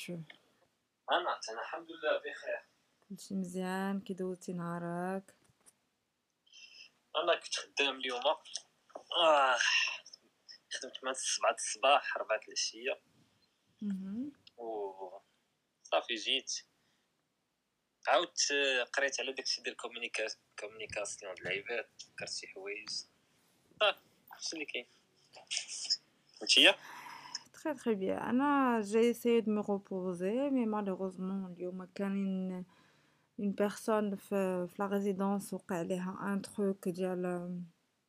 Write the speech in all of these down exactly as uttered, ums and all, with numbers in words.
vas-tu? انا انا الحمد لله بخير. كلشي مزيان؟ كي دوزتي نهارك؟ انا كنت خدام اليوم. اه خدمت من سبعة الصباح أربعة العشية اهم. و صافي جيت عاودت. آه، قريت على داكشي ديال كومونيكا كومونيكاسيون د العباد، فكرت شي حوايج صافي هادشي اللي كاين. نتيا Très très bien. أنا j'ai essayé de me reposer mais malheureusement اليوم كان une une personne في في la résidence وقع عليها un truc ديال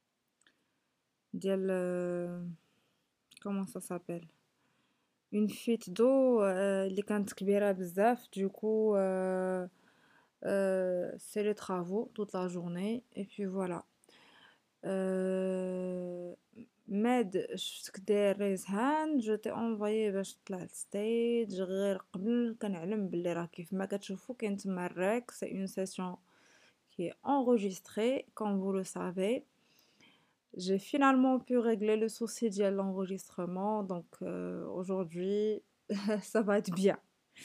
ديال comment ça s'appelle une fuite d'eau euh, اللي كانت كبيرة بزاف du coup euh, euh, c'est les travaux toute la journée et puis voilà. Euh, ماد شفتك داير ريز هاند جو تي انفويي باش تطلع للستيج غير قبل كنعلم بلي راه كيف ما كتشوفوا كاين تما الريك سي اون سيسيون qui est enregistrée comme vous le savez. J'ai finalement pu régler le souci de l'enregistrement donc euh, aujourd'hui ça va être bien.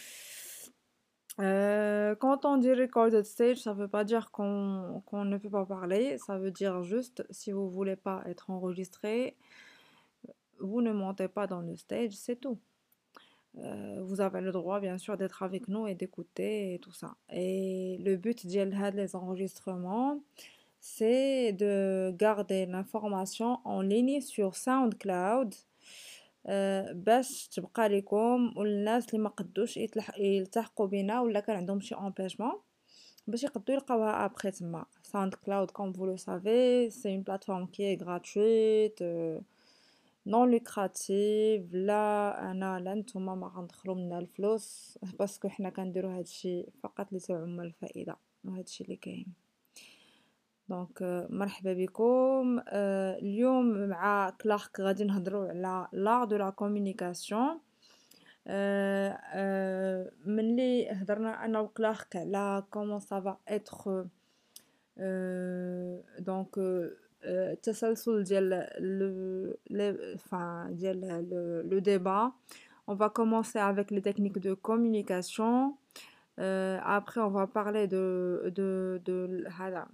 Euh, quand on dit recorded stage, ça veut pas dire qu'on qu'on ne peut pas parler, ça veut dire juste si vous voulez pas être enregistré, vous ne montez pas dans le stage, c'est tout. Euh, vous avez le droit bien sûr d'être avec nous et d'écouter et tout ça. Et le but des enregistrements, c'est de garder l'information en ligne sur SoundCloud آه، باش تبقى ليكم والناس اللي ما قدوش يتلح- يلتحقوا بينا ولا كان عندهم شي امبيجمون باش يقدروا يلقاوها ابخي تما. ساوند كلاود كوم فو لو سافي سي اون بلاتفورم كي اي غراتويت نون لوكراتيف، لا انا لا نتوما ما غندخلوا منها الفلوس باسكو حنا كنديروا هادشي فقط لتعم الفائده وهادشي اللي كاين. دونك مرحبا بكم. آه، اليوم مع كلارك غادي نهضروا على l'art de la communication. آه، آه، ملي هضرنا انا وكلارك على comment ça va être آه، دونك آه، التسلسل ديال le le- enfin ديال le, le débat. On va commencer avec les techniques de communication. Euh, après on va parler de de de هذا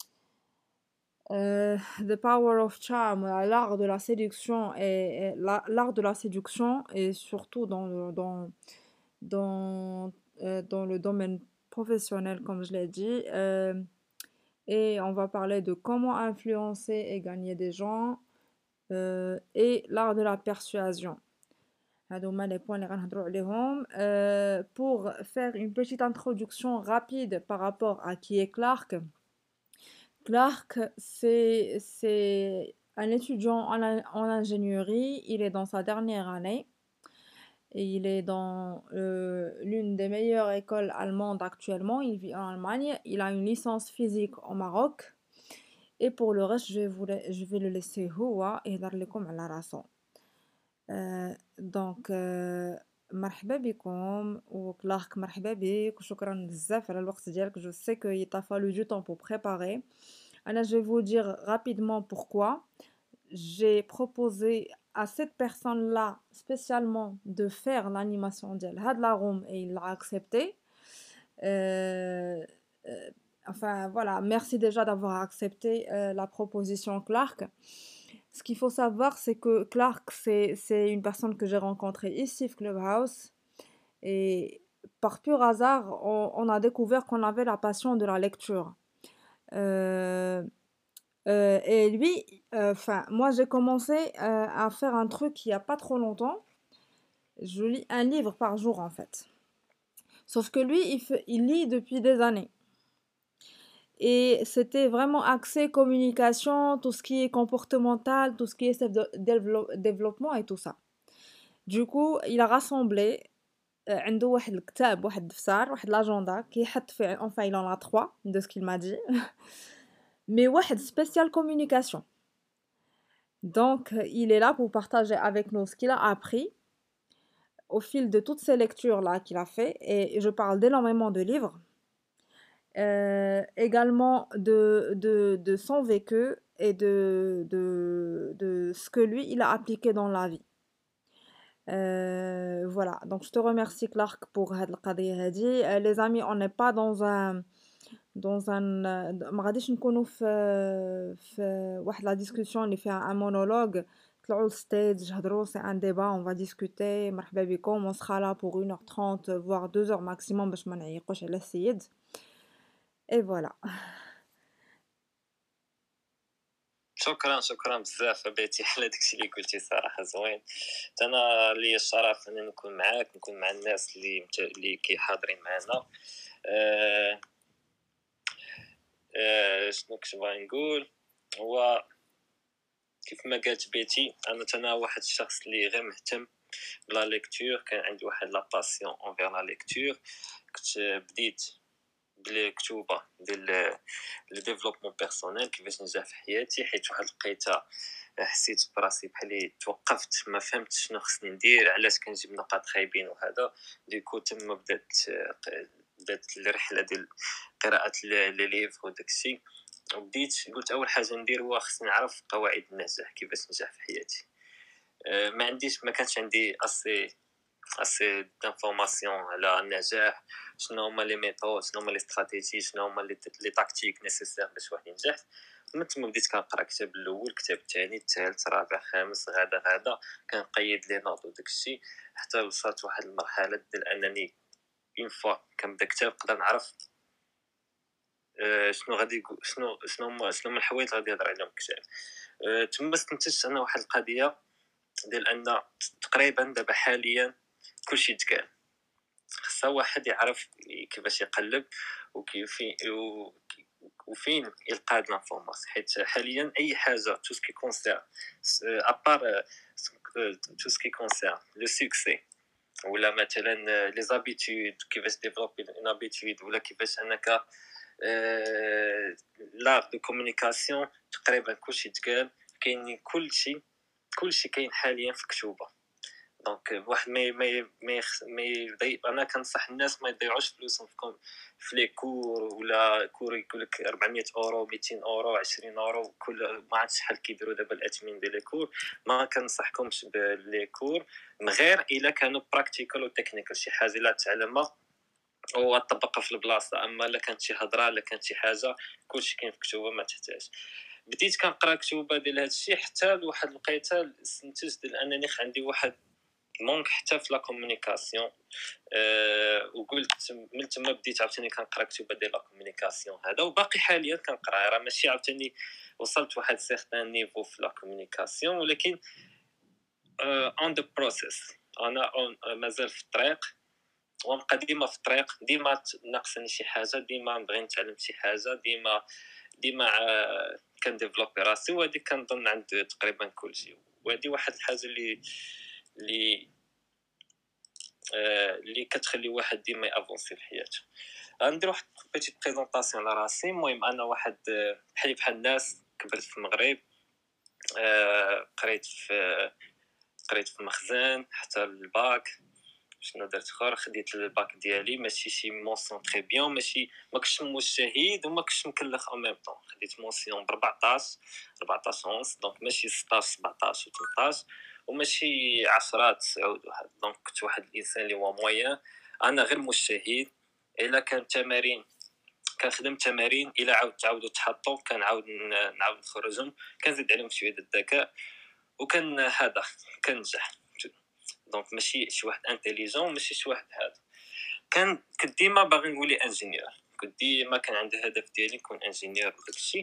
Euh, The Power of Charm, euh, l'art de la séduction et, et la- l'art de la séduction et surtout dans le, dans, dans, euh, dans le domaine professionnel, comme je l'ai dit. Euh, et on va parler de comment influencer et gagner des gens euh, et l'art de la persuasion. هادوما les points اللي غنهضروا عليهم. Euh, pour faire une petite introduction rapide par rapport à qui est Clark. Clark, c'est c'est un étudiant en, in- en ingénierie. Il est dans sa dernière année et il est dans euh, l'une des meilleures écoles allemandes actuellement. Il vit en Allemagne. Il a une licence physique au Maroc. Et pour le reste, je vais, vous la- je vais le laisser هو يهضر لكم على راسو. آه، دونك آه، مرحبا بكم وكلارك مرحبا بك وشكرا بزاف على الوقت ديالك. Je sais que il t'a fallu du temps pour préparer. Alors, je vais vous dire rapidement pourquoi. J'ai proposé à cette personne-là spécialement de faire l'animation de la room et il l'a accepté. Euh, euh, enfin, voilà, merci déjà d'avoir accepté euh, la proposition Clark. Ce qu'il faut savoir, c'est que Clark, c'est, c'est une personne que j'ai rencontrée ici, au Clubhouse. Et par pur hasard, on, on a découvert qu'on avait la passion de la lecture. Euh, euh, et lui, enfin, moi j'ai commencé euh, à faire un truc il n'y a pas trop longtemps. Je lis un livre par jour en fait. Sauf que lui, il, fait, il lit depuis des années. Et c'était vraiment axé communication, tout ce qui est comportemental, tout ce qui est self-développement et tout ça. Du coup, il a rassemblé آه، عنده واحد الكتاب واحد الدفتر واحد لاجوندا كيحط فيه enfin il en a trois de ce qu'il m'a dit mais واحد spécial communication. Donc il est là pour partager avec nous ce qu'il a appris au fil de toutes ces lectures là qu'il a fait et je parle d'énormément de livres. Euh, également de, de, de son vécu et de, de, de ce que lui il a appliqué dans la vie. Heu, voilà, donc je te remercie Clark pour هاد القضية هادي. Heu, les amis, on n'est pas dans un dans un د ما غاديش نكونوا في في واحد la discussion اللي فيها un monologue. طلعوا للstage هضروا، c'est un débat, on va discuter. مرحبا بكم، on sera là pour une heure trente voire deux heures maximum باش ما نعيقوش على السيد. Et voilà. شكرا شكرا بزاف بيتي على داكشي اللي قلتي، صراحه زوين. حتى انا لي الشرف ان نكون معاك، نكون مع الناس اللي مت... اللي كي حاضرين معنا. أه... أه... شنو كنت باغي نقول، هو كيف ما قالت بيتي، انا انا واحد الشخص اللي غير مهتم بلا ليكتور، كان عندي واحد لا باسيون اونفير لا ليكتور. كنت بديت بالكتوبه ديال لو ديفلوبمون بيرسونيل، كيفاش ننجح في حياتي، حيت واحد الوقيته حسيت براسي بحالي توقفت، ما فهمتش شنو خصني ندير، علاش كنجيب نقاط خايبين وهذا. ديكو تما بدات بدات الرحله ديال قراءه لي ليفر وداكشي. وبديت قلت اول حاجه ندير هو خصني نعرف قواعد النجاح، كيفاش ننجح في حياتي. أه، ما عنديش ما كانش عندي اسي اسي دانفورماسيون على النجاح، شنو هما لي ميثود، شنو هما لي استراتيجي، شنو هما لي لي تاكتيك نيسيسير باش واحد ينجح. من تما بديت كنقرا كتاب الاول، كتاب الثاني، الثالث، الرابع، الخامس، غدا غدا كنقيد لي نوط وداكشي، حتى وصلت واحد المرحله ديال انني اون فوا كنبدا كتاب نقدر نعرف أه شنو غادي يقول، شنو شنو هما شنو هما الحوايج غادي يهضر عليهم الكتاب. أه تما استنتجت انا واحد القضيه ديال ان تقريبا دابا حاليا كلشي تقال، خصها واحد يعرف كيفاش يقلب وكيف وفين يلقى هاد لانفورماسيون. حيت حاليا اي حاجه تو سكي كونسير ابار تو سكي كونسير لو سوكسي، ولا مثلا لي زابيتود، كيفاش ديفلوبي اون ابيتود، ولا كيفاش انك لا دو كومونيكاسيون، تقريبا كلشي تقال. كاين كلشي كلشي كاين حاليا في كتوبه. دونك واحد ما ما ما ما يضيع. انا كنصح الناس ما يضيعوش فلوسهم في في لي كور، ولا كور يقول لك أربعمية اورو، ميتين اورو، عشرين اورو، كل ما عرفتش شحال كيديروا دابا الاتمين ديال لي كور. ما كنصحكمش باللي كور من غير الا كانوا براكتيكال وتكنيكال، شي حاجه لا تعلمها وطبقها في البلاصه. اما الا كانت شي هضره، الا كانت شي حاجه، كلشي كاين في كتوبه، ما تحتاج. بديت كنقرا كتوبه ديال هذا الشيء حتى لواحد الوقيته استنتجت ديال انني عندي واحد مونك حتى في لا كومونيكاسيون. أه وقلت من تما بديت عاوتاني كنقرا كتب ديال لا كومونيكاسيون هذا، وباقي حاليا كنقرا. راه ماشي عاوتاني وصلت واحد سيغتان نيفو في لا كومونيكاسيون، ولكن اون ذا بروسيس، انا مازال في الطريق، ونبقى ديما في الطريق. ديما ناقصني شي حاجه، ديما نبغي نتعلم شي حاجه، ديما ديما كنديفلوبي راسي. وهذه كنظن عند تقريبا كلشي. وهذه واحد الحاجه اللي اللي اللي كتخلي واحد ديما يافونسي في حياته. غندير واحد بيتيت بريزونطاسيون على راسي. المهم انا واحد بحالي بحال الناس، كبرت في المغرب، قريت في قريت في مخزن حتى الباك. شنو درت اخر؟ خديت الباك ديالي، ماشي شي مونسيون تري بيان، ماشي ما كنتش مجتهد وما كنتش مكلخ او ميم طون. خديت مونسيون ب أربعطاش أربعطاش ونص، دونك ماشي ستطاش سبعطاش و ثمنطاش، وماشي عشرة تسعود وهذا. دونك كنت واحد الانسان اللي هو مويان. انا غير مجتهد. الا كان تمارين كنخدم تمارين، الا عاود تعاودوا تحطوا كنعاود نعاود نخرجهم، كنزيد عليهم شويه الذكاء، وكان هذا كننجح. دونك ماشي شي واحد انتيليجون، ماشي شي واحد هذا. كان كنت ديما باغي نولي انجينيور، كنت ديما كان عندي هدف ديالي نكون انجينيور وداكشي.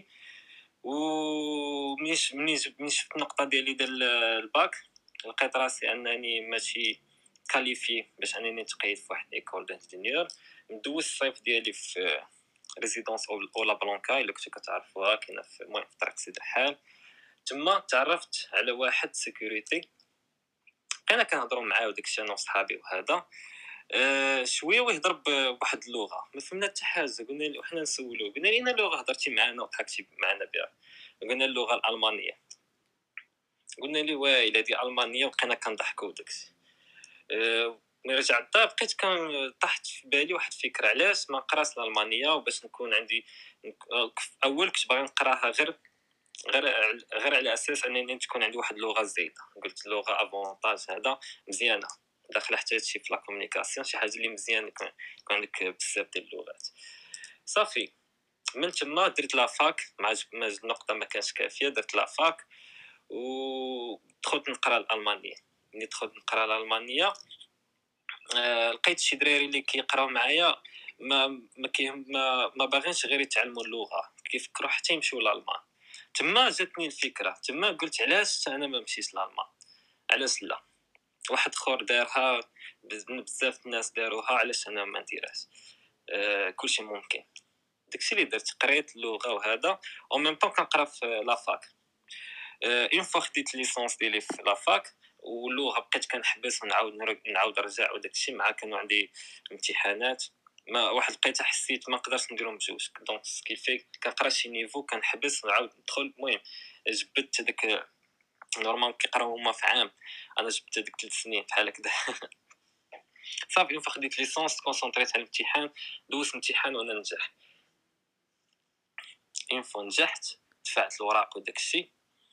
ومني مني مني شفت النقطه ديالي ديال الباك، لقيت راسي انني ماشي كاليفي باش انني نتقيد في واحد ايكول دانجينيور. ندوز الصيف ديالي في ريزيدونس اولا بلانكا، الا كنتو كتعرفوها، كاينه في المهم في طريق سيدي الرحال. تما تعرفت على واحد سيكوريتي، انا كنهضروا معاه وداكشي انا وصحابي وهذا. أه شويه ويهضر بواحد اللغه ما فهمنا حتى حاجه. قلنا له، حنا نسولو، قلنا لنا اللغه هضرتي معنا وضحكتي معنا بها. قلنا اللغه الالمانيه. قلنا له وايله دي المانيه، وبقينا كنضحكوا وداكشي. أه ملي رجعت الدار بقيت كان طاحت في بالي واحد الفكره، علاش ما نقراش الالمانيه وباش نكون عندي. اول كنت باغي نقراها غير غير غير على اساس انني تكون عندي واحد اللغه زايده. قلت اللغه افونتاج هذا مزيانه، داخل حتى هادشي في لا كومونيكاسيون، شي حاجه اللي مزيان يكون يكون عندك بزاف ديال اللغات. صافي من تما درت لا فاك، مع ما النقطه ما كانش كافيه، درت لا فاك ودخلت نقرا الالمانيه. ملي دخلت نقرا الالمانيه آه، لقيت شي دراري اللي كيقراو معايا ما ما كي ما, ما باغينش غير يتعلموا اللغه، كيفكروا حتى يمشيو لالمان. تما جاتني الفكره، تما قلت علاش انا ما مشيتش لالمان، علاش لا؟ واحد اخر دارها، بزاف الناس داروها، علاش انا ما نديرهاش؟ آه كلشي ممكن. داكشي اللي درت، قريت اللغه وهذا، او ميم طون كنقرا في لافاك. اون فوا خديت ليسونس ديالي في لافاك واللغه بقيت كنحبس ونعاود نعاود نرجع، وداكشي مع كانوا عندي امتحانات. ما واحد لقيت حسيت ما نقدرش نديرهم بجوج، دونك سكيفي كنقرا شي نيفو كنحبس ونعاود ندخل. المهم جبدت داك، نورمال كيقراو هما في عام، انا جبت ديك ثلاث سنين بحال هكذا. صافي اون فوا خديت ليسونس كونسونطريت على الامتحان، دوزت الامتحان وانا نجح. اون فوا نجحت دفعت الوراق وداكشي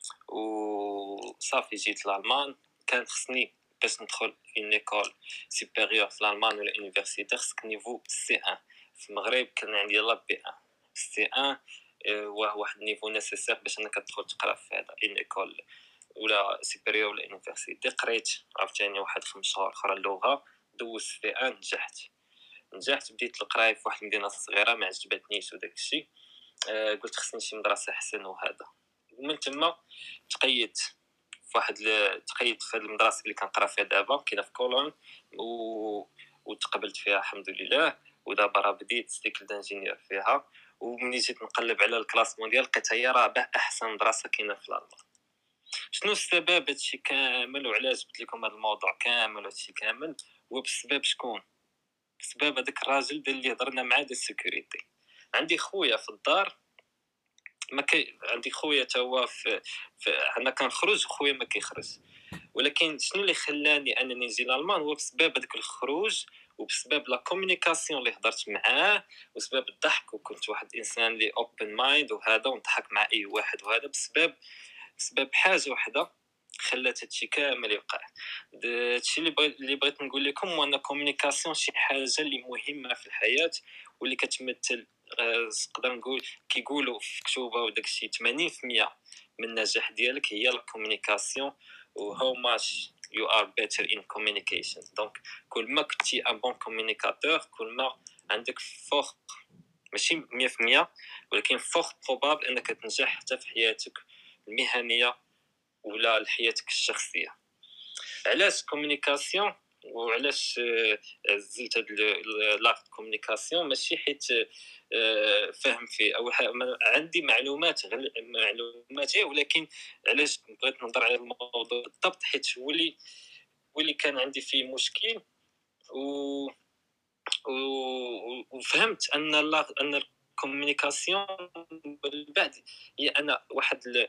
وصافي جيت لالمان. كان خصني باش ندخل اون ايكول سوبيريور في الالمان ولا يونيفرسيتي خصك نيفو سي واحد. في المغرب كان عندي لا بي واحد سي واحد، واه واحد النيفو نيسيسير باش انك تدخل تقرا في هذا اون ايكول ولا سوبيريور ولا يونيفرسيتي. قريت عاوتاني واحد خمس شهور اخرى اللغه، دوزت سي واحد، نجحت نجحت بديت القرايه في واحد المدينه صغيره ما عجبتنيش وداك الشيء. أه قلت خصني شي مدرسه احسن وهذا. ومن تما تقيدت في واحد ل... تقيدت في هذه المدرسه اللي كنقرا فيها دابا، كاينه في كولون، و... وتقبلت فيها الحمد لله. ودابا راه بديت سيكل دانجينيور فيها. ومني جيت نقلب على الكلاس مونديال لقيت هي رابع احسن مدرسه كاينه في الالمان. شنو السبب هادشي كامل وعلاش جبت لكم هذا الموضوع كامل هادشي كامل؟ هو بسبب شكون؟ بسبب هذاك الراجل ديال اللي هضرنا معاه ديال السيكوريتي. عندي خويا في الدار ما كي عندي خويا تا هو في, في... انا كنخرج خويا ما كيخرج، ولكن شنو اللي خلاني انني نجي لالمان هو بسبب هذاك الخروج وبسبب لا كومونيكاسيون اللي هضرت معاه وسبب الضحك، وكنت واحد انسان اللي اوبن مايند وهذا ونضحك مع اي واحد، وهذا بسبب بسبب حاجه واحده خلات هادشي كامل يوقع. هادشي اللي بغيت اللي بغيت نقول لكم هو ان الكومونيكاسيون شي حاجه اللي مهمه في الحياه واللي كتمثل آه، نقدر نقول كيقولوا في كتوبه وداك الشيء ثمانين بالمئة من النجاح ديالك هي الكومونيكاسيون. و how much you are better in communication. دونك كل ما كنتي ان بون كومونيكاتور كل ما عندك فوق ماشي مية بالمية ولكن فوق بروبابل انك تنجح حتى في حياتك المهنيه ولا حياتك الشخصيه. علاش كومونيكاسيون وعلاش زلت هاد لاغ كومونيكاسيون؟ ماشي حيت آه، فاهم فيه او عندي معلومات معلومات ولكن علاش بغيت نهضر على الموضوع بالضبط حيت هو اللي هو اللي كان عندي فيه مشكل. و وفهمت ان لا ان الكومونيكاسيون بعد هي انا واحد ال...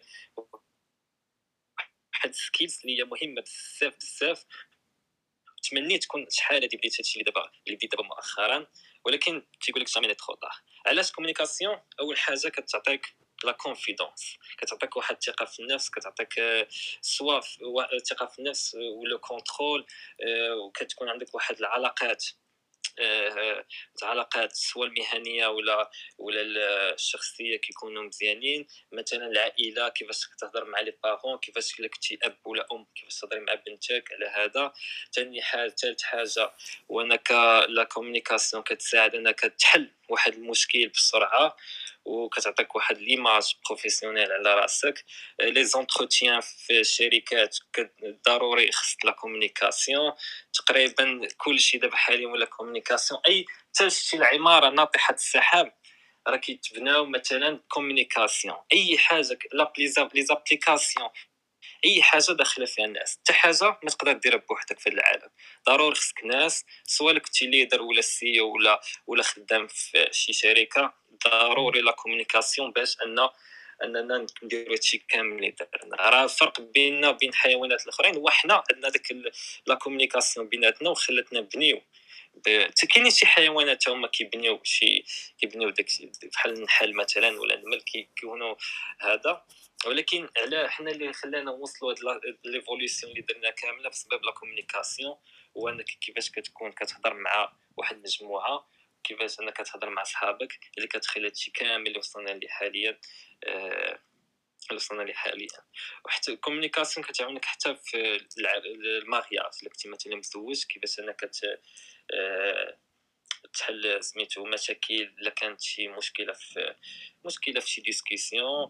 واحد السكيلز اللي هي مهمه بزاف بزاف. تمنيت تكون شحال هادي بديت هادشي اللي دابا اللي بديت دابا مؤخرا، ولكن تيقول لك جامي ترو طار. علاش كومونيكاسيون؟ اول حاجه كتعطيك لا كونفيدونس، كتعطيك واحد الثقه في النفس، كتعطيك سوا الثقه في النفس ولا كونترول، وكتكون عندك واحد العلاقات العلاقات سواء المهنيه ولا ولا الشخصيه كيكونوا مزيانين. مثلا العائله كيفاش تهضر مع لي بارون، كيفاش الا كنتي اب ولا ام كيفاش تهضري مع بنتك على هذا. ثاني حاجه ثالث حاجه وانك لا كومونيكاسيون كتساعد انك تحل واحد المشكل بسرعه وكتعطيك واحد ليماج بروفيسيونيل على راسك. لي زونتروتيان في الشركات ضروري خص لا كومونيكاسيون. تقريبا كلشي دابا حاليا ولا كومونيكاسيون. اي حتى شي العماره ناطحه السحاب راه كيتبناو مثلا كومونيكاسيون. اي حاجه لا لي زابليكاسيون اي حاجه داخله فيها الناس، حتى حاجه ما تقدر ديرها بوحدك في العالم، ضروري خصك ناس سواء كنتي ليدر ولا سي او ولا ولا خدام في شي شركه. ضروري لا كومونيكاسيون باش ان اننا نديرو هادشي كامل اللي درنا. راه الفرق بيننا وبين الحيوانات الاخرين هو حنا عندنا داك لا كومونيكاسيون بيناتنا وخلاتنا نبنيو. حتى كاينين شي حيوانات هما كيبنيو شي كيبنيو داك بحال النحل مثلا ولا النمل كيكونوا هذا. ولكن على حنا اللي خلانا نوصلوا هاد ليفوليسيون اللي درنا كامله بسبب لا كومونيكاسيون، هو انك كيفاش كتكون كتهضر مع واحد المجموعه، كيفاش انك كتهضر مع صحابك اللي كتخلي هادشي كامل اللي وصلنا ليه حاليا آه اللي وصلنا ليه حاليا. وحتى الكومونيكاسيون كتعاونك حتى في المارياج، الا كنتي مثلا مزوج كيفاش انك كت آه تحل سميتو مشاكل الا كانت شي مشكله في مشكله في شي ديسكسيون.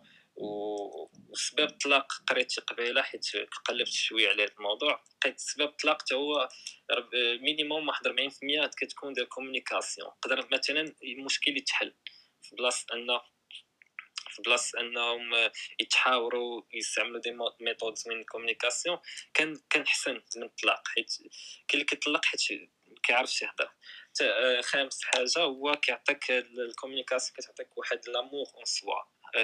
وسبب الطلاق قريت قبيله حيت قلبت شويه على هذا الموضوع، لقيت سبب الطلاق حتى هو مينيموم واحد أربعين بالمية كتكون ديال الكومونيكاسيون. قدر مثلا المشكل يتحل في بلاصه ان في بلاصه انهم يتحاوروا يستعملوا دي ميثودز من الكومونيكاسيون، كان كان حسن من الطلاق، حيت كاين اللي كيطلق حيت كيعرفش يهضر. خامس حاجه هو كيعطيك الكومونيكاسيون كتعطيك واحد لامور اون سوا،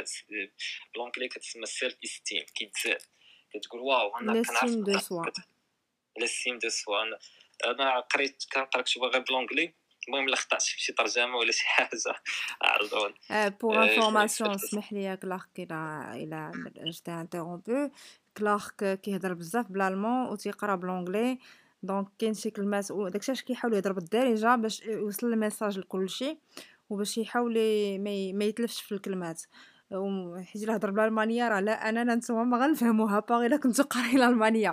بالانجلي كتسمى سيلف استيم، كيتزاد كتقول واو انا كنعرف l'estime de soi. ليستيم دو سوا. انا انا قريت كنقرا كتب غير بالانجلي، المهم لا خطات في شي ترجمه ولا شي حاجه عرضون. Pour information, اسمح لي كلارك الى الى جيت انتررومبو. كلارك كيهضر بزاف بالالمان وتيقرا بالانجلي، دونك كاين شي كلمات وداكشي علاش كيحاول يهضر بالدارجه باش يوصل الميساج لكلشي وباش يحاول ما يتلفش في الكلمات. حيت الا هضر بالالمانيه راه لا انا نتوما ما غنفهموها باغي الا كنتو قاريين الالمانيه.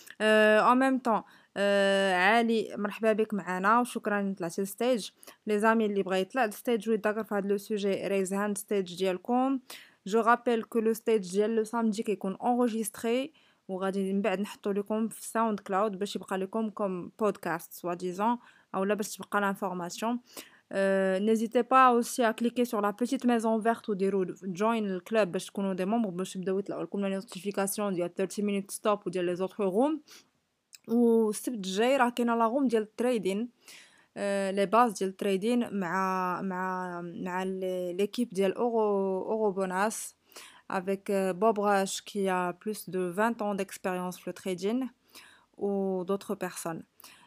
ان ميم طون عالي مرحبا بك معنا وشكرا طلعتي للستيج. لي زامي اللي بغا يطلع للستيج ويتذكر في هذا لو سوجي ريز هاند ستيج ديالكم. جو رابيل كو لو ستيج ديال لو سامدي كيكون انغيستري وغادي من بعد نحطو لكم في ساوند كلاود باش يبقى لكم كوم بودكاست سوا ديزون اولا باش تبقى لانفورماسيون. n'hésitez pas aussi à cliquer sur la petite maison verte ou ديروا join le club باش تكونوا دي ممبر باش يبداو يطلعوا لكم لي نوتيفيكاسيون ديال ثلاثين minutes stop وديال لي زوتر روم. والسبت الجاي راه كاينه لا روم ديال التريدين، لي باز ديال التريدين مع مع مع ليكيب ديال اورو اورو بوناس avec Bob Rush qui a plus de vingt ans d'expérience sur le trading ou d'autres personnes.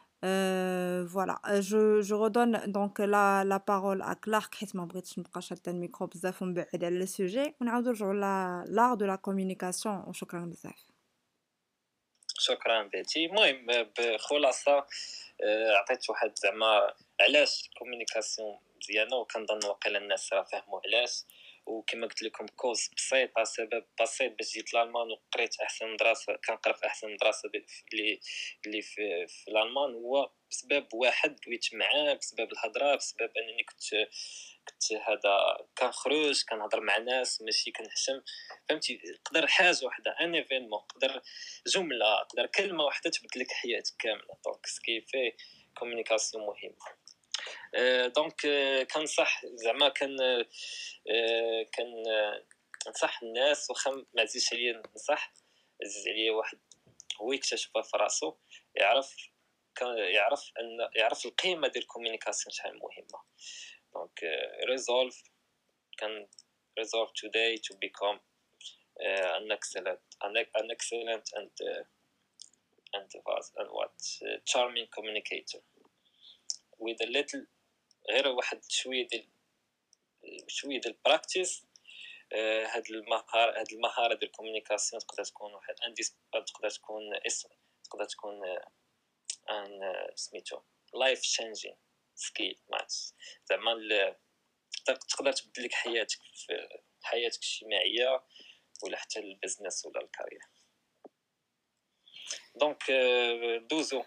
Euh, voilà, je, je redonne donc la, la parole à Clark حيت ما بغيتش نبقى شاده الميكرو بزاف ونبعد على السوجي ونعاودو نرجعوا لا l'art de la communication وشكرا بزاف. شكرا بيتي. المهم بخلاصه عطيت واحد زعما علاش الكومونيكاسيون مزيانه، وكنظن واقيلا الناس راه فهموا علاش. وكما قلت لكم كوز بسيطه، سبب بسيط باش جيت لالمان وقريت احسن مدرسه، كنقرا في احسن مدرسه اللي اللي في, في الالمان، هو بسبب واحد دويت معاه، بسبب الهضره، بسبب انني كنت كنت هذا كنخرج كنهضر مع ناس ماشي كنحشم. فهمتي، قدر حاجه وحده ان ايفينمون، قدر جمله، قدر كلمه واحده تبدل لك حياتك كامله. دونك سكي في كومونيكاسيون مهمه. أه دونك أه كنصح زعما كان أه كان نصح الناس، واخا ما عزيزش عليا نصح، عزيز عليا واحد هو يكتشفها في راسو، يعرف يعرف ان يعرف القيمه ديال الكومونيكاسيون شحال مهمه. دونك resolve can resolve today to become uh, an excellent an, an excellent and uh, and what and what uh, charming communicator with a little غير واحد شويه ديال شويه ديال براكتيس. هاد المهاره هاد المهاره ديال الكومونيكاسيون تقدر تكون واحد انديس، تقدر تكون اسم، تقدر تكون ان سميتو لايف تشينجين سكيل ماتس، زعما تقدر تبدل لك حياتك في حياتك الاجتماعيه ولا حتى البزنس ولا الكارير. دونك دوزو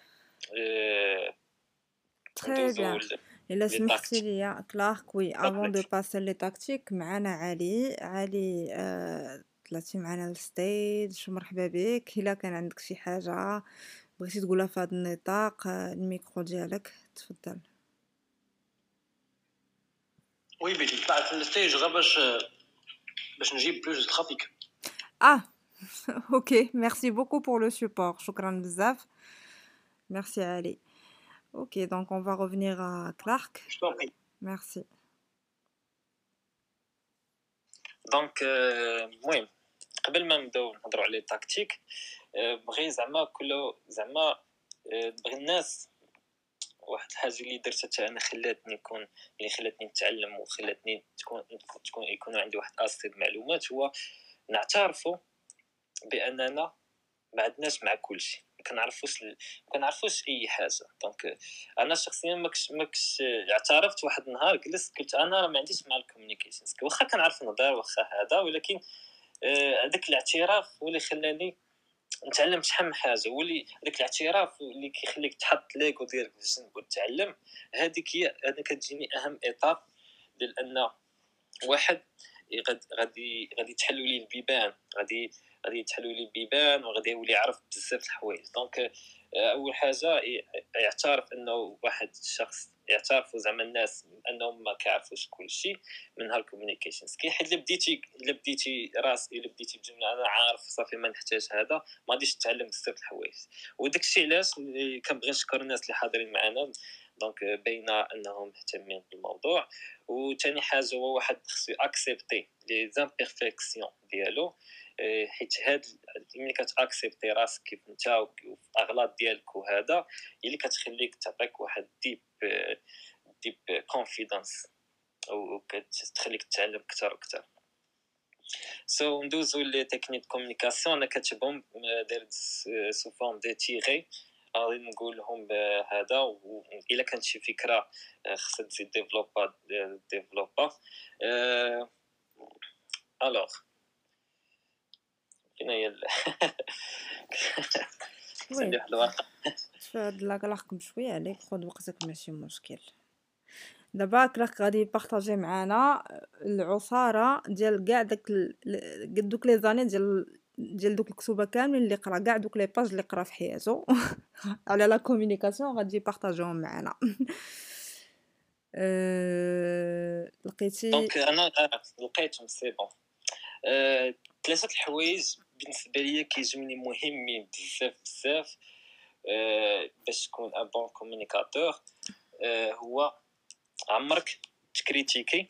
Très bien. إلا سمحتي لي كلارك وي افون دو باسي لي تاكتيك معنا علي علي آه، طلعتي معنا للستيج مرحبا بك. الا كان عندك شي حاجه بغيتي تقولها في هذا النطاق الميكرو ديالك تفضل. وي بيتي طلعت للستيج غير باش باش نجيب بلوس ترافيك. اه اوكي ميرسي بوكو بور لو سوبور، شكرا بزاف ميرسي علي. Ok, donc on va revenir à Clark. Je t'en prie. Merci. دونك المهم قبل ما نبداو نهضروا على التكتيك، بغي زعما كل زعما بغي الناس واحد الحاجه اللي درتها حتى انا خلاتني نكون اللي خلاتني نتعلم وخلاتني تكون تكون يكون عندي واحد اسيد معلومات، هو نعترفوا باننا ما عندناش مع كل شيء، ما كنعرفوش ال... ما كنعرفوش اي حاجه. دونك انا شخصيا ماكش ماكش اعترفت واحد النهار جلست قلت انا راه ما عنديش مع الكوميونيكيشن، واخا كنعرف نهضر واخا هذا، ولكن هذاك آه الاعتراف هو اللي خلاني نتعلم شحال من حاجه، هو اللي هذاك الاعتراف اللي كيخليك تحط ليغو ديالك في الجنب وتتعلم. هذيك هي انا كتجيني اهم ايطاب، لان واحد غادي غادي غادي تحلوا لي البيبان، غادي غادي تحلوا لي البيبان وغادي يولي يعرف بزاف الحوايج. دونك اول حاجه يعترف انه واحد الشخص يعترفوا زعما الناس انهم ما كيعرفوش كل شيء من هالكوميونيكيشن سكيل. حيت الا بديتي الا بديتي راس الا بديتي بجمله انا عارف صافي ما نحتاج هذا، ما غاديش تتعلم بزاف الحوايج. وداك الشيء علاش كنبغي نشكر الناس اللي حاضرين معنا، دونك باينه انهم مهتمين بالموضوع. وثاني حاجه هو واحد خصو اكسبتي لي زامبيرفيكسيون ديالو، حيت هاد ملي كتاكسبتي راسك كيف انت واغلاط ديالك وهذا هي اللي كتخليك تعطيك واحد ديب ديب كونفيدنس او كتخليك تتعلم اكثر واكثر. سو so, ندوزو لي تكنيك كومونيكاسيون. انا كاتبهم داير سو فورم دي تيغي، غادي نقول لهم هذا، والا كانت شي فكره خصها تزيد ديفلوبا ديفلوبا الوغ فين هي وي واحد الورقه فهاد لاكلاق بشويه عليك، خذ وقتك ماشي مشكل. دابا كلاك غادي يبارطاجي معنا العصاره ديال كاع داك ال... دوك لي زاني ديال ديال دوك الكتوبه كاملين اللي قرا، كاع دوك لي باج اللي قرا في حياته على لا كومونيكاسيون غادي يبارطاجيهم معنا. أه... لقيتي دونك انا لقيتهم سي بون. ثلاثه الحوايج بالنسبه ليا كيجوني مهمين بزاف بزاف أه باش تكون ان بون كومونيكاتور. أه هو عمرك تكريتيكي،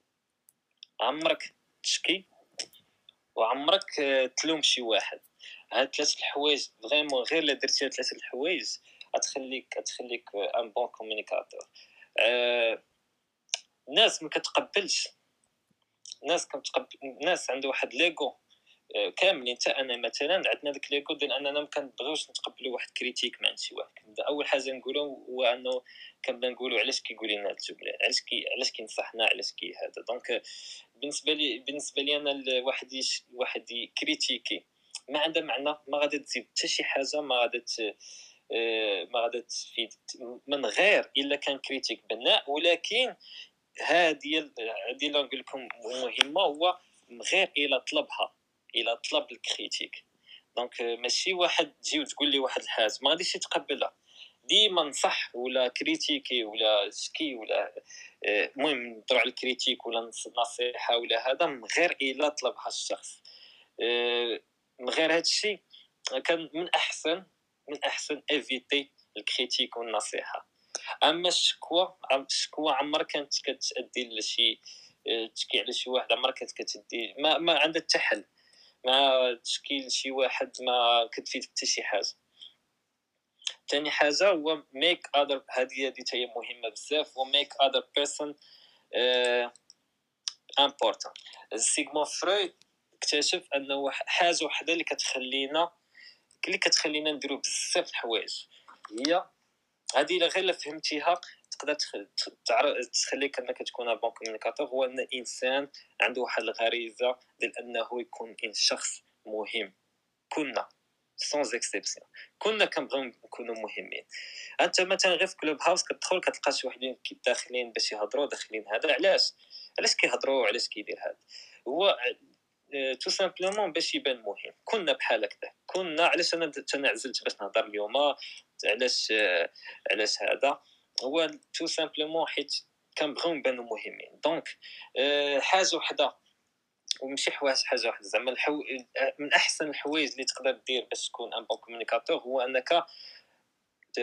عمرك تشكي، وعمرك تلوم شي واحد. هاد ثلاث الحوايج فريمون غير الا درتي هاد ثلاث الحوايج غتخليك غتخليك ان بون كومونيكاتور. أه الناس ما كتقبلش، الناس كتقبل الناس عنده واحد ليغو كاملين. حتى انا مثلا عندنا داك ليغو ديال اننا ما كنبغيوش نتقبلوا واحد كريتيك من عند شي واحد. كنبدا اول حاجه نقولوا هو انه كنبدا نقولوا علاش كيقول لنا هاد الجمله، علاش كي علاش كينصحنا، علاش كي هذا. دونك بالنسبه لي بالنسبه لي انا الواحد يش... واحد كريتيكي ما عندها معنى، ما غادي تزيد حتى شي حاجه، ما غادي ت... ما غادي تفيد من غير الا كان كريتيك بناء. ولكن هذه هذه اللي نقول لكم مهمه، هو من غير الا طلبها، الا طلب الكريتيك. دونك ماشي واحد تجي وتقول لي واحد الحاجه ما غاديش يتقبلها، ديما نصح ولا كريتيكي ولا شكي ولا المهم نضروا على الكريتيك ولا نصيحه ولا هذا من غير الا طلبها الشخص. من غير هذا الشيء كان من احسن من احسن ايفيتي الكريتيك والنصيحه. اما الشكوى الشكوى عمرك كانت كتادي لشي تشكي على شي واحد، عمرك كانت كتدي ما ما عندها حتى حل، ما تشكي لشي واحد ما كتفيد حتى شي حاجه. ثاني حاجه هو make other، هذه هذه هي مهمه بزاف، و make other person uh, important. سيغموند فرويد اكتشف انه حاجه وحده اللي كتخلينا اللي كتخلينا نديرو بزاف الحوايج هي هذه. الا غير فهمتيها تقدر تخليك انك تكون ان بون كومونيكاتور. هو ان الانسان عنده واحد الغريزه ديال انه يكون ان شخص مهم. كنا سونز اكسبسيون كنا كنبغيو نكونوا مهمين. انت مثلا غير في كلوب هاوس كتدخل كتلقى شي وحدين داخلين باش يهضروا، داخلين هذا علاش علاش كيهضروا، علاش كيدير هذا. هو تو سامبلومون باش يبان مهم. كنا بحال هكذا، كنا علاش انا تنعزلت باش نهضر اليوم، علاش علاش هذا. هو تو سامبلومون حيت كنبغيو نبانو مهمين. دونك حاجه وحده وماشي حوايج حاجه واحده زعما الحو... من احسن الحوايج اللي تقدر دير باش تكون ان بون كومونيكاتور هو انك ت...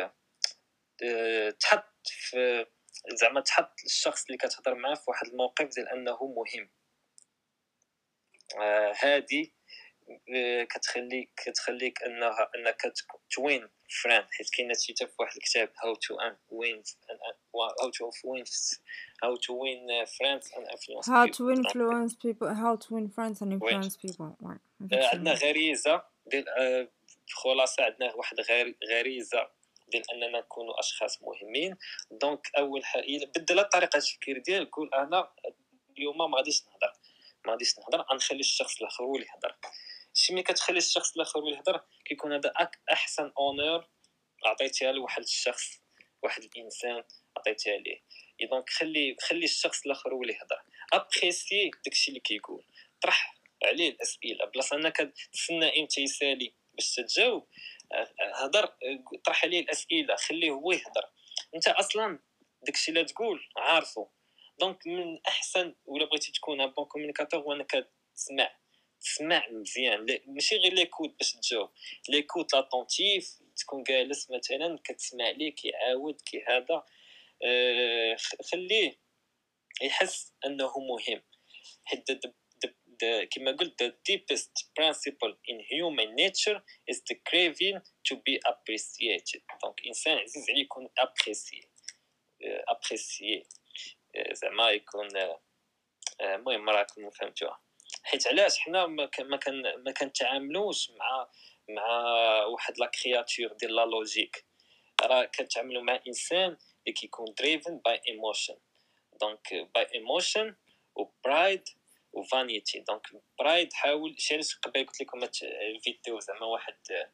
تحط في زعما تحط الشخص اللي كتهضر معاه في واحد الموقف ديال انه مهم. هذه آه، كتخليك كتخليك انها انك توين فران، حيت كاينه شي حتى في واحد الكتاب هاو تو وين هاو تو وين هاو تو وين فريندز اند انفلونس How to بيبل. influence people, how to win friends and وي influence people. Ouais, عندنا effectivement. غريزه ديال آه، خلاصه عندنا واحد غير- غريزه ديال اننا نكونوا اشخاص مهمين. دونك اول حاجه بدل طريقه التفكير ديالك، قول انا اليوم ما غاديش نهضر ما غاديش نهضر غنخلي الشخص الاخر هو اللي يهضر. شي ملي كتخلي الشخص الاخر هو اللي يهضر كيكون هذا أك- احسن اونور عطيتيها لواحد الشخص، واحد الانسان عطيتيها ليه. دونك خلي خلي الشخص الاخر هو اللي يهضر، ابريسي داكشي اللي كيقول، طرح عليه الاسئله بلاصه انك تسنى امتى يسالي باش تجاوب. آه، هضر، آه، طرح عليه الاسئله، خليه هو يهضر. انت اصلا داكشي اللي تقول عارفه. دونك من احسن ولا بغيتي تكون ان بون كومونيكاتور هو انك تسمع تسمع مزيان، لا- ماشي غير ليكوت باش تجاوب، ليكوت لاتونتيف، تكون جالس مثلا كتسمع ليه كيعاود كي هذا. آه، خ- خليه يحس انه مهم. حيت the- the- the- كما قلت the deepest principle in human nature is the craving to be appreciated. دونك انسان عزيز عليه يكون ابريسيي ابريسيي زعما يكون آه، آه، المهم راكم فهمتوها. حيت علاش حنا ما كان ما كان ما كنتعاملوش مع مع واحد لا كرياتور ديال لا لوجيك، راه كنتعاملوا مع انسان اللي كيكون دريفن باي ايموشن. دونك باي ايموشن وبرايد وفانيتي. دونك برايد حاول شي علاش قبل قلت لكم الفيديو زعما واحد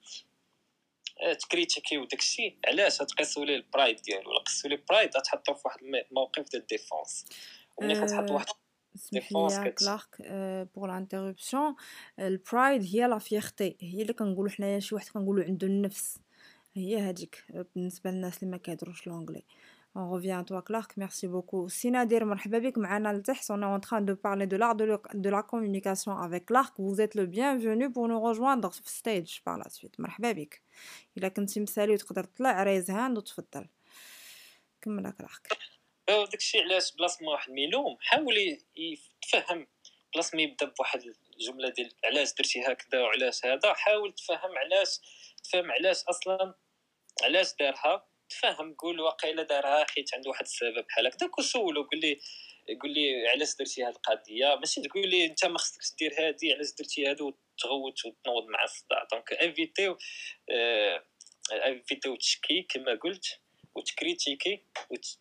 آه، تكريتيكيو داكشي علاش تقيسوا ليه البرايد ديالو، ولا قيسوا ليه برايد تحطوا في واحد الموقف ديال الديفونس. وملي كتحط Euh, واحد اسمح لي ديفونس يا كت كلارك بور لانترربسيون. البرايد هي لا فيرتي، هي اللي كنقولوا حنايا شي واحد كنقولوا عنده النفس، هي هذيك بالنسبه للناس اللي ما كيهضروش لونجلي. On revient à toi Clark, merci beaucoup. Si Nadir, مرحبا بك معنا لتحت. On est en train de parler de l'art de, le- de la communication avec Clark. Vous êtes le bienvenu pour nous rejoindre sur stage par la suite. مرحبا بك. إلا كنتي مسالي وتقدر تطلع ريز هاند وتفضل. كمل كلارك. داكشي علاش بلاص ما واحد ميلوم حاول ي- يتفهم، بلاص ما يبدا بواحد الجمله ديال علاش درتي هكذا وعلاش هذا، حاول تفهم علاش، تفهم علاش اصلا علاش دارها، تفهم قول واقيلا دارها حيت عنده واحد السبب بحال هكذاك، وسولو قول لي قول لي علاش درتي هذه القضيه، ماشي تقول لي انت ما خصكش دير هذه علاش درتي هذا وتغوت وتنوض مع الصداع. دونك انفيتيو آه انفيتيو تشكي كما قلت وتكريتيكي وت...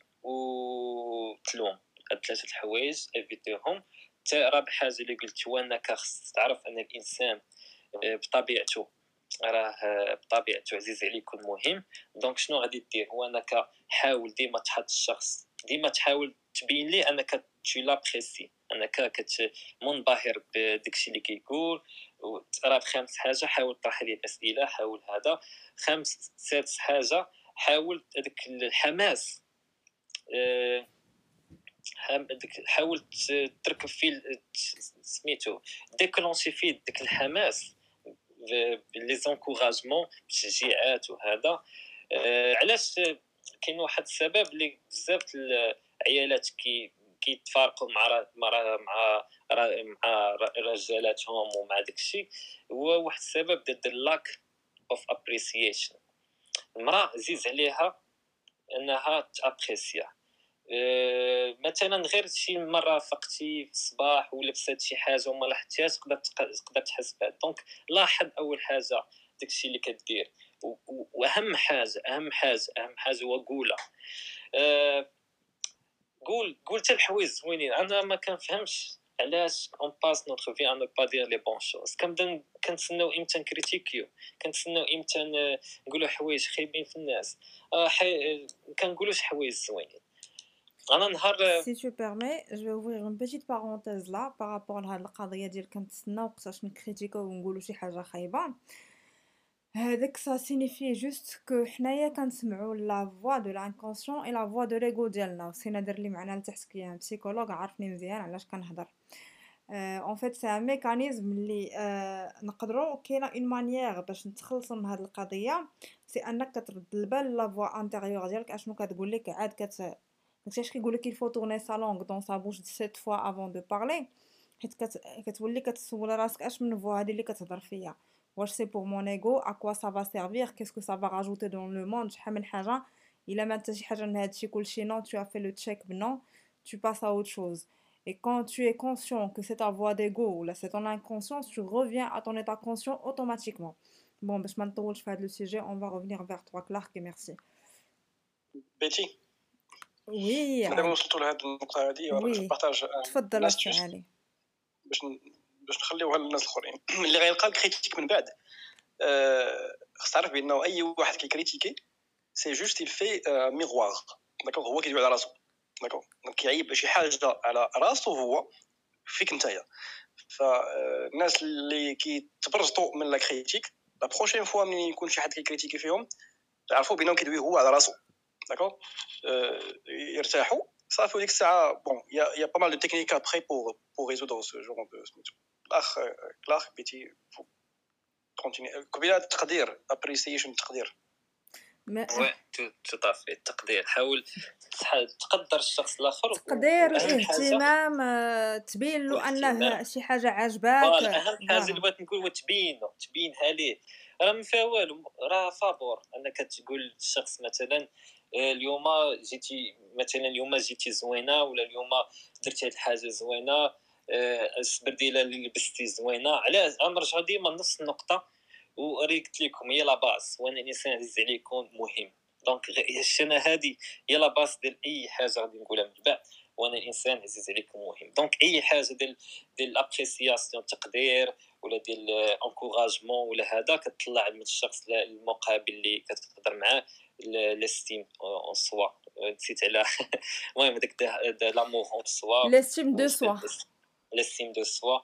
وتلوم. هاد ثلاثه الحوايج انفيتيهم. حتى رابع حاجه اللي قلت هو انك خص تعرف ان الانسان آه، بطبيعته راه بطبيعته عزيز عليه يكون مهم. دونك شنو غادي دير هو انك حاول ديما تحط الشخص، ديما تحاول تبين ليه انك tu l'apprécies، انك كت منبهر بداكشي اللي كيقول. راه خامس حاجه حاول تطرح ليه الاسئله، حاول هذا. خامس سادس حاجه حاول هذاك الحماس، آه، حام- داك- حاول ت- تركب فيه ال- ت- سميتو ديكلونشي فيه داك الحماس، لي زونكوراجمون التشجيعات وهذا. آه، علاش كاين واحد السبب اللي بزاف العيالات كي كيتفارقوا مع را- مع را- مع را- مع رجالاتهم ومع داكشي، هو واحد السبب ديال لاك اوف ابريسيشن. المراه عزيز عليها انها تابريسيا. أه مثلا غير شي مره فقتي في الصباح ولبست شي حاجه وما لاحظتيهاش تقدر تق- تقدر تحس بها. دونك لاحظ اول حاجه داكشي اللي كدير، و- و- واهم حاجه اهم حاجه اهم حاجه هو قولها. أه قول قول حتى الحوايج زوينين. انا ما كنفهمش علاش اون باس نوتر في ان نو با دير لي بون شوز، كنبدا كنتسناو امتى نكريتيكيو، كنتسناو امتى ن- نقولوا حوايج خايبين في الناس. أه حي... كنقولوش حوايج زوينين. انا نهار Si tu permets, je vais ouvrir une petite parenthèse là par rapport لهاد القضية ديال كنتسنى وقتاش نكريتيكو ونقولو شي حاجة خايبة. هذاك ça signifie juste que حنايا كنسمعو la voix de l'inconscient et la voix de l'ego ديالنا. سي نادر اللي معنا لتحت كي بسيكولوج عارفني مزيان علاش كنهضر. ان فيت سي ان ميكانيزم اللي آه نقدروا كاينه اون مانيير باش نتخلصوا من هذه القضيه، سي انك كترد البال لا فوا انتيريور ديالك اشنو كتقول لك عاد كت داكشي اش كيقول لك il faut tourner sa langue dans sa bouche sept fois avant de parler. حيت كت... كتولي كتسول راسك اش من فوا هادي اللي كتهضر فيا، واش سي بور مون ايغو، ا كوا سا فا سيرفير، كيسكو سا فا راجوتي دون لو موند، شحال من حاجه. الا ما انت شي حاجه من هادشي كلشي نو، tu as fait le check non, tu passes à autre chose. Et quand tu es conscient que c'est ta voix d'ego ou là c'est ton inconscience, tu reviens à ton état conscient automatiquement. Bon, باش ما نطولش في هذا le sujet, on va revenir vers toi Clark et merci. بيتي Oui, مادام Ali. وصلتوا لهاد النقطه هادي باش Oui, نبارطاج تفضل الناس أسي جوست علي. باش ن- باش نخليوها للناس الاخرين اللي غيلقى الكريتيك من بعد. آه، خص تعرف بانه اي واحد كيكريتيكي سي جوست il fait ميغوار، داكوغ، هو كيدوي على راسو، داكوغ، دونك كيعيب شي حاجه على راسو هو فيك نتايا. فالناس اللي كيتبرجطوا من لا كريتيك لا بروشين فوا ملي يكون شي حد كيكريتيكي فيهم عرفوا بانهم كيدوي هو على راسو، داكوغ، يرتاحوا صافي. وديك الساعه بون يا يا با مال دو تكنيك ابري بور بور ريزودر سو جور دو سميتو. الاخ كلاخ بيتي كونتيني قبيله التقدير، ابريسيشن، التقدير. ما وي تو تو طافي التقدير، حاول تح- تقدر الشخص الاخر، و- تقدير، واهم حاجه اهتمام، آه، تبين له انه الاهتمام. شي حاجه عجباك. فوالا اهم حاجه اللي فوالا. بغيت نقول هو تبينو تبينها ليه. راه ما فيها والو، راه فابور انك تقول للشخص مثلا آه، اليوم جيتي مثلا اليوم جيتي زوينه، ولا اليوم درتي هاد الحاجه زوينه، آه، السبرديله اللي لبستي زوينه. علاش غنرجعوا ديما لنفس النقطه، وري قلت لكم هي لا باس، وانا الانسان عزيز عليكم مهم. دونك غ- انا هذه هي لا باس ديال اي حاجه غادي نقولها من بعد، وانا الانسان عزيز عليكم مهم. دونك اي حاجه ديال ديال لابريسياسيون، التقدير، ولا ديال انكوراجمون، ولا هذا كتطلع من الشخص المقابل اللي كتهضر معاه لاستيم اون سوا. نسيت على المهم داك لامور اون سوا، لاستيم دو سوا. لاستيم دو سوا.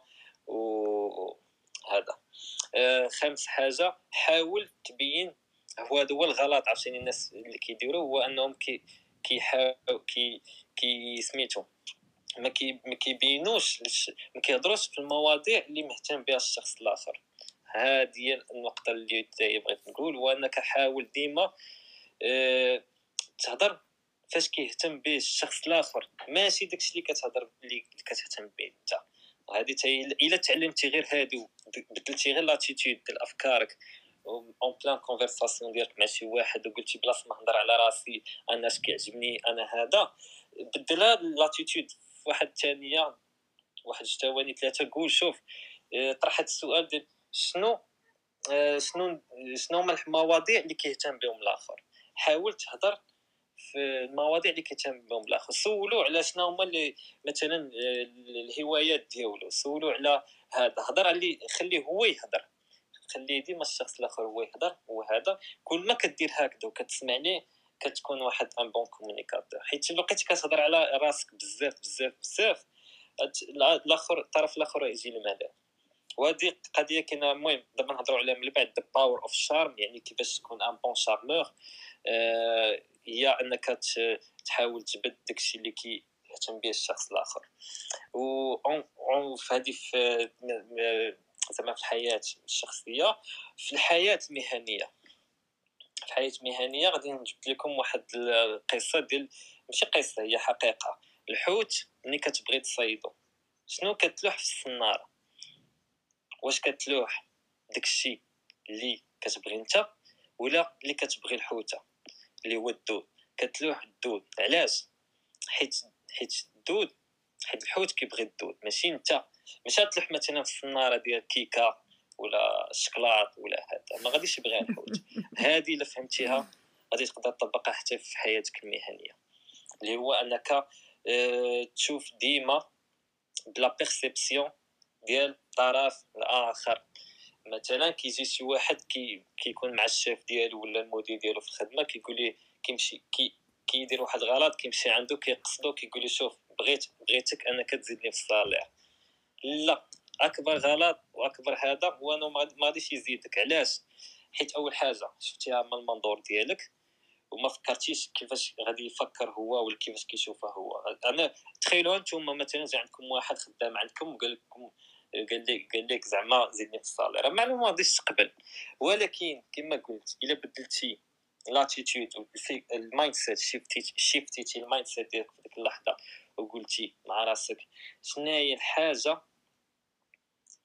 وهذا آه، خامس حاجه، حاول تبين. هو هذا هو الغلط عشان الناس اللي كيديروا، هو انهم كي كيحاول كي كي سميتو ما كي ما كيبينوش، ما كيهضروش في المواضيع اللي مهتم بها الشخص الاخر. هذه هي النقطه اللي بغيت نقول، هو انك حاول ديما أه تهضر فاش كيهتم به الشخص الاخر، ماشي داكشي اللي كتهضر اللي كتهتم به انت. وهذه تاهي الا تعلمتي غير هادو، بدلتي غير لاتيتود ديال افكارك اون بلان كونفرساسيون ديالك مع شي واحد، وقلتي بلاص ما نهضر على راسي انا اش كيعجبني انا هذا، بدلها لاتيتود في واحد الثانيه، واحد الثواني ثلاثه، قول شوف، اه، طرح هاد السؤال ديال شنو اه، شنو شنو هما المواضيع اللي كيهتم بهم الاخر. حاول تهضر في المواضيع اللي كيهتم بهم الاخر. سولو على شنو هما اللي مثلا اه، الهوايات ديالو، سولو على هذا، هضر عليه، خليه هو يهضر، خليه ديما الشخص الاخر هو يهضر. وهذا كل ما كدير هكذا وكتسمع ليه كتكون واحد ان بون كومونيكاتور. حيت الا بقيتي كتهضر على راسك بزاف بزاف بزاف، الاخر الطرف الاخر يجي الملل. وهذه قضيه كاينه. المهم دابا نهضروا عليها من بعد، ذا باور اوف شارم، يعني كيفاش تكون ان بون شارمور. آه هي انك تحاول تبد داكشي اللي كيهتم به الشخص الاخر. و في هذه في زعما في الحياه الشخصيه، في الحياه المهنيه. في الحياه المهنيه غادي نجيب لكم واحد القصه ديال، ماشي قصه، هي حقيقه. الحوت ملي كتبغي تصيدو، شنو كتلوح في الصناره؟ واش كتلوح داكشي اللي كتبغي انت، ولا اللي كتبغي الحوته اللي هو الدود؟ كتلوح الدود. علاش؟ حيت حيت الدود، حيت الحوت كيبغي الدود، ماشي انت. ماشي تلوح مثلا في الصناره ديال كيكه ولا الشكلاط ولا هذا، ما غاديش يبغيها الحوت. هذه الا فهمتيها غادي تقدر تطبقها حتى في حياتك المهنيه، اللي هو انك اه تشوف ديما بلا بيرسيبسيون ديال الطرف الاخر. مثلا كيجي شي واحد كي كيكون مع الشيف ديالو ولا المدير ديالو في الخدمه، كيقول ليه كيمشي كي كيدير واحد الغلط، كيمشي عنده كيقصدو، كيقول له شوف بغيت بغيتك انا كتزيدني في الصالير. لا، اكبر غلط واكبر هذا هو انه ما غاديش يزيدك. علاش؟ حيت اول حاجه شفتيها من المنظور ديالك، وما فكرتيش كيفاش غادي يفكر هو ولا كيفاش كيشوفها هو. انا تخيلوا انتم مثلا جا عندكم واحد خدام عندكم وقال لكم، قال لك قال لك زعما زيدني في الصالير، معلومه ما غاديش تقبل. ولكن كما قلت الا بدلتي لاتيتود المايند سيت، شيفتي شيفتي المايند سيت ديالك في ديك اللحظه، وقلتي مع راسك شنو هي الحاجه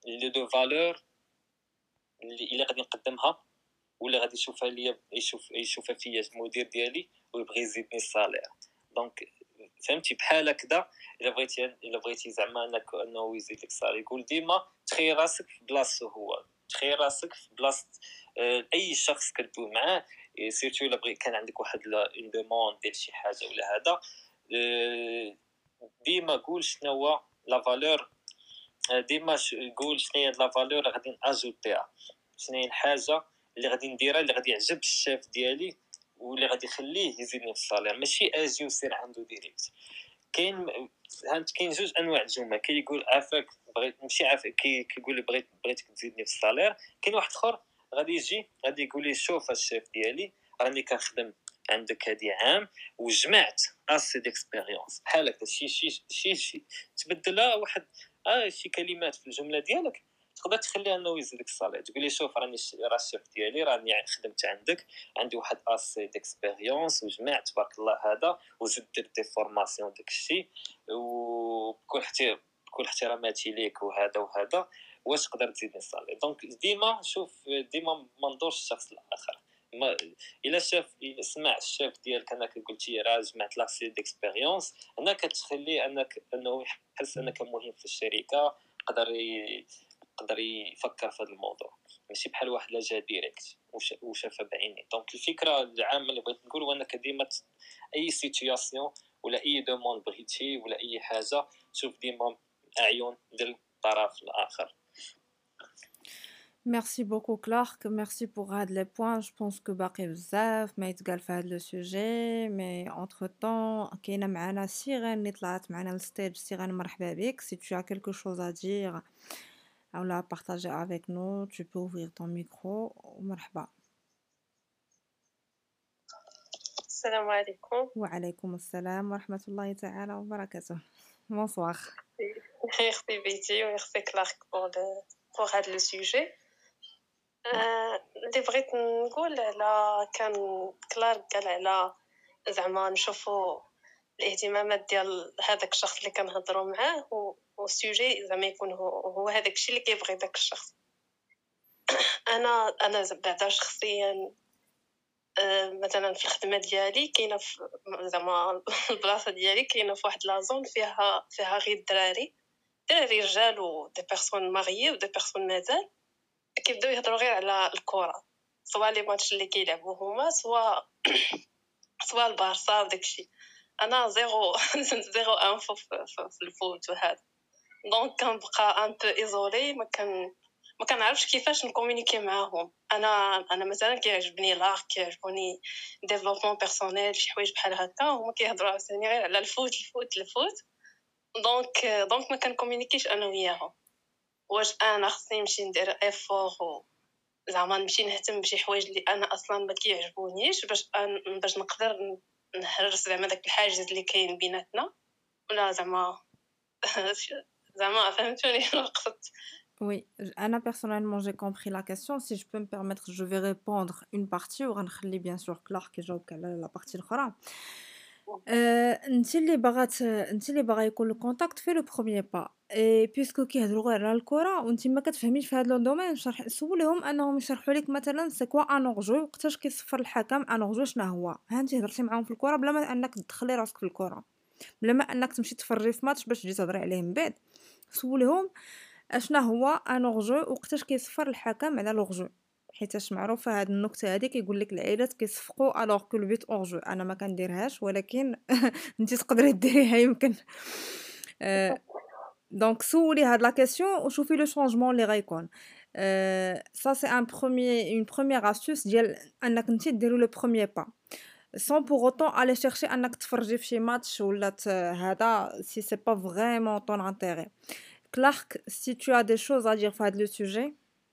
اللي دو فالور اللي الا غادي نقدمها ولا غادي يشوفها ليا يشوف يشوفها فيا المدير ديالي ويبغي يزيدني الصالير. دونك فهمتي بحال هكذا. الا بغيتي الا بغيتي زعما انك انه يزيد لك الصالير يقول ديما تخيل راسك في بلاصتو هو، تخيل راسك في بلاصه آه، اي شخص كدوي معاه سيرتو الا بغي كان عندك واحد اون دوموند ديال شي حاجه ولا هذا آه، ديما قول شنو هو لا فالور، ديما قول شنو هي لا فالور اللي غادي ناجوتيها، شنو هي الحاجه اللي غادي نديرها اللي غادي يعجب الشيف ديالي واللي غادي يخليه يزيدني في الصالير، ماشي اجي وسير عنده ديريكت. كاين هانت كاين جوج انواع الجمل، كاين يقول عافاك بغيت ماشي عافاك كي كيقول بغيت بغيتك تزيدني في الصالير. كاين واحد اخر غادي يجي غادي يقول لي شوف الشيف ديالي راني كنخدم عندك هادي عام وجمعت اسي ديكسبيريونس بحال هكا شي شي شي شي تبدلها واحد اه شي كلمات في الجمله ديالك تقدر تخليها انه يزيدك الصالير. تقول لي شوف راني راه الشيف ديالي راني خدمت عندك عندي واحد اسي ديكسبيريونس وجمعت تبارك الله هذا وزدت درت دي فورماسيون داكشي وبكل احترام بكل احتراماتي ليك وهذا وهذا واش تقدر تزيدني الصالير. دونك ديما شوف ديما ما ندورش الشخص الاخر. ما الا شاف إلا سمع الشيف ديالك انك قلتي راه جمعت لاسي ديكسبيريونس هنا كتخليه انك انه يحس انك مهم في الشركه، يقدر يقدر يفكر في هذا الموضوع ماشي بحال واحد لا جا ديريكت وشافها بعينيه. دونك الفكره العامه اللي بغيت نقول هو انك ديما اي سيتوياسيون ولا اي دوموند بغيتي ولا اي حاجه شوف ديما اعين ديال الطرف الاخر. Merci beaucoup Clark, merci pour هاد les points. Je pense que باقي بزاف ما يتقال في هاد لو سوجي، مي entre temps كاينه معنا سيغان اللي طلعت معنا للستيج. سيغان مرحبا بك. Si tu as quelque chose à dire ou à partager avec nous, tu peux ouvrir ton micro. مرحبا. السلام عليكم. وعليكم السلام ورحمة الله تعالى وبركاته. Bonsoir. Merci Betty, merci Clark pour le pour هاد لو سوجي. اللي بغيت نقول على كان كلارك قال على زعما نشوفوا الاهتمامات ديال هذاك الشخص اللي كنهضروا معاه والسوجي زعما يكون هو هو هذاك الشيء اللي كيبغي داك الشخص. انا انا بعدا شخصيا مثلا في الخدمه ديالي كاينه زعما البلاصه ديالي كاينه في واحد لازون فيها فيها غير الدراري دراري رجال و دي بيرسون ماريي و دي بيرسون مازال كيبداو يهضروا غير على الكره، سواء لي ماتش اللي كيلعبوا هما سواء سواء البارسا وداكشي. انا زيرو زيرو انفو في الفوت وهذا، دونك كنبقى ان بو ايزولي ما كان ما كنعرفش كيفاش نكومونيكي معاهم. انا انا مثلا كيعجبني لاغ كيعجبوني ديفلوبمون بيرسونيل شي حوايج بحال هكا هما كيهضروا عاوتاني غير على الفوت الفوت الفوت دونك دونك ما كنكومونيكيش انا وياهم. واش انا خصني نمشي ندير افور زعما نمشي نهتم بشي حوايج اللي انا اصلا ما كيعجبونيش باش أن... باش نقدر نهرس زعما داك الحاجز اللي كاين بيناتنا ولا زعما زعما فهمتوني قصدت. Oui, Anna, personnellement, j'ai compris la question. Si je peux me permettre, je vais répondre une partie ou غنخلي bien sûr Clark يجاوب على la partie الأخرى. انت اللي بغات انت اللي باغا يكون الكونتاكت في لو بروميير با اي بيسكو كيهضروا غير على الكره وانت ما كتفهميش في هذا لو دومين، شرح سوليهم انهم يشرحوا لك مثلا سي كوا ان اورجو وقتاش كيصفر الحكم ان اورجو شنو هو. ها انت هضرتي معاهم في الكره بلا ما انك تدخلي راسك في الكره، بلا ما انك تمشي تفرجي في ماتش باش تجي تهضري عليه من بعد. سوليهم اشنا هو ان اورجو وقتاش كيصفر الحكم على لورجو، حيتاش معروفه هاد النكته هذه كيقول لك العائلات كيصفقوا الوغ كو البيت اورجو. انا ما كنديرهاش ولكن انت تقدري ديريها يمكن. دونك سولي هاد لا كيسيون وشوفي لو شونجمون اللي غيكون. ça c'est un premier une première astuce ديال انك انت ديري لو بروميير با sans pour autant aller chercher انك تفرجي في شي ماتش ولا هذا si c'est pas vraiment ton intérêt. Clark, si tu as des choses à dire في هاد لو sujet.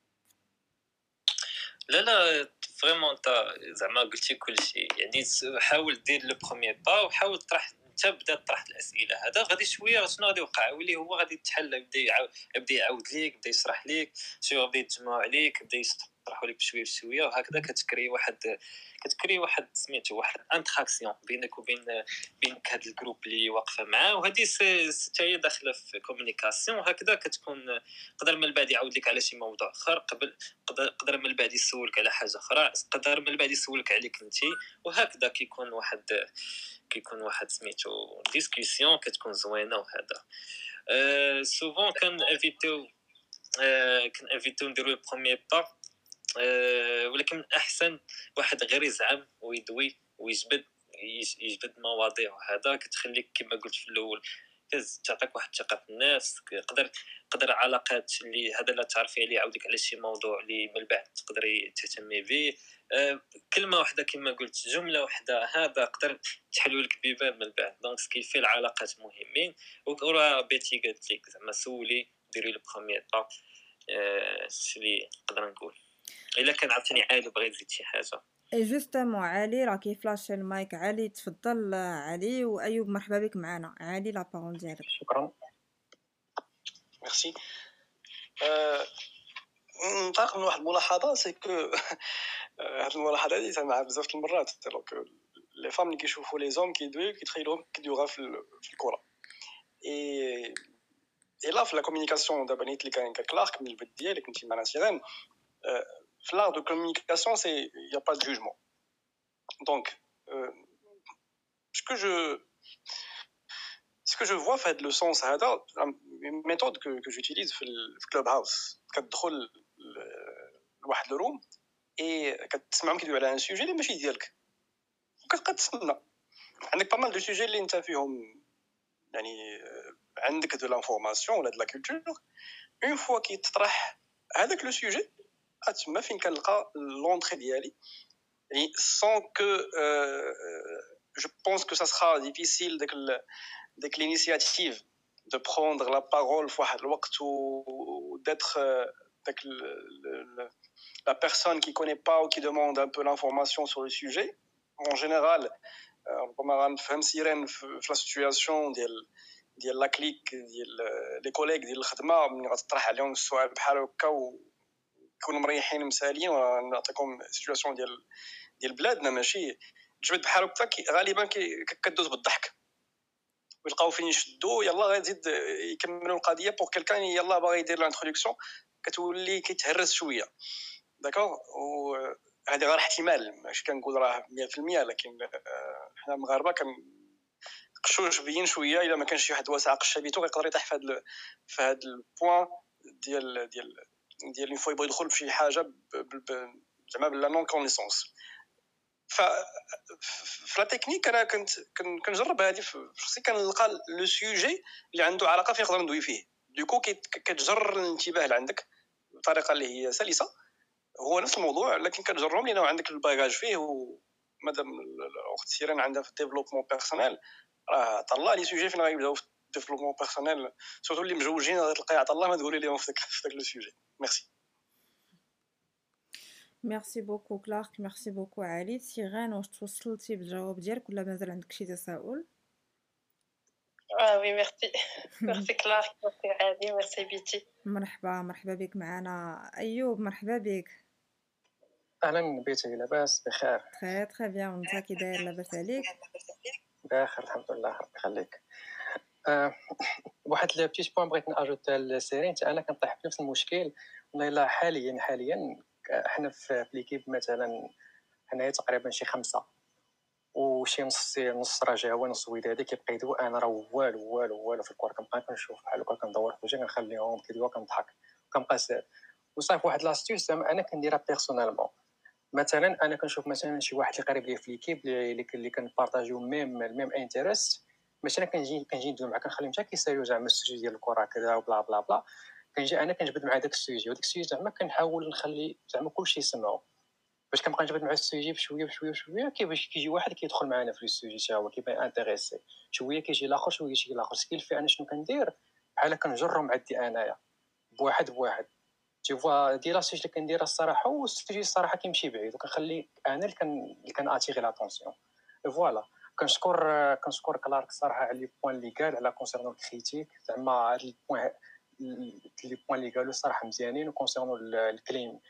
لا لا فريمون انت زعما قلتي كل شيء، يعني حاول دير لو بروميير با وحاول تطرح انت بدا تطرح الاسئله. هذا غادي شويه شنو غادي يوقع واللي هو غادي يتحل، يبدا يعاود يبدا يعاود ليك، يبدا يشرح ليك شنو غادي يتجمع عليك، يبدا كيطرحوا لك بشويه بشويه، وهكذا كتكري واحد كتكري واحد سميتو واحد انتراكسيون بينك وبين بينك هاد الجروب اللي واقفه معاه، وهذه حتى هي داخله في كومونيكاسيون. وهكذا كتكون قدر من بعد يعاود لك على شي موضوع اخر، قبل قدر قدر من بعد يسولك على حاجه اخرى، قدر من بعد يسولك عليك انت، وهكذا كيكون واحد كيكون واحد سميتو ديسكوسيون كتكون زوينه. وهذا أه سوفون كان انفيتو أه كان انفيتو نديرو لو بروميير با، أه ولكن من احسن واحد غير يزعم ويدوي ويجبد يجبد مواضيع، وهذا كتخليك كما قلت في الاول تعطيك واحد الثقه في النفس. قدر قدر علاقات اللي هذا لا تعرفي عليه يعاودك على شي موضوع اللي من بعد تقدري تهتمي به. أه كلمه واحده كما قلت، جمله واحده، هذا قدر تحلوا لك بيبان من بعد. دونك سكيفي العلاقات مهمين. وراه بيتي قالت لك زعما سولي ديري لو بروميير با. أه اللي نقدر نقول. الا كان عاوتاني عاد بغيت تزيد شي حاجه. اي جوستومون علي راه كيفلاشي المايك. علي تفضل علي، وايوب مرحبا بك معنا. علي لا بارول ديالك. شكرا ميرسي. ننطلق من واحد الملاحظه، سي كو هاد الملاحظه هادي سمعها بزاف المرات. دونك لي فام اللي كيشوفوا لي زوم كيدويو كيتخيلوهم كيدويو في في الكره. اي اي لا في لا كومونيكاسيون دابا نيت اللي كان كلارك من البدايه ديالك كنتي معنا سيرين. في l'art de communication c'est il y a pas de jugement. Donc euh, ce que je ce que je vois fait le sens هذا une méthode que que j'utilise في في Clubhouse. كتدخل لواحد الروم اي كتسمعهم كيدويو على ان سوجي اللي ماشي ديالك، وكتبقى تسنى. عندك با مال دو سوجي اللي انت فيهم يعني عندك دو لانفورماسيون ولا دو لا كولتور. اون فوا كيتطرح هذاك لو سوجي تما فين كنلقى لونطري ديالي، يعني sans que euh, je pense que ça sera difficile dès que dès que l'initiative de prendre la parole في واحد الوقت ou d'être dès que la personne qui connaît pas ou qui demande un peu l'information sur le sujet. En général ربما غنفهم سيرين في لا سيتوياسيون ديال ديال لا كليك ديال لي كوليك ديال الخدمه، ملي غتطرح عليهم السؤال بحال هكا ويكونوا مريحين مسالين. ونعطيكم سيتوياسيون ديال ديال بلادنا ماشي تجبد بحال هكا غالبا كدوز بالضحك ويلقاو فين يشدوا يلا غيزيد يكملوا القضيه بور كلكان يلا باغي يدير لانتروداكسيون كتولي كيتهرس شويه. داكوغ وهذه غير احتمال ماشي كنقول راه مية في المية، لكن حنا المغاربه كنقشوش بين شويه الا ما كانش شي واحد واسع قشه بيتو يقدر يطيح في هذا في هذا البوين ديال ديال ديال اللي فوا يبغي يدخل في شي حاجه زعما بلا نون كونيسونس. ف في لا تكنيك انا كنت كنجرب هذه في شخصي كنلقى لو سوجي اللي عنده علاقه فين نقدر ندوي فيه. دوكو كتجر الانتباه اللي عندك بطريقه اللي هي سلسه. هو نفس الموضوع لكن كتجرهم لينا عندك الباغاج فيه. ومادام الاخت سيرين عندها في الديفلوبمون بيرسونيل راه طلع لي سوجي فين غيبداو في الديفلوبمون بيرسونيل سورتو اللي مجوجين غتلقى عطا الله ما تقولي لهم في داك لو سوجي. ميرسي. ميرسي بوكو كلارك. ميرسي بوكو علي. سيرين واش توصلتي بالجواب ديالك ولا مازال عندك شي تساؤل؟ اه وي ميرسي ميرسي كلارك ميرسي علي ميرسي بيتي. مرحبا مرحبا بك معنا. ايوب مرحبا بك. اهلا بيتي، لاباس بخير؟ تري تري بيان. وانت كي داير؟ لاباس عليك؟ بخير الحمد لله ربي يخليك. أه واحد لي بيتي بوين بغيت ناجوتها لسيرين. انا كنطيح في نفس المشكل والله. الا حاليا حاليا احنا في ليكيب مثلا حنايا تقريبا شي خمسه وشي نص نص رجاوي نص ودادي كيبقى يدوي. انا راه والو والو والو في الكور كنبقى كنشوف بحال هكا كندور في وجهي كنخليهم كيدويو كنضحك كنبقى سير. وصافي واحد لاستيوس انا كنديرها بيرسونيلمون. مثلا انا كنشوف مثلا شي واحد اللي قريب ليا في ليكيب اللي اللي كنبارطاجيو ميم ميم انتريست، مثلا كنجي كنجي ندوي معاه كنخليهم حتى كيساليو زعما السوجي ديال الكره كذا وبلا بلا بلا. كنجي انا كنجبد مع داك السوجي وداك السوجي زعما كنحاول نخلي زعما كلشي يسمعو باش كنبقى نجبد مع السوجي بشويه بشويه بشويه. كيفاش كيجي واحد كيدخل معنا في السوجي حتى هو كيبان انتريسي شويه، كيجي الاخر شويه يجي الاخر. سكيل في انا شنو كندير بحال كنجرهم عندي انايا بواحد بواحد. تي فوا ديال السوجي اللي كنديرها الصراحه والسوجي الصراحه كيمشي بعيد وكنخلي انا اللي كان اللي كان اتيغي لاتونسيون. فوالا كنشكر كنشكر كلارك الصراحه على لي بوين اللي قال على كونسيرنو الكريتيك. زعما هاد لي بوين لي بوين اللي قالوا الصراحه مزيانين. وكونسيرنو الكليم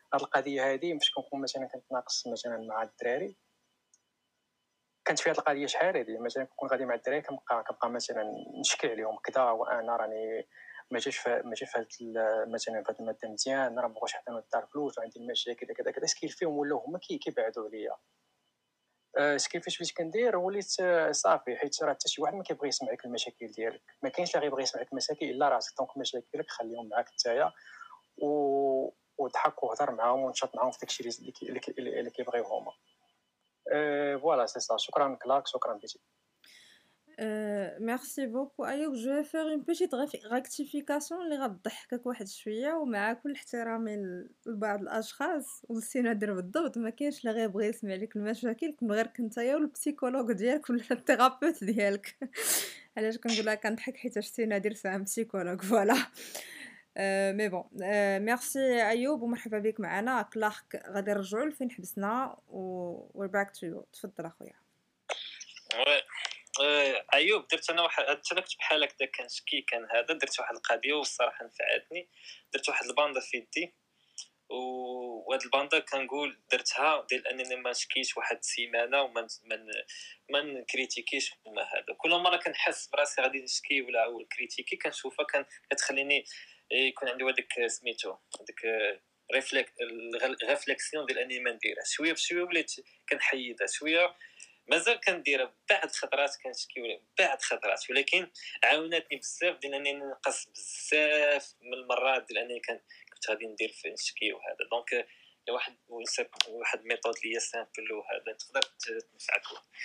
هاد القضيه هذه فاش كنكون مثلا كنتناقش مثلا مع الدراري، كانت في هاد القضيه شحال هادي مثلا كنكون غادي مع الدراري كنبقى كنبقى مثلا نشكي عليهم كذا، وانا راني ما جاش ما جا في مثلا في هاد الماده مزيان، راه مابغاش حتى ندار فلوس وعندي المشاكل كذا كذا، سكيل فيهم ولاو هما كيبعدوا عليا. اش كيفاش بديت كندير وليت صافي، حيت راه حتى شي واحد ما كيبغي يسمعك المشاكل ديالك، ما كاينش اللي غيبغي يسمعك المشاكل الا راسك. دونك مشاكلك خليهم معاك نتايا و وضحك وهضر معاهم ونشاط معاهم في داكشي اللي اللي اللي كيبغيو هما. أه فوالا سي سا. شكرا كلاك، شكرا بيتي. Euh, merci beaucoup أيوب. je vais faire une petite rectification اللي غتضحكك واحد شويه، ومع كل احترامي لبعض الاشخاص ونسي نهضر بالضبط، ما كاينش اللي غيبغي يسمع لك المشاكل كون غير كنتايا والبسيكولوج ديالك ولا الثيرابيوت ديالك. علاش كنقول لها كنضحك حيت شتي نادر سام بسيكولوج فوالا. أه مي بون أه ميرسي ايوب ومرحبا بك معنا. كلارك غادي نرجعوا لفين حبسنا و باك تو يو. تفضل اخويا. وي آه، ايوب درت انا واحد حتى انا كنت بحال هكذا كنشكي كان هذا، درت واحد القضيه والصراحه نفعتني. درت واحد الباندا في يدي وهاد الباندا كنقول درتها ديال انني ما نشكيش واحد السيمانه وما من ما نكريتيكيش وما هذا. كل مره كنحس براسي غادي نشكي ولا او كريتيكي كنشوفها كان كتخليني يكون عندي هذاك سميتو هذاك ريفليك ريفليكسيون ديال اني ما نديرها. شويه بشويه وليت كنحيدها شويه، مازال كنديرها بعد خطرات كنشكي ولا بعد خطرات، ولكن عاوناتني بزاف ديال انني نقص بزاف من المرات ديال انني كان كنت غادي ندير في نشكي وهذا. دونك واحد واحد ميثود ليا سامبل وهذا تقدر تنفعك.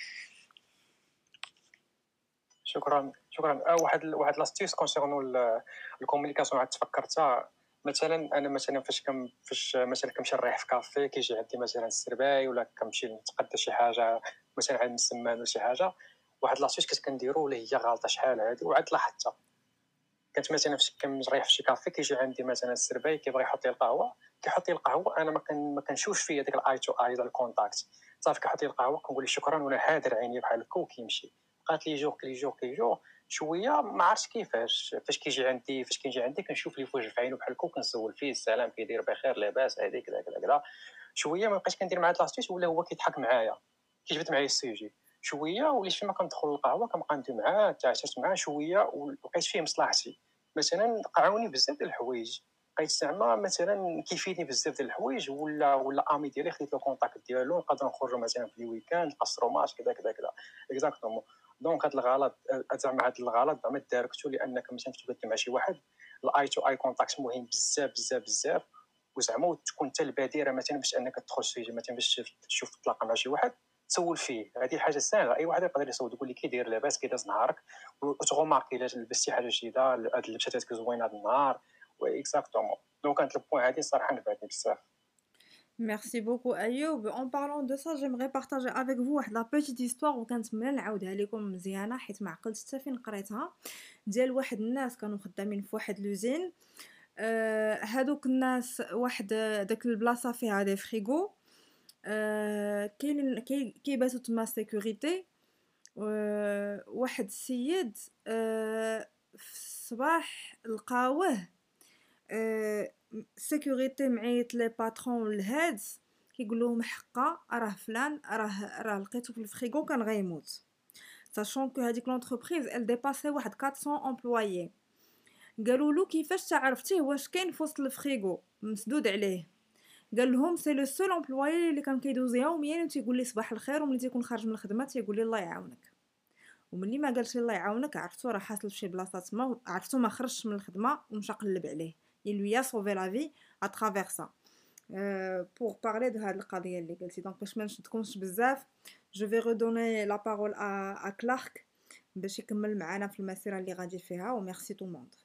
شكرا شكرا. أه واحد واحد لاستيس كونسيرنو الكومونيكاسيون عاد تفكرتها. مثلا انا مثلا فاش كم فاش مثلا كنمشي نريح في كافي كيجي عندي مثلا السرباي، ولا كنمشي نتقدى شي حاجه مثلا عند السمان ولا شي حاجه، واحد لاستيس كنت كنديرو اللي هي غالطه شحال هادي وعاد لاحظتها. كنت مثلا فاش كنريح في شي كافي كيجي عندي مثلا السرباي كيبغي يحط لي القهوه، كيحط لي القهوه انا ما كان ما كنشوفش فيا ديك الاي تو اي ديال الكونتاكت. صافي كيحط لي القهوه كنقول له شكرا وانا حاضر عيني بحال هكا وكيمشي. بقات لي جوغ كلي جوغ كلي جوغ شويه ما عرفتش كيفاش. فاش كيجي عندي فاش كيجي عندي كنشوف لي فوج في عينو بحال هكا وكنسول فيه السلام كيدير بخير لاباس هذيك كذا كذا كذا. شويه ما بقيتش كندير مع هاد لاستيس ولا هو كيضحك معايا كيجبد معايا السوجي. شويه وليت فيما كندخل للقهوه كنبقى ندوي معاه تعاشرت معاه شويه ولقيت فيه مصلحتي. مثلا قعاوني بزاف ديال الحوايج، بقيت زعما مثلا كيفيدني بزاف ديال الحوايج، ولا ولا امي ديالي خديت له كونتاكت ديالو نقدروا نخرجوا مثلا في لي ويكاند نقصروا ماتش كذا كذا كذا اكزاكتومون. دونك هذا الغلط زعما هذا الغلط زعما داركتو لانك مثلا تبدل مع شي واحد الاي تو اي كونتاكت مهم بزاف بزاف بزاف. وزعما تكون انت البادره مثلا باش انك تدخل شي مثلا باش تشوف تلاقى مع شي واحد تسول فيه. هذه حاجه سهله اي واحد يقدر يسول يقول لك كي داير لاباس كي داز نهارك وتغوماركي الا لبستي حاجه جديده هاد لبساتك زوينه هاد النهار و اكزاكتومون. دونك كانت البوين هذه صراحه نفعتني بزاف. Merci beaucoup Ayoub. En parlant de ça, j'aimerais partager avec vous واحد la petite histoire وكنتمنى نعاودها لكم مزيانه حيت ما عقلتش حتى فين قريتها، ديال واحد الناس كانوا خدامين في واحد لوزين. آه هادوك الناس واحد داك البلاصه فيها دي فريغو. آه كاين كي كيباتوا تما سيكوريتي. آه واحد السيد آه في الصباح لقاوه آه سيكوريتي معيط لي باترون الهاد كيقول لهم حقا راه فلان راه راه لقيتو في الفريغو كان غيموت. ساشون كو هذيك لونتربريز ال ديباسي واحد أربعمية امبلويي. قالوا له كيفاش تعرفتيه واش كاين في وسط الفريغو مسدود عليه؟ قال لهم سي لو سول امبلويي اللي كان كيدوز يوميا وتيقول لي صباح الخير، وملي تيكون خارج من الخدمه تيقول لي الله يعاونك. وملي ما قالش الله يعاونك عرفتو راه حاصل في شي بلاصه تما، عرفتو ما خرجش من الخدمه ومشى قلب عليه. il lui a sauvé la vie à travers ça. euh, pour parler de هاد القضيه اللي قلتي دونك باش ما نشدكمش بزاف je vais redonner la parole à à Clark باش يكمل معنا في المسيره اللي غادي فيها. وميرسي تو موند.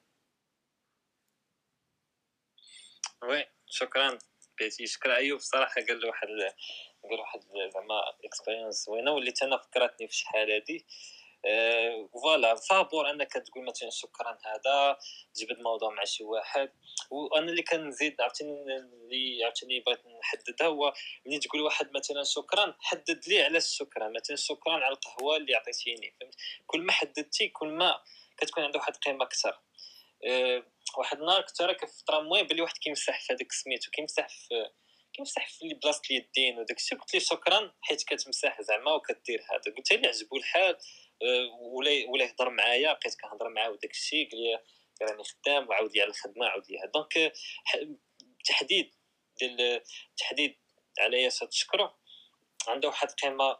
وي شكرا بيتي. شكرا ايوب صراحه قال له واحد قال واحد زعما اكسبيرينس زوينه واللي انا فكرتني في شحال هادي. أه فوالا فابور انك تقول مثلا شكرا هذا جبد موضوع مع شي واحد. وانا اللي كنزيد عرفتني اللي عرفتني بغيت نحددها هو ملي تقول واحد مثلا شكرا حدد لي علاش شكرا. مثلا شكرا على القهوه اللي عطيتيني، فهمت؟ كل ما حددتي كل ما كتكون عنده واحد القيمه اكثر. أه واحد النهار كنت راك في الترامواي بلي واحد كيمسح في هذاك سميتو كيمسح في كيمسح في لي بلاصه اليدين وداكشي. قلت ليه شكرا حيت كتمسح زعما وكدير هذا. قلت لي عجبو الحال آه، ولا ولا يهضر معايا، بقيت كنهضر معاه وداكشي. قال لي راني خدام وعاود لي على الخدمه عاود لي هذا. دونك آه، ح- تحديد ديال التحديد على ياس تشكرو عنده واحد القيمه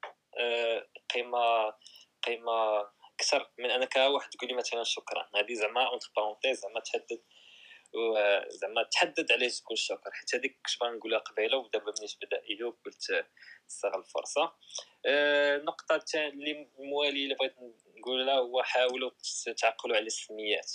آه، قيمه قيمه اكثر من انك واحد تقول لي مثلا شكرا. هذه زعما اونتر بارونتيز زعما تحدد وزعما تحدد علاش تقول شكر، حيت هذيك كنت باغي نقولها قبيله ودابا ملي بدا ايوب قلت نستغل الفرصه. آه، النقطه الثانيه اللي المواليه اللي بغيت نقولها هو حاولوا تعقلوا على السميات.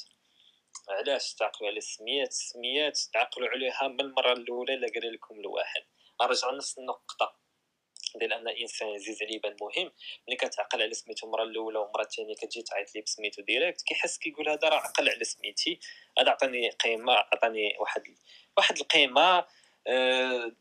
علاش تعقلوا على السميات؟ السميات تعقلوا عليها من المره الاولى الا قال لكم الواحد. نرجع نفس النقطه ديال ان الانسان عزيز عليه يبان مهم. ملي كتعقل على سميتو المره الاولى والمره الثانيه كتجي تعيط ليه بسميتو ديريكت، كيحس كيقول هذا راه عقل على سميتي، هذا عطاني قيمه، عطاني واحد واحد القيمه. أه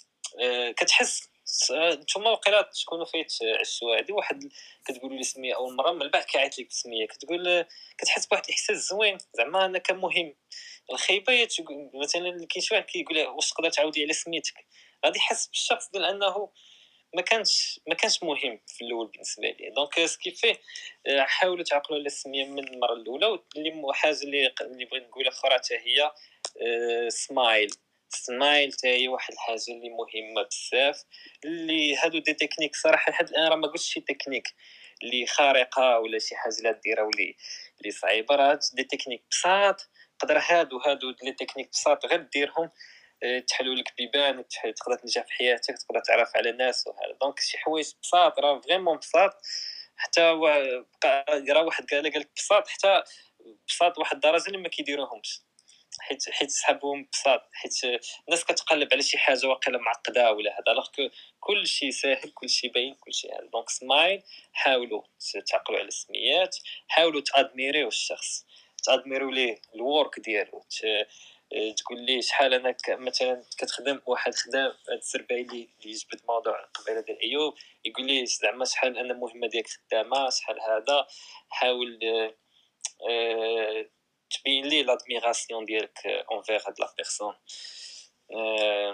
أه كتحس نتوما وقيلا تكونوا فايت عشتوا هذه واحد كتقولوا لي سميه اول مره من بعد كيعيط لك بسميه، كتقول كتحس بواحد الاحساس زوين زعما انا كان مهم. الخيبه هي مثلا كاين شي واحد كيقول واش تقدر تعاودي على سميتك، غادي يحس بالشخص ديال انه ما كانش ما كانش مهم في الاول بالنسبه لي. دونك سكيفي حاولوا تعقلوا على السميه من المره الاولى. واللي حاجه اللي اللي بغيت نقولها اخرى حتى هي سمايل. سمايل حتى هي واحد الحاجه اللي مهمه بزاف. اللي هادو دي تكنيك صراحه لحد الان راه ما قلتش شي تكنيك اللي خارقه ولا شي حاجه لا ديرها ولي اللي صعيبه، راه دي تكنيك بساط. قدر هادو هادو لي تكنيك بساط غير ديرهم تحلوا لك بيبان، تقدر تنجح في حياتك، تقدر تعرف على ناس وهذا. دونك شي حوايج بساط راه فريمون بساط. حتى بقى راه واحد قال لك بساط حتى بساط واحد الدرجه اللي ما كيديروهمش، حيت حيت سحبهم بساط. حيت الناس كتقلب على شي حاجه واقيلا معقده ولا هذا، الوغ كل شيء ساهل، كل شيء باين، كل شيء هذا. دونك سمايل. حاولوا تعقلوا على السميات، حاولوا تادميريو الشخص، تادميرو ليه الورك ديالو، تقول لي شحال انا مثلا كتخدم واحد خدام. هاد السربعي اللي يجبد موضوع قبيله ديال ايوب يقول لي زعما شحال انا مهمه ديالك خدامه شحال هذا. حاول أه تبين لي لادميراسيون ديالك اونفير هاد لا بيرسون. أه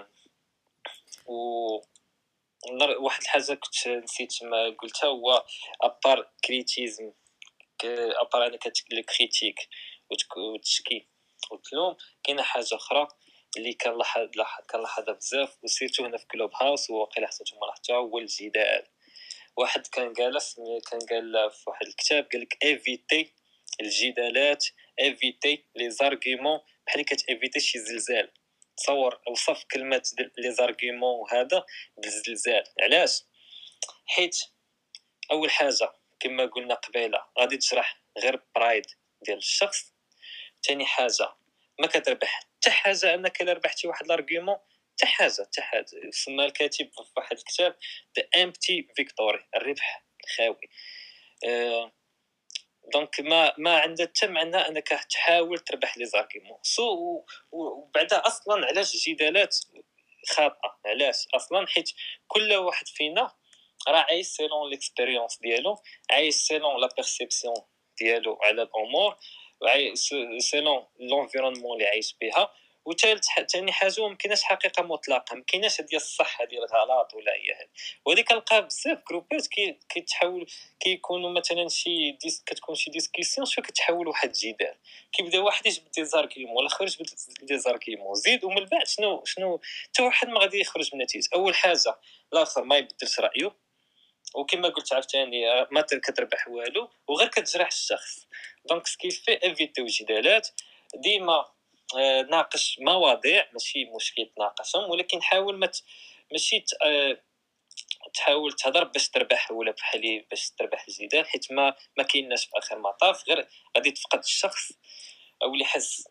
و واحد الحاجه كنت نسيت ما قلتها هو ابار كريتيزم. ابار انا كتقول كريتيك وتشكي وتلوم، كاينه حاجه اخرى اللي كنلاحظ كنلاحظها بزاف وسيرتو هنا في كلوب هاوس وواقيلا حتى نتوما لاحظتوها، هو الجدال. واحد كان جالس كان قال في واحد الكتاب قال لك ايفيتي الجدالات، ايفيتي لي زارغيومون بحال كتايفيتي شي زلزال. تصور وصف كلمه لي زارغيومون وهذا بالزلزال. علاش؟ حيت اول حاجه كما قلنا قبيله غادي تجرح غير برايد ديال الشخص. ثاني حاجه ما كتربح حتى حاجه انك الا ربحتي واحد الارغيومون حتى حاجه حتى حاجه. سمى الكاتب في واحد الكتاب ذا امبتي فيكتوري، الربح الخاوي. أه دونك ما ما عندها حتى معنى انك تحاول تربح لي زارغيومون سو. وبعدا اصلا علاش الجدالات خاطئه؟ علاش اصلا؟ حيت كل واحد فينا راه عايش سيلون ليكسبيريونس ديالو، عايش سيلون لا بيرسيبسيون ديالو على الامور، عايش سيلون لونفيرونمون اللي عايش بها. وثالث ثاني حاجه ما كايناش حقيقه مطلقه، ما كايناش ديال الصح ديال الغلط ولا هي هذه. وهذه كنلقى بزاف جروبات كي كيتحول كيكونوا مثلا شي ديس كتكون شي ديسكسيون شو كتحول واحد الجدال، كيبدا واحد يجبد دي زاركيمون والاخر يجبد دي زاركيمون زيد، ومن بعد شنو شنو حتى واحد ما غادي يخرج من نتيجه. اول حاجه الاخر ما يبدلش رايه، وكما قلت عاوتاني ما كتربح والو وغير كتجرح الشخص. دونك سكيفي ايفيتيو الجدالات ديما. آه ناقش مواضيع ماشي مشكل تناقشهم، ولكن حاول ما ماشي آه تحاول تهضر باش تربح ولا بحالي باش تربح الجدال، حيت ما ما كايناش في اخر المطاف غير غادي تفقد الشخص او اللي يحس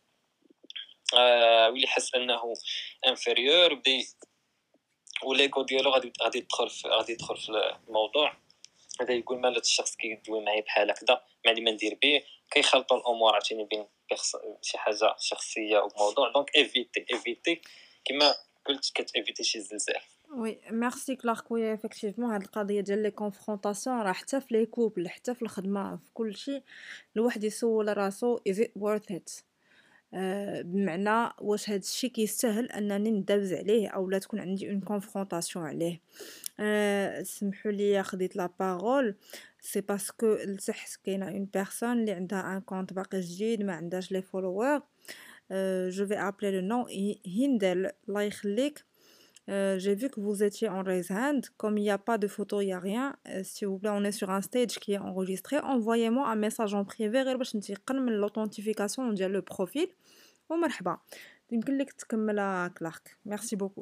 آه واللي يحس انه انفيريور بدي وليغو ديالو غادي غادي يدخل في غادي يدخل في الموضوع. هذا يقول مالات الشخص كيدوي معايا بحال هكذا ما عندي ما ندير به، كيخلطوا الامور عاوتاني بين شي حاجه شخصيه وموضوع. دونك ايفيتي ايفيتي كما قلت كتايفيتي شي زلزال. وي ميرسي كلارك. خويا افكتيفمون هاد القضيه ديال لي كونفرونطاسيون راه حتى في لي كوبل حتى في الخدمه في كل شيء الواحد يسول راسو is it worth it. آآ بمعنى واش هاد الشي كيستاهل أنني ندابز عليه أولا تكون عندي une confrontation عليه. آآ سمحوا لي خديت la parole c'est parce que لتحت كاينة une personne اللي عندها un compte باقي جديد ما عندهاش les followers. Heu, je vais appeler le nom Hi Hindel, الله يخليك. Heu, j'ai vu que vous étiez en raise hand. Comme il y a pas de photo, il y a rien, heu, s'il vous plaît, on est sur un stage qui est enregistré. Envoyez-moi un message en privé غير باش نتيقن من l'authentification ديال le profil ومرحبا. يمكن لك تكمّل كلاك. Merci beaucoup.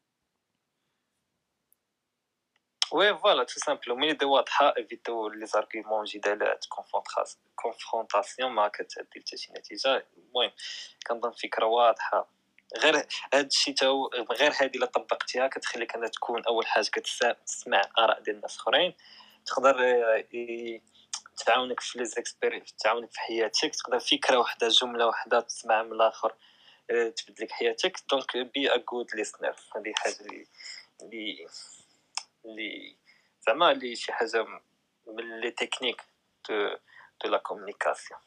وي فوالا تو سامبلومون ايدي واضحه ايفيتو لي زارغيومون جدالات كونفرونطاسيون ما كتعدي حتى شي نتيجه. المهم كنظن فكره واضحه. غير هاد الشيء تا هو غير هذه الا طبقتيها كتخليك انها تكون اول حاجه كتسمع اراء ديال الناس اخرين، تقدر ي- تعاونك في لي زيكسبيرينس، تعاونك في حياتك، تقدر فكره واحده جمله واحده تسمع من الاخر آه، تبدل لك حياتك. دونك بي ا جود ليسنر، هذه حاجه اللي اللي اللي زعما اللي شي حاجه من لي تكنيك دو دو لا كومونيكاسيون.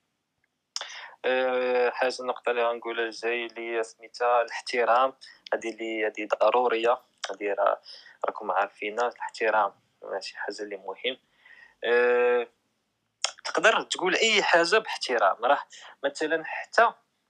أه حاجه النقطه اللي غنقولها الجاي اللي هي سميتها الاحترام. هذه اللي هذه ضروريه، هذه راه راكم عارفينها. الاحترام شي حاجه اللي مهم. أه تقدر تقول اي حاجه باحترام. راه مثلا حتى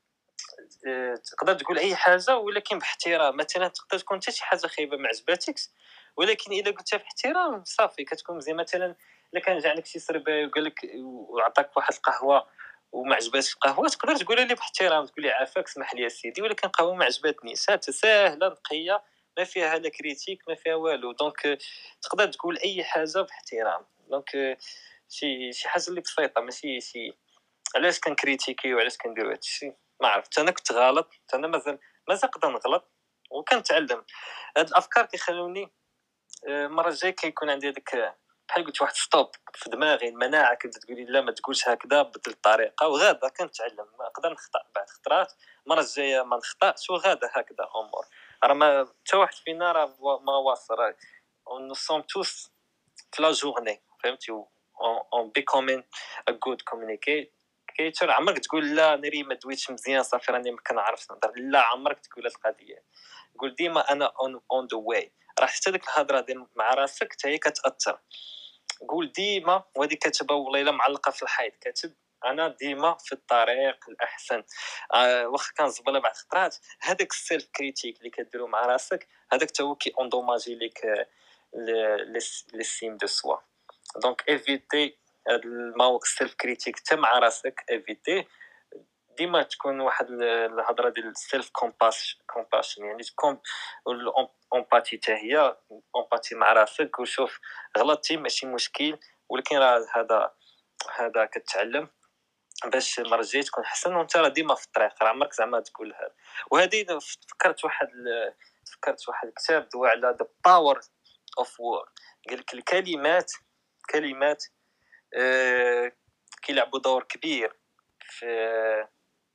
أه تقدر تقول اي حاجه ولكن باحترام. مثلا تقدر تكون حتى شي حاجه خايبه ما عجباتكش، ولكن الا قلتها باحترام صافي كتكون مزيان. مثلا الا كان جا عندك شي سرباي وقال لك وعطاك واحد القهوه وما عجباتش القهوه، تقدر تقولها ليه باحترام، تقول لي عافاك اسمح لي سيدي ولكن القهوه ما عجبتنيش. هات ساهله نقيه ما فيها لا كريتيك ما فيها والو. دونك تقدر تقول اي حاجه باحترام. دونك شي شي حاجه اللي بسيطه، ماشي شي علاش كنكريتيكي وعلاش كنديروا هادشي ما عرفت. انا كنت غلط، انا مازال مازال نقدر نغلط وكنتعلم. هاد الافكار كيخلوني آه، المره الجايه كيكون عندي هذاك بحال قلت واحد ستوب في دماغي، المناعه كنت تقولي لا ما تقولش هكذا، بدل الطريقه وغادا كنتعلم. نقدر نخطا بعد خطرات، المره الجايه ما نخطاش وغادا هكذا امور. راه ما حتى واحد فينا راه ما واصل، راه نو سوم توس في لا جورني فهمتي. اون بيكومين ا جود كومونيكيتور. عمرك تقول لا ناري ما دويتش مزيان صافي راني ما كنعرفش نهضر، لا عمرك تقول هاد القضيه. قول ديما انا اون اون ذا واي. راه حتى ديك الهضره ديال مع راسك حتى هي كتاثر. قول ديما، وهذه كاتبه والله الا معلقه في الحيط، كاتب انا ديما في الطريق الاحسن. آه واخا كنزبله بعض الخطرات، هذاك السيلف كريتيك اللي كديرو مع راسك هذاك حتى هو كي اوندوماجي ليك لي سيم دو سوا. دونك ايفيتي هاد الموقف السيلف كريتيك حتى مع راسك، ايفيتي ديما تكون واحد الهضره ديال السيلف كومباشن، يعني تكون الامباتي حتى هي امباتي مع راسك. وشوف غلطتي ماشي مشكل، ولكن راه هذا هذا كتعلم باش المره الجايه تكون احسن. وانت راه ديما في الطريق، راه عمرك زعما تقول هذا. وهذه فكرت واحد فكرت واحد الكتاب دوا على ذا باور اوف وورد. قال لك الكلمات كلمات آه كيلعبوا دور كبير في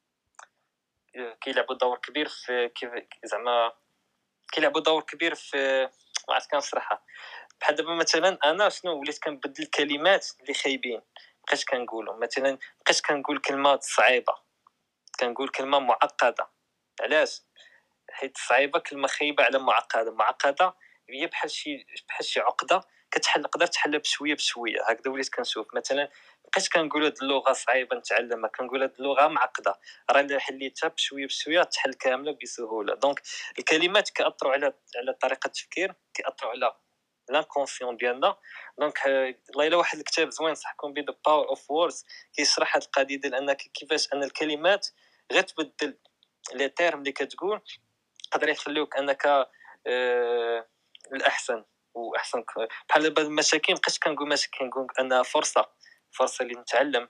كيلعبوا دور كبير في كيف زعما كيلعبوا دور كبير في ما عرفت كنشرحها. بحال دابا مثلا انا شنو وليت كنبدل الكلمات اللي خايبين، بقيت كنقولهم. مثلا بقيت كنقول كلمه صعيبه، كنقول كلمه معقده. علاش؟ حيت صعيبه كلمه خايبه على معقده. معقده هي بحال شي بحال شي عقده كتحل، نقدر تحلها بشويه بشويه. هكذا وليت كنشوف. مثلا بقيت كنقول هاد اللغه صعيبه نتعلمها، كنقول هاد اللغه معقده، راه الا حليتها بشويه بشويه تحل كامله بسهوله. دونك الكلمات كيأثروا على على طريقه التفكير، كيأثروا على لانكونسيون ديالنا. دونك والله الا واحد الكتاب زوين نصحكم به، ذا باور اوف ووردز، كيشرح هاد القضيه ديال انك كيفاش ان الكلمات غير تبدل لي تيرم اللي كتقول قادر يخليوك انك آه الاحسن واحسن. بحال دابا المساكين بقيت كنقول مساكين، كنقول انها فرصه فرصه اللي نتعلم.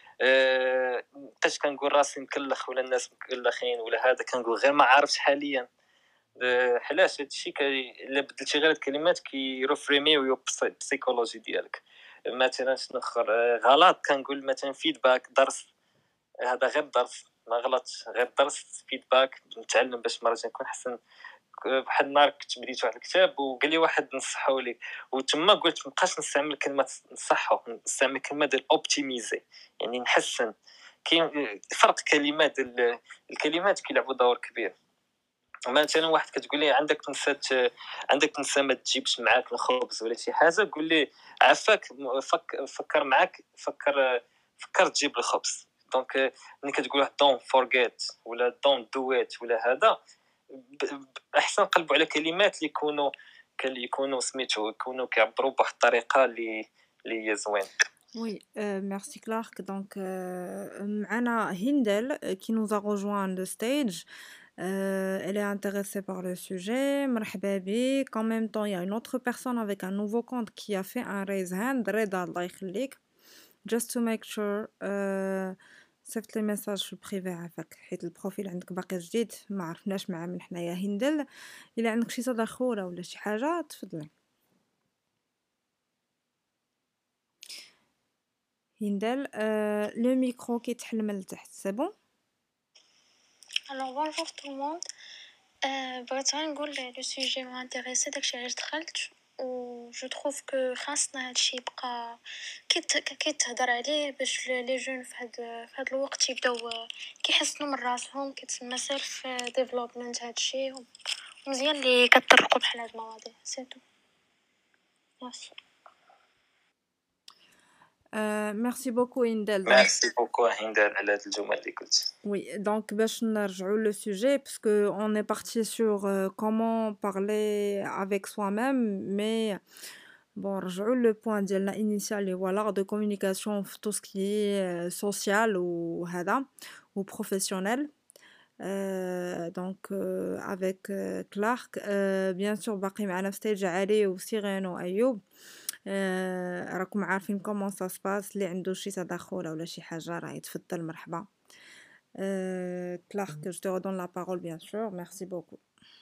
أه بقيت كنقول راسي مكلخ ولا الناس مكلخين ولا هذا، كنقول غير ما عارفش حاليا. أه علاش هادشي كي الا بدلتي غير الكلمات كيرفريميو البسيكولوجي ديالك. مثلا شنو اخر أه غلط كنقول مثلا فيدباك، درس. هذا غير درس ما غلطش، غير درس فيدباك نتعلم باش مرة نكون احسن. بحال النهار كنت بديت واحد الكتاب وقال لي واحد نصحو لي، وتما قلت مابقاش نستعمل كلمه نصحو، نستعمل كلمه ديال اوبتيميزي، يعني نحسن. كاين فرق كلمات. الكلمات كيلعبوا دور كبير. مثلا واحد كتقول لي عندك نسات عندك نسا ما تجيبش معاك الخبز ولا شي حاجه، قول لي عافاك فك فكر معاك فكر فكر تجيب الخبز. دونك ملي كتقول دون فورغيت ولا دون دويت ولا هذا، احسن نقلبوا على كلمات اللي يكونوا يكونوا سميتو يكونوا كيعبروا بواحد الطريقه اللي اللي هي زوين. Oui, euh, merci Clark. Donc, euh, معنا Hindel euh, qui nous a rejoint on the stage. Euh, elle est intéressée par le sujet. مرحبا بك. En même temps, il y a une autre personne avec un nouveau compte qui a fait un raise hand. رضا الله يخليك. Just to make sure. Euh, صيفط لي ميساج في البريفي عافاك حيت البروفيل عندك باقي جديد ما عرفناش معاه من حنايا هندل. الا عندك شي تدخل ولا شي حاجه تفضلي هندل. euh, le micro كيتحل من التحت سي بون. Alors bonjour tout le monde. Euh, بغيت غير نقول لو سوجي مو انتريسي داكشي علاش دخلت، و جو تروف كو خاصنا هادشي يبقى كيت كيتهضر عليه باش لي جون في هاد في هاد الوقت يبداو كيحسنوا من راسهم، كيتسمى سيلف ديفلوبمنت هادشي، ومزيان اللي كتطرقوا بحال هاد المواضيع. سي تو ميرسي. Euh, merci beaucoup Hindel. Donc, ميرسي بوكو هندال على هاد الجمل اللي قلت. oui, donc باش نرجعوا le sujet parce que on est parti sur euh, comment parler avec soi-même, mais bon, نرجعوا le point ديالنا initial اللي هو l'art de communication في tout ce qui est euh, social ou هذا ou professionnel. Euh, donc euh, avec euh, Clark euh, bien sûr باقي معنا في ستيج علي وسيرين وايوب. آه، راكم عارفين كومون سا سباس. اللي عنده شي تدخل ولا شي حاجه راه يتفضل مرحبا. euh, Clark, je te redonne la parole bien sûr. Merci beaucoup.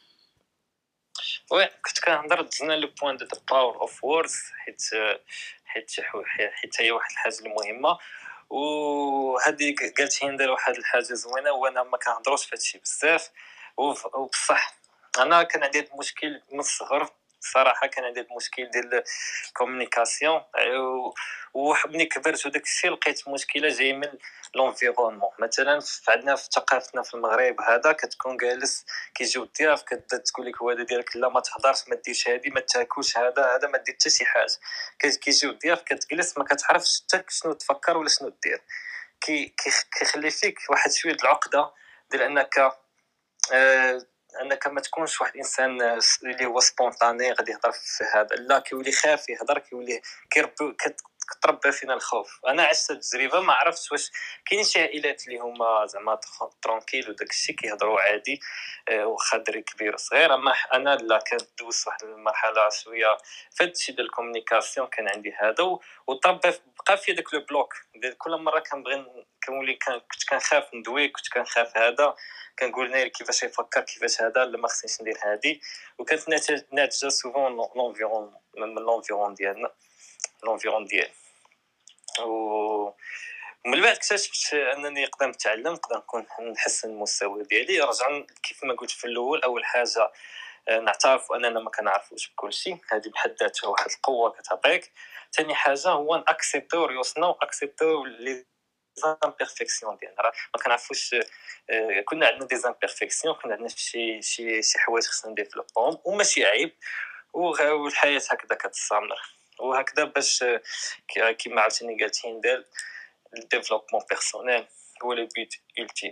وي كنت كنهضر دزنا لو بوين دو باور اوف ووردز، حيت حيت حيت هي واحد الحاجه المهمه. وهذه قالت هندر واحد الحاجه زوينه، وانا ما كنهضروش في هادشي بزاف. وبصح انا كان عندي مشكل من الصغر صراحه، كان عندي مشكل ديال الكومونيكاسيون، وملي كبرت وداك الشيء لقيت مشكله جاي من لونفيرونمون. مثلا عندنا في ثقافتنا في المغرب هذا كتكون جالس كيجيو الضياف كتبدا تقول لك الوالده ديالك لا ما تهضرش ما ديرش هذه ما تاكلش هذا هذا ما دير حتى شي حاجه. كيجيو الضياف كتجلس ما كتعرفش حتى شنو تفكر ولا شنو دير. كي كيخلي فيك واحد شويه العقده ديال انك آه انك ما تكونش واحد الانسان اللي هو سبونطاني غادي يهضر في هذا، لا كيولي خاف يهضر، كيولي كيربي كتربى فينا الخوف. انا عشت التجربه، ما عرفتش واش كاين شي عائلات اللي هما زعما ترونكيل وداك الشيء كيهضروا عادي واخا دري كبير وصغير، اما انا لا كنت دوزت واحد المرحله شويه في هادشي ديال الكومونيكاسيون كان عندي هذا، وطربى بقى في داك لو بلوك ديال كل مره كنبغي كنولي كنت كنخاف ندوي، كنت كنخاف هذا، كنقول ناير كيفاش يفكر كيفاش هذا لا ما خصنيش ندير هذه. وكانت ناتجه سوفون لونفيرون من لونفيرون ديالنا لونفيرون ديالي. و من بعد اكتشفت انني نقدر نتعلم، نقدر نكون نحسن المستوى ديالي. رجع كيف ما قلت في الاول، اول حاجه نعترف اننا ما كنعرفوش بكل شيء، هذه بحد ذاتها واحد القوه كتعطيك. ثاني حاجه هو ناكسبتو ريوسنا واكسبتو لي زامبيرفيكسيون ديالنا. راه ما كنعرفوش، كنا عندنا دي زامبيرفيكسيون، كنا عندنا شي شي شي حوايج خصنا نديفلوبهم وماشي عيب، والحياه هكذا كتستمر. وهكذا باش كيما عاوتاني قالت هندال الديفلوبمون بيرسونيل هو لو بوت ultime.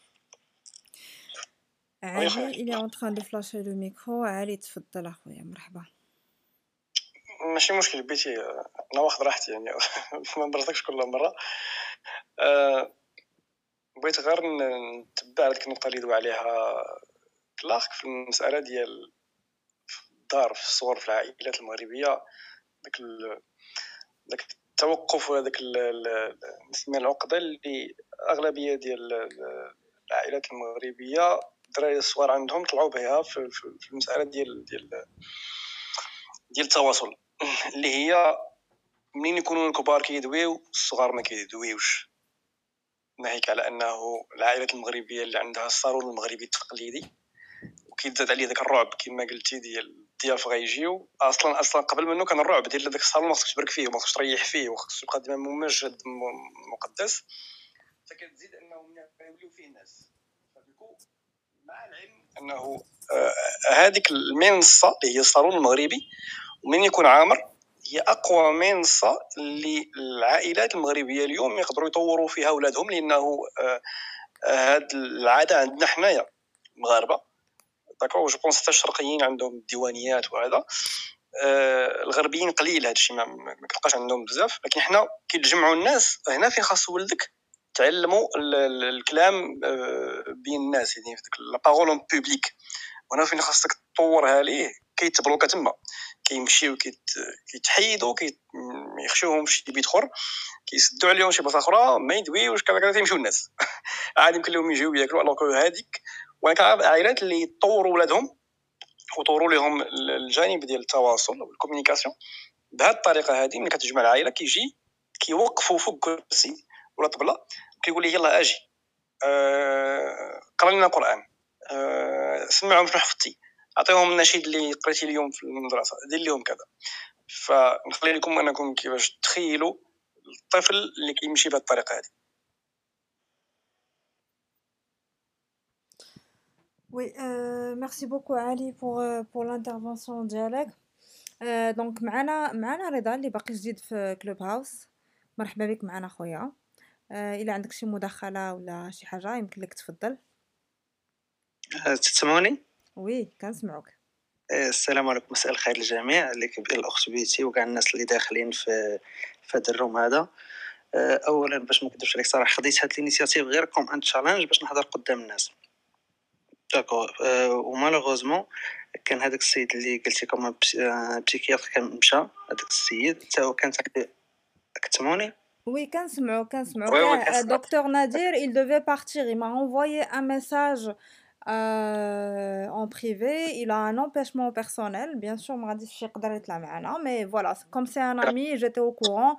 علي il est en train de flasher le micro. علي تفضل اخويا مرحبا. ماشي مشكل بيتي، انا واخد راحتي يعني ما نبرزكش كل مره. أه بغيت غير نتبع هذيك النقطه اللي دوا عليها كلارك في المساله ديال الدار في الصغر في العائلات المغربيه، داك داك التوقف وهذاك نسمي العقده اللي اغلبيه ديال العائلات المغربيه الدراري الصغار عندهم طلعوا بها في المساله ديال ديال ديال التواصل، اللي هي منين يكونوا الكبار كيدويو الصغار ما كيدويوش، ناهيك على انه العائلات المغربيه اللي عندها الصالون المغربي التقليدي وكيزاد عليه داك الرعب كما قلتي ديال الضياف غيجيو. اصلا اصلا قبل منه كان الرعب ديال داك الصالون، ما خصكش تبرك فيه وما خصكش تريح فيه وخصك تبقى ديما ممجد مقدس. حتى كتزيد انهم يوليو فيه الناس. فدوكو مع العلم انه آه هذيك المنصه اللي هي الصالون المغربي ومن يكون عامر هي اقوى منصه اللي العائلات المغربيه اليوم يقدروا يطوروا فيها اولادهم، لانه آه هاد العاده عندنا حنايا مغاربه داكو. جو بونس حتى الشرقيين عندهم ديوانيات وهذا، آه الغربيين قليل هادشي ما, ما كتلقاش عندهم بزاف، لكن حنا كيتجمعوا الناس هنا فين خاص ولدك تعلموا الكلام بين الناس، يعني في ديك لا بارول اون بوبليك، وهنا فين خاصك تطورها ليه كيتبلوكا تما، كيمشيو كيتحيدوا ما يخشوهم شي بيت اخر، كيسدوا عليهم شي بلاصه اخرى ما يدويوش كذا كذا تيمشيو الناس عادي يمكن لهم يجيو ياكلوا. الوغ هذيك وانا كنعرف عائلات اللي يطوروا ولادهم وطوروا لهم الجانب ديال التواصل والكومونيكاسيون بهذه الطريقه هذه. ملي كتجمع العائله كيجي كيوقفوا فوق كرسي ولا طبله كيقول لي يلا اجي أه... قرا لنا قران، أه... سمعهم شنو حفظتي، اعطيهم النشيد اللي قريتي اليوم في المدرسه، دير لهم كذا. فنخلي لكم انكم كيفاش تخيلوا الطفل اللي كيمشي بهذه الطريقه هذه. Oui, euh, merci beaucoup Ali pour euh, pour l'intervention ديالك. آه دونك معنا معنا رضا اللي باقي جديد في كلوب هاوس. مرحبا بك معنا خويا. آه الا عندك شي مداخله ولا شي حاجه يمكن لك تفضل. تسمعوني؟ وي كنسمعوك. السلام عليكم، مساء الخير للجميع، ليك الاخت بيتي وكاع الناس اللي داخلين في في هذا الروم هذا. اولا باش ما نكذبش عليك صراحه خديت هاد الانيشيتيف غير كوم ان تشالنج باش نهضر قدام الناس داكو. ومالوغوزمون كان هذاك السيد اللي قلتي كما بسيكياتر كان مشى، هذاك السيد حتى هو كان كتسمعوني؟ Oui, كنسمعو كنسمعو كاع دكتور نادير. il devait partir, il m'a envoyé un message euh, en privé. Il a un empêchement personnel, bien sûr ما غاديش يقدر يطلع معنا، mais voilà comme c'est un ami j'étais au courant.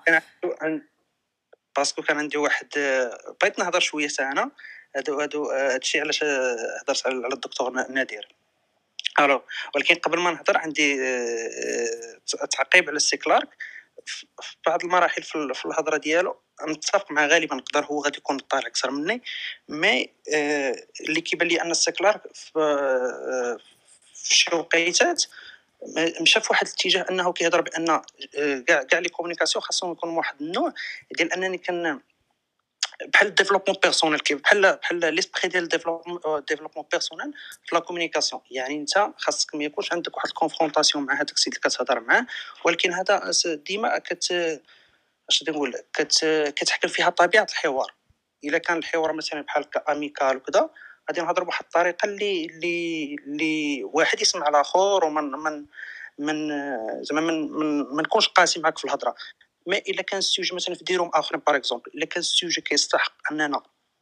باسكو كان عندي واحد بغيت نهضر شويه حتى انا. هادو هادو هادشي علاش هضرت على الدكتور نادير. الو ولكن قبل ما نهضر عندي تعقيب على السي كلارك في بعض المراحل في الهضره ديالو. متفق مع غالبا نقدر هو غادي يكون طالع اكثر مني، مي اللي كيبان لي ان السي كلارك في شي وقيتات مشى في واحد الاتجاه انه كيهضر بان كاع كاع لي كومونيكاسيون خاصهم يكونوا واحد النوع ديال انني كن بحال الديفلوبمون بيرسونيل، كيف بحال بحال ليسبري ديال الديفلوبمون ديفلوبمون بيرسونيل في لا كومونيكاسيون. يعني انت خاصك ما يكونش عندك واحد الكونفرونطاسيون مع هذاك السيد اللي كتهضر معاه، ولكن هذا ديما كت اش نقول كت كتحكم فيها طبيعه الحوار. الا كان الحوار مثلا بحال اميكال وكذا غادي نهضروا بواحد الطريقه اللي اللي اللي واحد يسمع الاخر ومن من من زعما من ما نكونش قاسي معاك في الهضره. ما الا كان السوجي مثلا في ديروم اخرين باغ اكزومبل، الا كان السوجي كيستحق اننا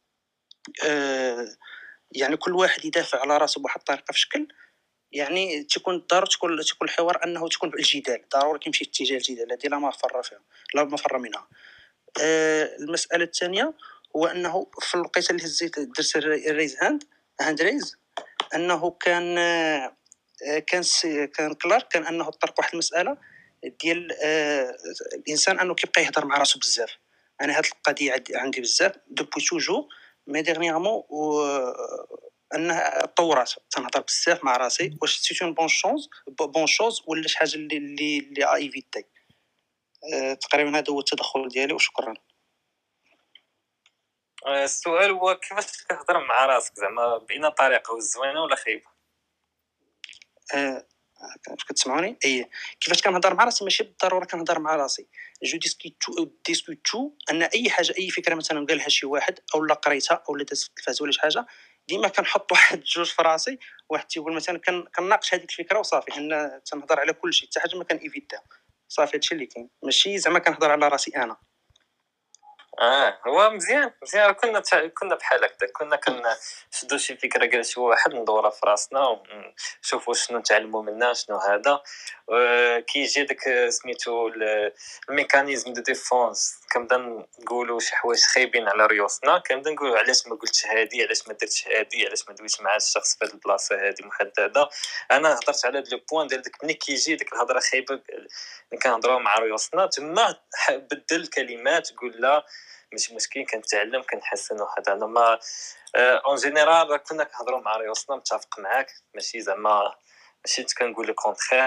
آه يعني كل واحد يدافع على راسه بواحد الطريقه في شكل، يعني تكون ضروري تكون تكون الحوار انه تكون بالجدال، ضروري كيمشي في اتجاه الجدال، هذه لا مفر فيها لا مفر منها. آه المساله الثانيه هو انه في الوقيته اللي هزيت درت الريز هاند هاند ريز انه كان آه كان كان كلارك كان انه طرق واحد المساله ديال آه الانسان انه كيبقى يهضر مع راسو بزاف. انا هاد القضيه عندي بزاف دوبوي توجو مي ديرنييرمون و انها طورات تنهضر بزاف مع راسي. واش سي اون بون شونس بون شوز ولا شي حاجه اللي اللي اللي ايفيتي. أه تقريبا هذا هو التدخل ديالي وشكرا. السؤال هو كيفاش كتهضر مع راسك زعما باين طريقه زوينه ولا خايبه؟ أه كتسمعوني؟ اي كيفاش كنهضر مع راسي ماشي بالضروره كنهضر مع راسي. جو ديسكوتو ديسكوتو ان اي حاجه اي فكره مثلا قالها شي واحد او لا قريتها او لا دازت في التلفاز ولا شي حاجه، ديما كنحط واحد جوج في راسي. واحد تيقول مثلا كنناقش هذيك الفكره وصافي، ان تنهضر على كل شيء حتى حاجه ما كان ايفيتها صافي. هادشي اللي كاين، ماشي زعما كنهضر على راسي انا. اه هو مزيان مزيان. كنا تع... كنا بحال هكذا، كنا كنشدو شي فكره قال شي واحد ندورها في راسنا ونشوفوا شنو نتعلموا منها شنو هذا. آه كيجي داك سميتو الميكانيزم دو ديفونس، كنبدا نقولوا شي حوايج خايبين على ريوسنا، كنبدا نقولوا علاش ما قلتش هادي، علاش ما درتش هادي، علاش ما دويتش مع الشخص في هاد البلاصه هادي محدده. انا هضرت على هاد لو بوين ديال داك ملي كيجي ديك الهضره خايبه اللي كنهضروا مع ريوسنا، تما بدل الكلمات قول لا ماشي مشكل كنتعلم كنحسن وهذا انا ما اون جينيرال كنا كنهضروا مع ريوسنا متفق معاك ماشي زعما ماشي كنقول لك كونترير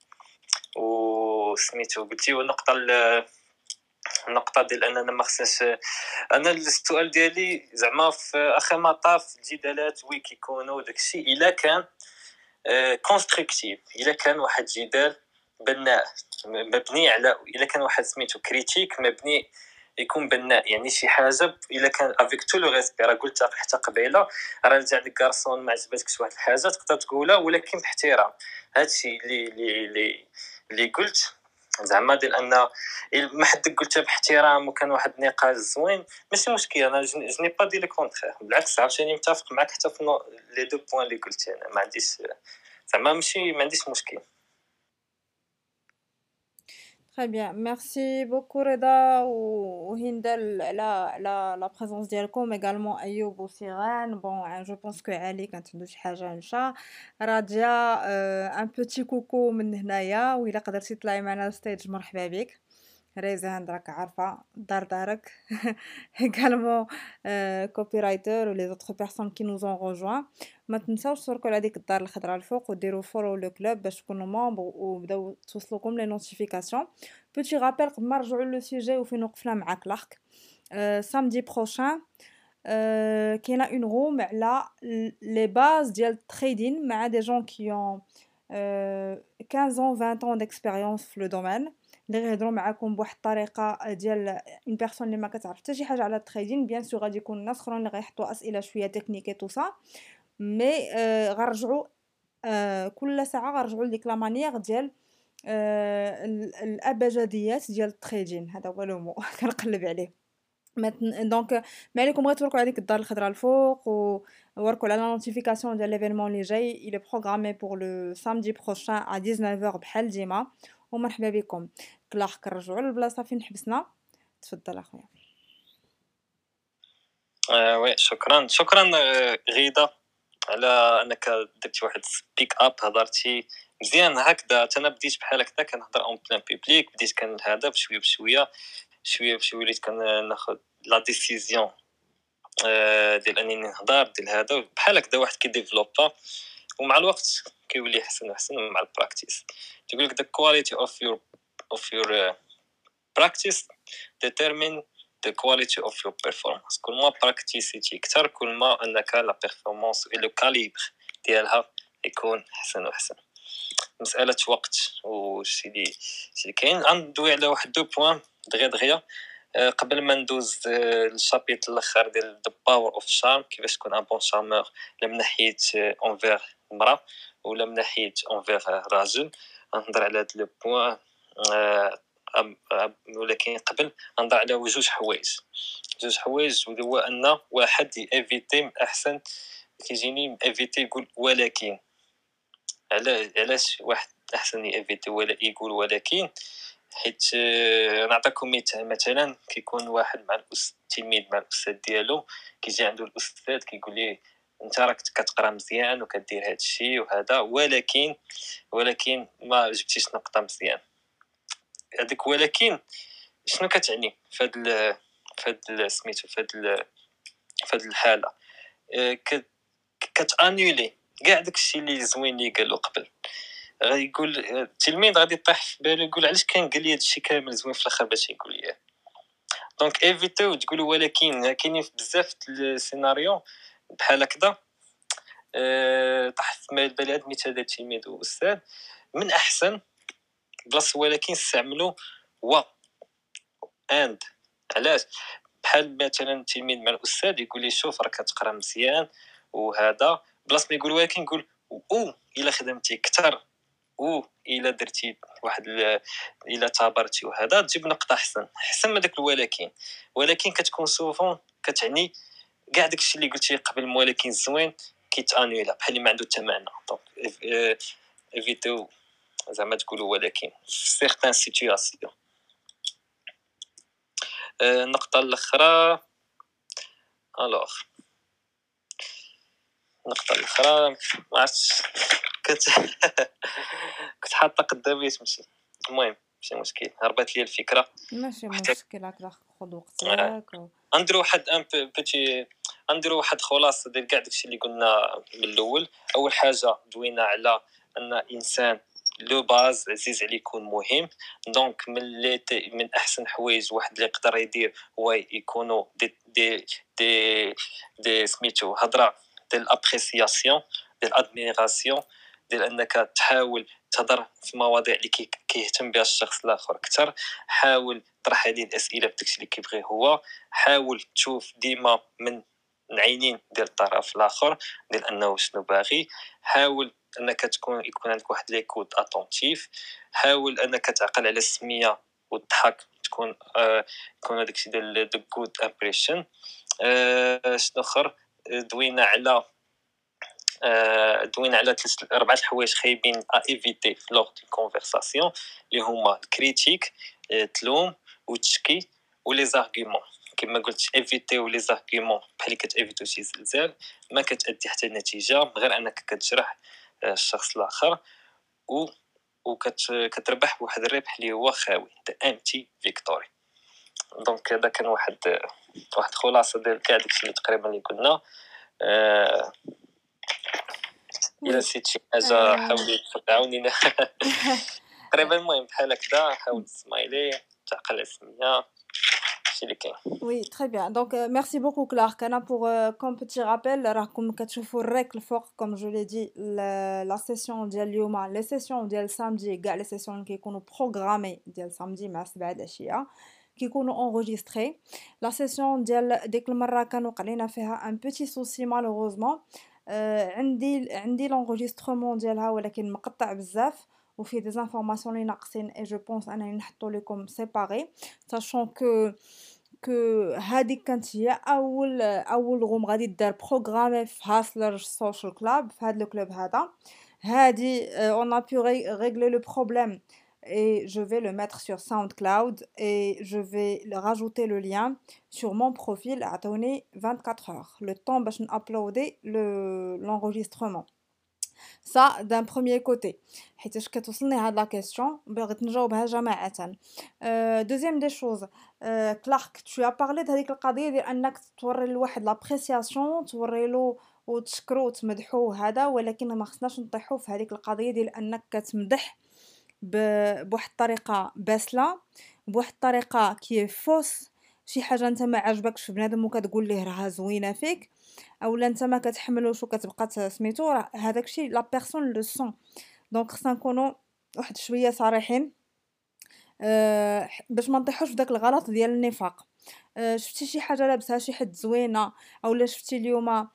وسميتو قلتي والنقطه النقطه ديال اننا ما خصناش انا السؤال ديالي زعما في اخر مطاف الجدالات وي كيكونوا داكشي الا كان كونستركتيف الا كان واحد جدال بناء مبني على الا كان واحد سميتو كريتيك مبني يكون بناء يعني شي حاجه الا كان افيك تو لو ريسبي راه قلت حتى قبيله راه رجع لك كارسون ما عجبتكش واحد الحاجه تقدر تقولها ولكن باحترام هادشي اللي اللي اللي قلت زعما ديال ان ما حدك قلتها باحترام وكان واحد النقاش زوين ماشي مشكل انا جني با دي لو كونترير بالعكس عاوتاني متفق معك حتى في لي دو بوين اللي قلتي انا ما عنديش زعما ماشي ما عنديش مشكل. Très bien, merci beaucoup Reda ou Hindel la la la présence ديالكم également Ayoub ou Sirène. Bon, je pense que Ali quand tu dis حاجة نشا راجيا un petit coucou من هنايا وإلا قدرتي تطلعي معنا ستيج مرحبا بك. ريزان راك عارفة دار دارك également copywriter ou les autres personnes qui nous ont rejoints. ما تنساوش تشتركوا على ديك الدار الخضراء الفوق وديروا فولو لو كلوب باش تكونوا ممبر وبداو توصلوكم لي نوتيفيكاسيون. بوتي رابيل قبل ما نرجعوا لو سوجي وفين وقفنا معاك لاخك سامدي بروشان كاينه اون روم على لي باز ديال التريدين مع دي جون كي اون quinze ans vingt ans d'expérience في لو دومين اللي غيهضروا معاكم بواحد الطريقه ديال اون بيرسون اللي ما كتعرف حتى شي حاجه على التريدين. بيان سور غادي يكون الناس اخرين اللي غيحطوا اسئله شويه تكنيكيه تو سا مي غنرجعوا كل ساعه غنرجعوا لديك لا مانيير ديال الابجديات ديال التريدين. هذا هو لو مو كنقلب عليه دونك ما عليكم غير توركوا على ديك الدار الخضراء الفوق ووركوا على لا نوتيفيكاسيون ديال ليفينمون اللي جاي il est programmé pour le samedi prochain à dix-neuf heures بحال ديما ومرحبا بكم. كلاخ كنرجعوا للبلاصه فين حبسنا. تفضل اخويا. آه وي شكرا شكرا غيده على انك درتي واحد سبيك اب هضرتي مزيان هكذا. انا بديت بحال هكذا كنهضر اون بلان بوبليك بديت كنهضر بشويه بشويه شويه بشويه وليت كناخذ لا ديسيزيون ديال انني نهضر ديال هذا بحال هكذا واحد كيديفلوبا ومع الوقت كيولي احسن واحسن مع البراكتيس. تقول لك the quality of your of your uh, practice determine the quality of your performance. كل ما براكتيسيتي اكثر كل ما انك لا بيرفورمانس و لو كاليبر ديالها يكون احسن واحسن. مساله وقت وشي اللي شي كاين غندوي على واحد دو بوين دغيا دغيا قبل ما ندوز للشابيت الاخر ديال the power of charm كيفاش تكون ان بون شارمور لا من ناحيه اونفير المراه ولا من ناحيه اونفير راجل. نهضر على هذا لو بوين ولكن قبل نهضر على جوج حوايج جوج حوايج هو ان واحد ايفيتي احسن كيجيني ايفيتي يقول ولكن علاش واحد احسن ايفيتي ولا يقول ولكن حيت نعطيكم مثال مثلا كيكون واحد مع الاستاذ تلميذ مع الاستاذ ديالو كيجي عنده الاستاذ كيقول ليه انت راك كتقرا مزيان وكدير هذا الشيء وهذا ولكن ولكن ما جبتيش نقطه مزيان. هذيك ولكن شنو كتعني في هذا في هذا سميتو في هذا في هذه الحاله كتانيولي كاع داكشي اللي زوين اللي قالو قبل. غيقول التلميذ غادي يطيح في بالو يقول علاش كان قال لي هادشي كامل زوين في الاخر باش يقول لي. دونك ايفيتو تقولوا ولكن كاينين بزاف السيناريو بحال هكذا أه طاح في بالي هذا المثال ديال التلميذ والاستاذ من احسن بلاصه ولكن استعملوا و اند. علاش بحال مثلا التلميذ مع الاستاذ يقول لي شوف راك كتقرا مزيان وهذا بلاصه ما يقول ولكن يقول او الا خدمتي اكثر او الا درتي واحد الا تابرتي وهذا تجيب نقطه احسن احسن من داك الولكن. ولكن كتكون سوفون كتعني كاع داكشي اللي قلتي قبل ولكن زوين كيتانيولا بحال اللي ما عنده حتى معنى. دونك ايفيتو زعما تقولوا ولكن في سيغتان سيتوياسيون. النقطه الاخرى الوغ النقطه الاخرى ما عرفتش كنت كنت حاطه قدامي تمشي. المهم ماشي مشكل، هربت لي الفكره. ماشي حتى مشكل، هكذا خذ آه، وقتك و... غنديرو واحد ان بوتي، غنديرو واحد خلاصه ديال كاع داكشي اللي قلنا من الاول. اول حاجه دوينا على ان انسان لو باز عزيز عليه يكون مهم. دونك من لي تي- من احسن حوايج واحد اللي يقدر يدير هو يكونوا دي دي دي دي سميتو هضره ديال الابريسياسيون، ديال الادميراسيون، ديال انك تحاول تهضر في مواضيع اللي كي- كيهتم بها الشخص الاخر اكثر. حاول طرح عليه الاسئله بداكشي اللي كيبغي هو. حاول تشوف ديما من العينين ديال الطرف الاخر ديال انه شنو باغي. حاول انك تكون يكون عندك واحد ليكوت اتونتيف. حاول انك تعقل على السميه والضحك، تكون آه يكون داكشي ديال the good impression. آه شنو اخر؟ دوينا على آه، دوينا على ثلاث اربعه الحوايج خايبين ا ايفيتي في لوغ دو كونفرساسيون اللي هما الكريتيك، آه، تلوم وتشكي ولي زارغومون. كما قلت ايفيتي ولي زارغومون بحال اللي كتيفيتو شي زلزال، ما كتادي حتى نتيجه غير انك كتجرح آه، الشخص الاخر و وكتربح بواحد الربح اللي هو خاوي، ذا امتي فيكتوري. دونك هذا كان واحد واحد خلاصه ديال كاع داكشي اللي تقريبا اللي قلنا. آه، الا وي نسيت شي حاجه آه، حاولي تعاونينا. تقريبا المهم بحال هكذا. حاول تسمايلي، تعقل على السميه، هادشي اللي كاين. Oui, très bien. Donc, euh, merci beaucoup, Clark. Anna, pour, euh, comme petit rappel, راه كون كتشوفوا الريك الفوق comme je l'ai dit, la, la session ديال اليوم, les sessions ديال samedi, كاع les sessions اللي كيكونوا programmés ديال samedi مع سبعة العشية كيكونوا enregistrés. La session ديال ديك المرة كان وقع لينا فيها un petit souci malheureusement. آه عندي عندي l'enregistrement ديالها ولكن مقطع بزاف وفيه des informations اللي ناقصين et je pense انني نحطو لكم séparé, sachant que que هذيك كانت هي اول اول روم غادي دار بروغرامي في هاسلر سوشيال كلاب في هذا الكلوب هذا. هادي on a pu ré- régler le problème et je vais le mettre sur SoundCloud et je vais le rajouter le lien sur mon profil. عطوني vingt-quatre heures le temps باش نابلودي le l'enregistrement. Ça d'un premier côté حيتاش كتوصلني هاد لا كيسيون بغيت نجاوبها جماعة. euh, deuxième des choses, euh, Clark, tu as parlé de هذيك القضية ديال انك توري لواحد لابريسياسيون توري له وتشكرو وتمدحو هذا, ولكن ما خصناش نطيحو في هذيك القضية ديال انك كتمدح ب- بواحد الطريقه باسله, بواحد الطريقه كي فوس شي حاجه انت ما عجبكش في بنادم وكتقول ليه راها زوينه فيك, اولا انت ما كتحملوش وكتبقى سميتو, راه هذاك الشيء لا بيرسون لو سون. دونك خصنا نكونوا واحد شويه صريحين أه باش ما نطيحوش في داك الغلط ديال النفاق. أه شفتي شي حاجه لابسها شي حد زوينه اولا شفتي اليوم أه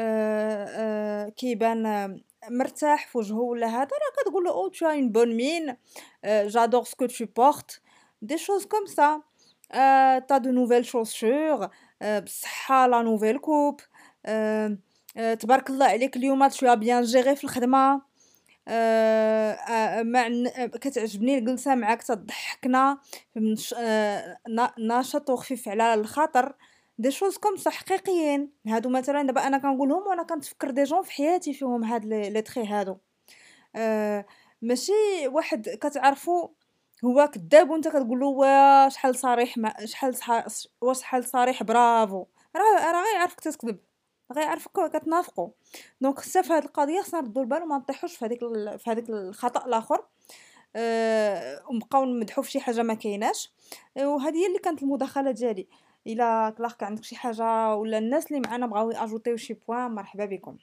أه كيبان آه، مرتاح في وجهه ولا هذا, راه كتقول له او tu as une bonne mine, euh, j'adore ce que tu portes, des choses comme ça. euh, t'as de nouvelles chaussures, euh, بصحة la nouvelle coupe, euh, euh, تبارك الله عليك اليوم tu as bien géré في الخدمة, آه، آه، مع ن- كتعجبني الجلسة معاك تضحكنا, منش- آه، نا- ناشط وخفيف على الخاطر, دي شوز كوم صح حقيقيين هادو. مثلا دابا انا كنقولهم وانا كنتفكر دي جون في حياتي فيهم هاد لي لي تري هادو. آه، ماشي واحد كتعرفو هو كذاب وانت كتقول له وا شحال صريح ما شحال صح... وا شحال صريح برافو, راه راه غيعرفك تكذب, غيعرفك كتنافقوا. دونك حتى في هذه القضيه خصنا نردوا البال وما نطيحوش في هذيك ال... في هذيك الخطا الاخر, أه... ونبقاو نمدحوا في شي حاجه ما كايناش. وهذه هي اللي كانت المداخله ديالي. الا كلاك عندك شي حاجه ولا الناس اللي معنا بغاو ياجوتيو شي بوين, مرحبا بكم.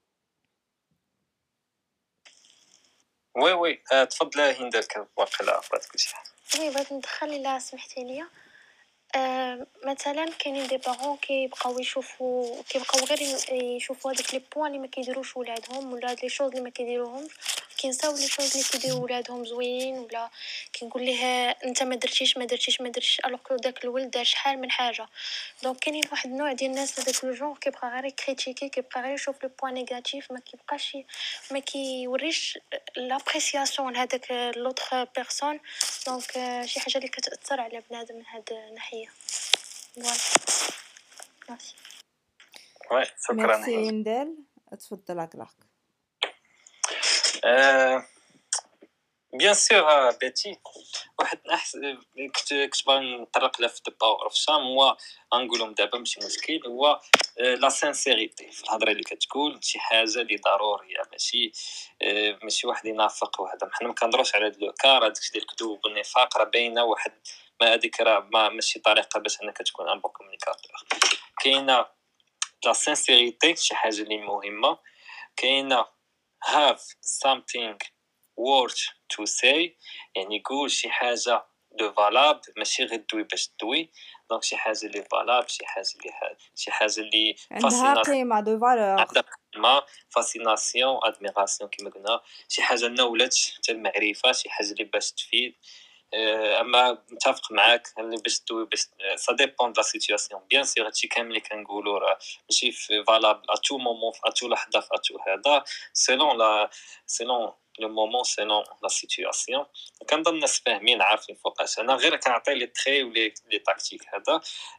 وي وي آه، تفضل هند, كان واقيلا عرفت كلشي. وي بغيت ندخل الا سمحتي ليا. آه مثلا كاينين دي بارون كيبقاو يشوفوا كيبقاو غير يشوفوا هذوك لي بوين اللي ما كيديروش ولادهم ولا هاد لي شوز اللي ما كيديروهمش, كينساو لي شوز اللي كيديروا ولادهم زوين, ولا كنقول ليه انت ما درتيش ما درتيش ما درتيش الوغ كو داك الولد دار شحال من حاجه. دونك كاينين واحد النوع ديال الناس هذاك لو جونغ كيبقى غير كريتيكي, كيبقى غير يشوف لو بوين نيجاتيف, ما كيبقاش ما كيوريش لابريسياسيون لهذاك لوطخ بيرسون. دونك شي حاجه اللي كتاثر على بنادم من هاد الناحيه. فوالا ميرسي. وي شكرا ميرسي هند. ندال, تفضل كلاك. آه، بيان سور بيتي واحد احسن كنت كنت باغي نطرق له في باور اوف شام هو غنقولهم دابا ماشي مشكل هو لا سانسيريتي في الهضره اللي كتقول شي حاجه اللي ضروريه ماشي ماشي واحد ينافق وهذا حنا ما كنهضروش على هذا لو كار هذاك ديال الكذوب والنفاق راه باينه واحد ما هذيك راه ما ماشي طريقه باش انك تكون ان بون كومونيكاتور كاينه لا سانسيريتي شي حاجه اللي مهمه كاينه have something worth to say يعني قول شي حاجه دو فالاب ماشي غير دوي باش دوي دونك شي حاجه اللي فالاب شي حاجه اللي شي حاجه اللي عندها قيمه دو فالور عندها قيمه فاسيناسيون ادميراسيون كما قلنا شي حاجه نولت حتى المعرفه شي حاجه اللي باش تفيد اما متفق معاك اللي باش دوي باش سا ديبون د لا سيتوياسيون بيان سيغ هادشي كامل اللي كنقولوا راه ماشي فالابل ا تو مومون ا تو لحظه ا تو هذا سيلون لا سيلون لو مومون سيلون لا سيتوياسيون كنظن الناس فاهمين عارفين فوقاش انا غير كنعطي لي تري ولي لي تاكتيك هذا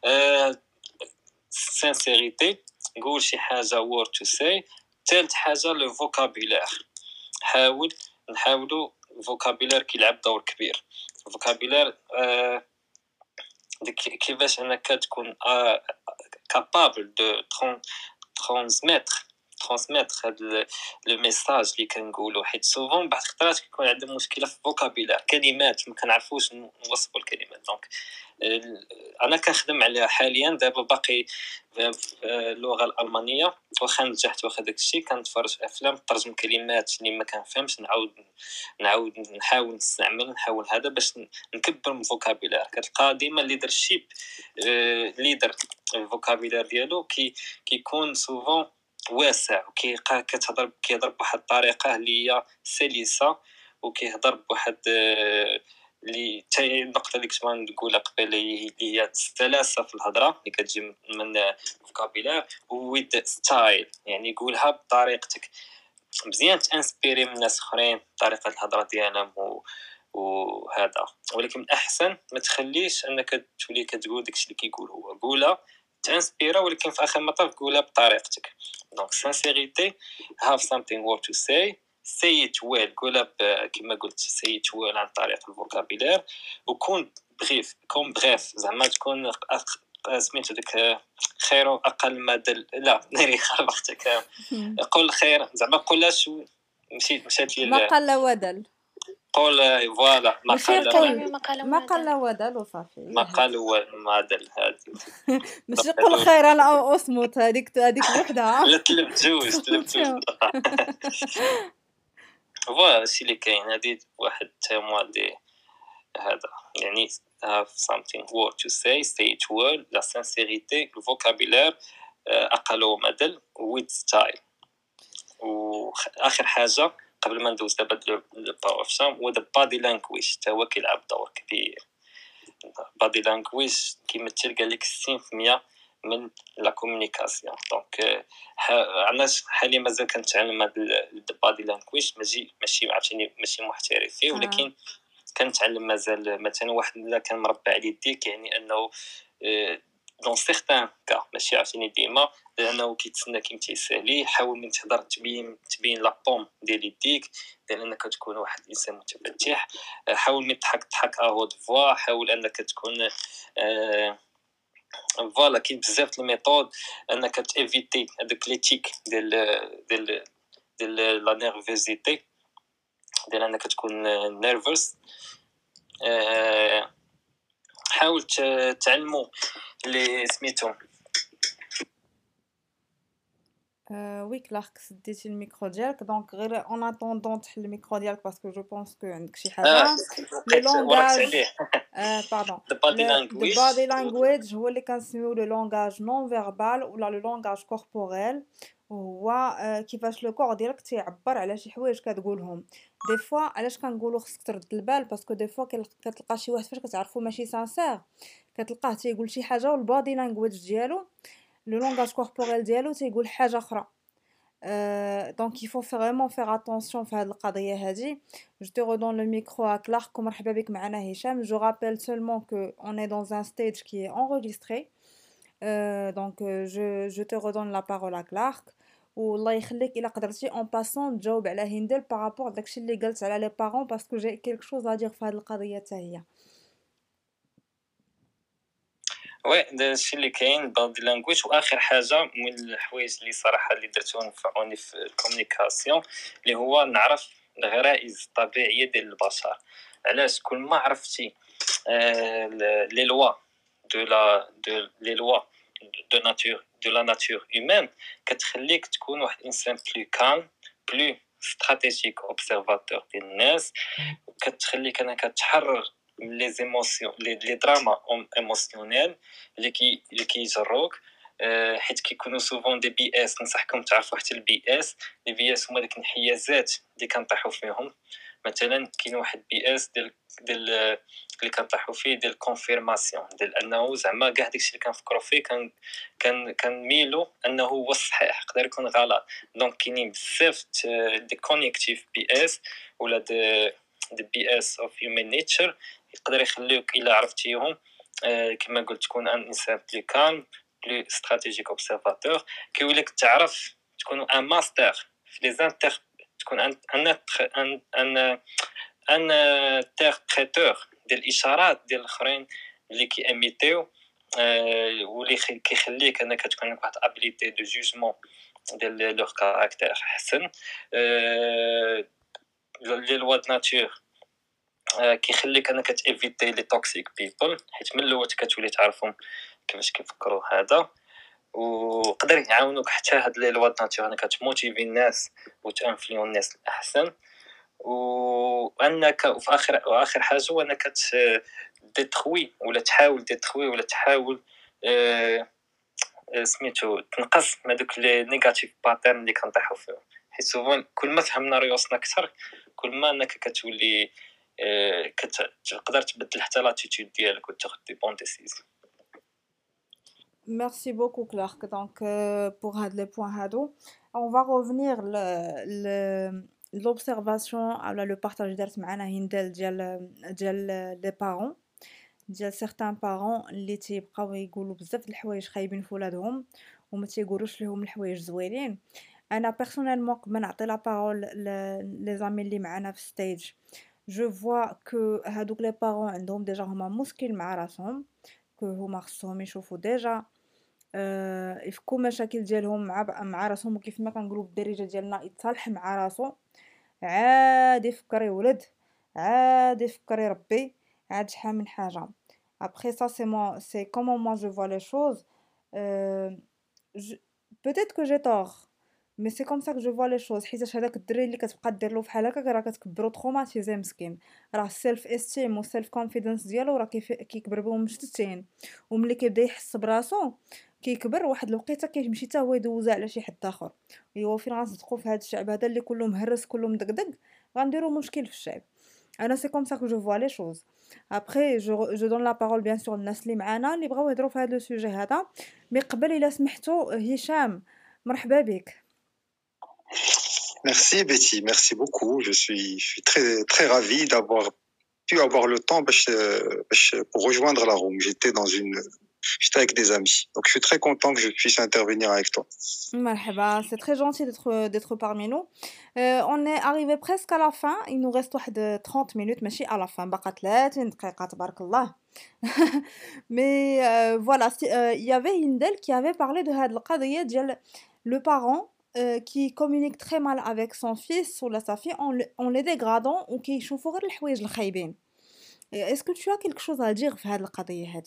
سانسيريتي نقول شي حاجه وور تو سي ثالث حاجه لو فوكابولير حاول نحاولوا الفوكابولير كيلعب دور كبير الفوكابولير آه كيفاش انك تكون كابابل دو ترانسميتر ترانسميتر هذا لو ميساج اللي كنقولوا حيت سوفون بعض الخطرات كيكون عندهم مشكله في الفوكابولير كلمات ما كنعرفوش نوصفوا الكلمات دونك انا كنخدم عليها حاليا دابا باقي اللغه الالمانيه واخا نجحت واخا داكشي كنتفرج في افلام ترجم كلمات اللي ما كنفهمش نعاود نعاود نحاول نستعمل نحاول هذا باش نكبر من الفوكابولير كتلقى ديما ليدرشيب ليدر الفوكابولير ديالو كي كيكون سوفون واسع وكيبقى كتهضر كيهضر بواحد الطريقه اللي هي سلسه وكيهضر بواحد اللي حتى النقطه اللي كنت نقولها قبل اللي هي السلاسه في الهضره اللي كتجي من الفوكابولير ويد ستايل يعني يقولها بطريقتك مزيان تانسبيري من ناس اخرين طريقه الهضره ديالهم و... وهذا ولكن الاحسن ما تخليش انك تولي كتقول داكشي اللي كيقول هو قولها تانسبيرا ولكن في اخر المطاف قولها بطريقتك دونك سانسيريتي have something worth to say say it well قولها كما قلت say it well عن طريق الفوكابولير وكون بريف كون بريف زعما تكون سميتو ديك خير اقل ما دل لا ناري خربختك قول خير زعما قولهاش مشيت مشات لي ما قل ودل قول فوالا ما قال ما قال ودل وصافي ما قال ما دل هادي ماشي قول خير انا او اصمت هذيك هذيك وحده لا تلب جوج تلب جوج فوالا شي اللي كاين هادي واحد تيموال دي هذا يعني have something worth to say say it well la sincérité le vocabulaire اقل وما دل with style واخر حاجه قبل ما ندوز دابا الباور اوف شام هو البادي لانجويج حتى هو كيلعب دور كبير البادي لانجويج كيمثل قال لك ستين بالمية من لا كومونيكاسيون دونك عندنا حاليا مازال كنتعلم هذا البادي لانجويج ماشي ماشي عرفتيني ماشي محترف فيه ولكن كنتعلم مازال مثلا واحد الا كان مربع على يديك يعني انه دون سيغتان كا ماشي عرفتيني ديما لانه كيتسنى كيمتي يسالي حاول من تهضر تبين تبين لا بوم ديال يديك ديال انك تكون واحد الانسان متفتح حاول من تضحك تضحك اهود فوا حاول انك تكون آه فوالا كاين بزاف د الميثود انك تيفيتي هذوك ليتيك ديال ديال ديال لا نيرفوزيتي ديال انك تكون نيرفوس أه حاول تعلموا اللي سميتهم وي كلارك سديتي الميكرو ديالك دونك غير اون اتوندون تحل الميكرو ديالك باسكو جو بونس كو عندك شي حاجه لو لونغاج باردون البادي لانجويج هو اللي كنسميو لو لونغاج نون فيربال ولا لو لونغاج كوربوريل هو كيفاش لو كور ديالك تيعبر على شي حوايج كتقولهم دي فوا علاش كنقولوا خصك ترد البال باسكو دي فوا كتلقى شي واحد فاش كتعرفو ماشي سانسير كتلقاه تيقول شي حاجه والبادي لانجويج ديالو لو لونغاج كوربوريل ديالو تيقول حاجه اخرى دونك il faut vraiment faire attention في هذه القضيه هذه je te redonne le micro à Clark ومرحبا بك معنا هشام je rappelle seulement que on est dans un stage qui est enregistré euh, donc je je te redonne la parole à Clark والله يخليك الا قدرتي اون باسون تجاوب على هندل بارابور داكشي اللي قالت على لي بارون باسكو جي كيلك شوز ا دير في هذه القضيه حتى هي. وي داكشي اللي كاين بادي لانجويج. واخر حاجه من الحوايج اللي صراحه اللي درتهم نفعوني في الكومونيكاسيون اللي هو نعرف الغرائز الطبيعيه ديال البشر. علاش؟ كل ما عرفتي لي لوا دو لا دو لي لوا دو ناتور دو لا ناتور هيومين كتخليك تكون واحد الانسان بلو كالم بلو استراتيجيك اوبسيرفاتور ديال الناس، كتخليك انك تحرر لي زيموسيون لي لي دراما ايموسيونيل اللي كي اللي كيجروك. أه حيت كيكونوا سوفون دي بي اس. ننصحكم تعرفوا حتى البي اس. لي بي اس هما ديك الانحيازات اللي كنطيحوا فيهم. مثلا كاين واحد بي اس ديال ديال اللي كنطيحوا فيه ديال الكونفيرماسيون ديال انه زعما كاع داكشي اللي كنفكروا فيه كان كان كنميلو انه هو الصحيح، يقدر يكون غلط. دونك كاينين بزاف دي كونيكتيف بي اس ولا دي دي بي اس اوف هيومن نيتشر يقدر يخليوك الا عرفتيهم أه كما قلت تكون ان انسان بلي كالم بلي استراتيجيك اوبسيرفاتور. كيوليك تعرف تكون ان ماستر في لي زانتر، تكون ان ان ان ان ان انتربريتور ديال الاشارات ديال الاخرين اللي كياميتيو أه واللي كيخليك انك تكون عندك واحد ابيليتي دو جوجمون ديال لور كاركتير احسن. أه لي لوا د ناتور كيخليك انك تيفيتي لي توكسيك بيبل، حيت من الاول كتولي تعرفهم كيفاش كيفكروا هذا. وقدر يعاونوك حتى هاد لي لوا د ناتور انك تموتيفي الناس وتانفليون الناس الاحسن. وانك وفي اخر واخر حاجه هو انك ديتروي ولا تحاول ديتروي ولا تحاول أه سميتو تنقص من دوك لي نيجاتيف باترن اللي كنطيحوا فيهم. حيت سوفون كل ما فهمنا ريوسنا اكثر كل ما انك كتولي أه كتقدر تبدل حتى لاتيتود ديالك وتاخذ دي بون ديسيزيون. Merci beaucoup Clark. Donc euh, pour les points hado, on va revenir le, le, l'observation على le partage درت معنا هندل ديال ديال les parents ديال certains parents اللي تيبقاو يقولوا بزاف د الحوايج خايبين في ولادهم وما تيقولوش لهم الحوايج زوينين. انا بيرسونيلمون قبل ما نعطي لا بارول لي زامي اللي معنا في ستيج جو فوا كو هادوك لي بارون عندهم ديجا هما مشكل مع راسهم، كو هما خصهم يشوفوا ديجا أه يفكوا مشاكل ديالهم مع مع راسهم، وكيف ما كنقولوا بالدارجه ديالنا يتصالح مع راسو، عادي يفكر يولد، عادي يفكر يربي، عاد شحال من حاجه. après ça c'est moi c'est comment moi je vois les choses. euh, je... peut-être que j'ai tort mais c'est comme ça que je vois les choses. حيت هذاك الدري اللي كتبقى دير له بحال هكا راه كتكبروا تروماتيزي مسكين، راه السيلف استيم والسيلف كونفيدنس ديالو راه كيف كيكبر بهم مشتتين، وملي كيبدا يحس براسو كيكبر واحد الوقيته كيمشي حتى هو يدوزها على شي حد اخر. ايوا فين غنصدقوا في هذا الشعب هذا اللي كله مهرس كله مدقدق، غنديروا مشكل في الشعب. انا سي كوم سا كو جو فوا لي شوز. ابري جو جو دون لا بارول بيان سور الناس اللي معانا اللي بغاو يهضروا في هذا لو سوجي هذا. مي قبل الا سمحتوا هشام مرحبا بك. Merci Betty, merci beaucoup. Je suis, je suis très, très ravi d'avoir pu avoir le temps pour rejoindre la room. J'étais dans une, j'étais avec des amis. Donc je suis très content que je puisse intervenir avec toi. Marhaba, c'est très gentil d'être, d'être parmi nous. Euh, on est arrivé presque à la fin. Il nous reste trente minutes, mais à la fin. Mais euh, voilà, il euh, y avait Hindel qui avait parlé de le parent Euh, qui communique très mal avec son fils ou sa fille en, le, en les dégradant ou qui يشوفوا غير الحوايج الخايبين. Est-ce que tu as quelque chose à dire في هذه القضية هذه؟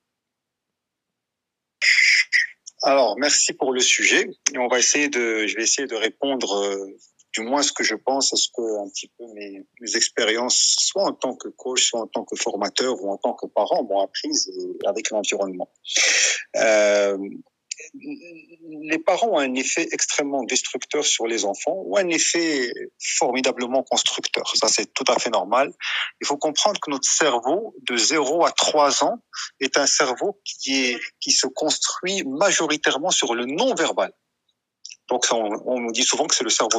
Alors, merci pour le sujet. Et on va essayer de, je vais essayer de répondre euh, du moins ce que je pense, à ce que un petit peu mes, mes expériences, soit en tant que coach, soit en tant que formateur ou en tant que parent, m'ont apprises avec l'environnement. Euh, Les parents ont un effet extrêmement destructeur sur les enfants ou un effet formidablement constructeur. Ça, c'est tout à fait normal. Il faut comprendre que notre cerveau, de zéro à trois ans, est un cerveau qui, est, qui se construit majoritairement sur le non-verbal. Donc, on, on nous dit souvent que c'est le cerveau droit.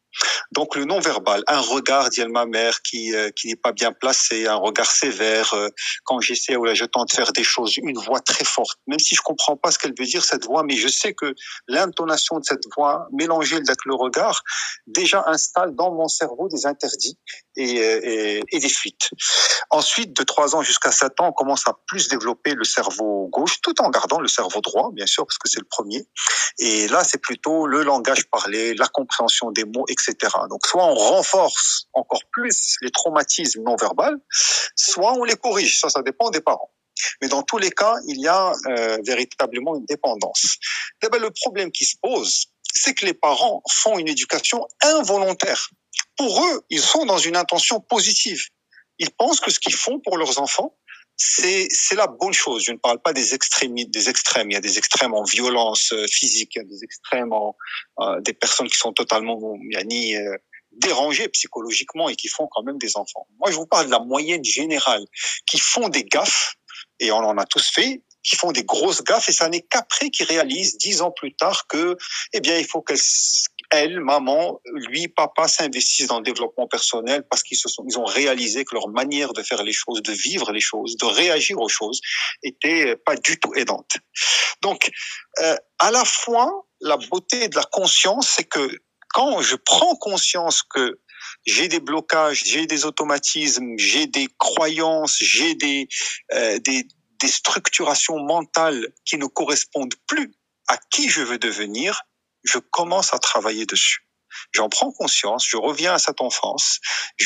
Donc le non-verbal, un regard d'Yel ma mère qui euh, qui n'est pas bien placé, un regard sévère, euh, quand j'essaie ou là je tente de faire des choses, une voix très forte, même si je comprends pas ce qu'elle veut dire cette voix, mais je sais que l'intonation de cette voix mélangée avec le regard déjà installe dans mon cerveau des interdits et, et, et des fuites. Ensuite, de trois ans jusqu'à sept ans, on commence à plus développer le cerveau gauche, tout en gardant le cerveau droit, bien sûr, parce que c'est le premier. Et là, c'est plutôt le langage parlé, la compréhension des mots, et cetera. Donc, soit on renforce encore plus les traumatismes non verbaux, soit on les corrige. Ça, ça dépend des parents. Mais dans tous les cas, il y a euh, véritablement une dépendance. Eh ben, le problème qui se pose, c'est que les parents font une éducation involontaire. Pour eux, ils sont dans une intention positive. Ils pensent que ce qu'ils font pour leurs enfants, c'est c'est la bonne chose. Je ne parle pas des extrêmes, des extrêmes. Il y a des extrêmes en violence physique, il y a des extrêmes en euh, des personnes qui sont totalement yani, euh, dérangées psychologiquement et qui font quand même des enfants. Moi, je vous parle de la moyenne générale, qui font des gaffes, et on en a tous fait, qui font des grosses gaffes, et ça n'est qu'après qu'ils réalisent dix ans plus tard que, eh bien, il faut qu'elles elle, maman, lui, papa s'investissent dans le développement personnel parce qu'ils se sont, ils ont réalisé que leur manière de faire les choses, de vivre les choses, de réagir aux choses était pas du tout aidante. Donc, euh, à la fois, la beauté de la conscience, c'est que quand je prends conscience que j'ai des blocages, j'ai des automatismes, j'ai des croyances, j'ai des, euh, des, des structurations mentales qui ne correspondent plus à qui je veux devenir, je commence à travailler dessus. J'en prends conscience, je reviens à cette enfance,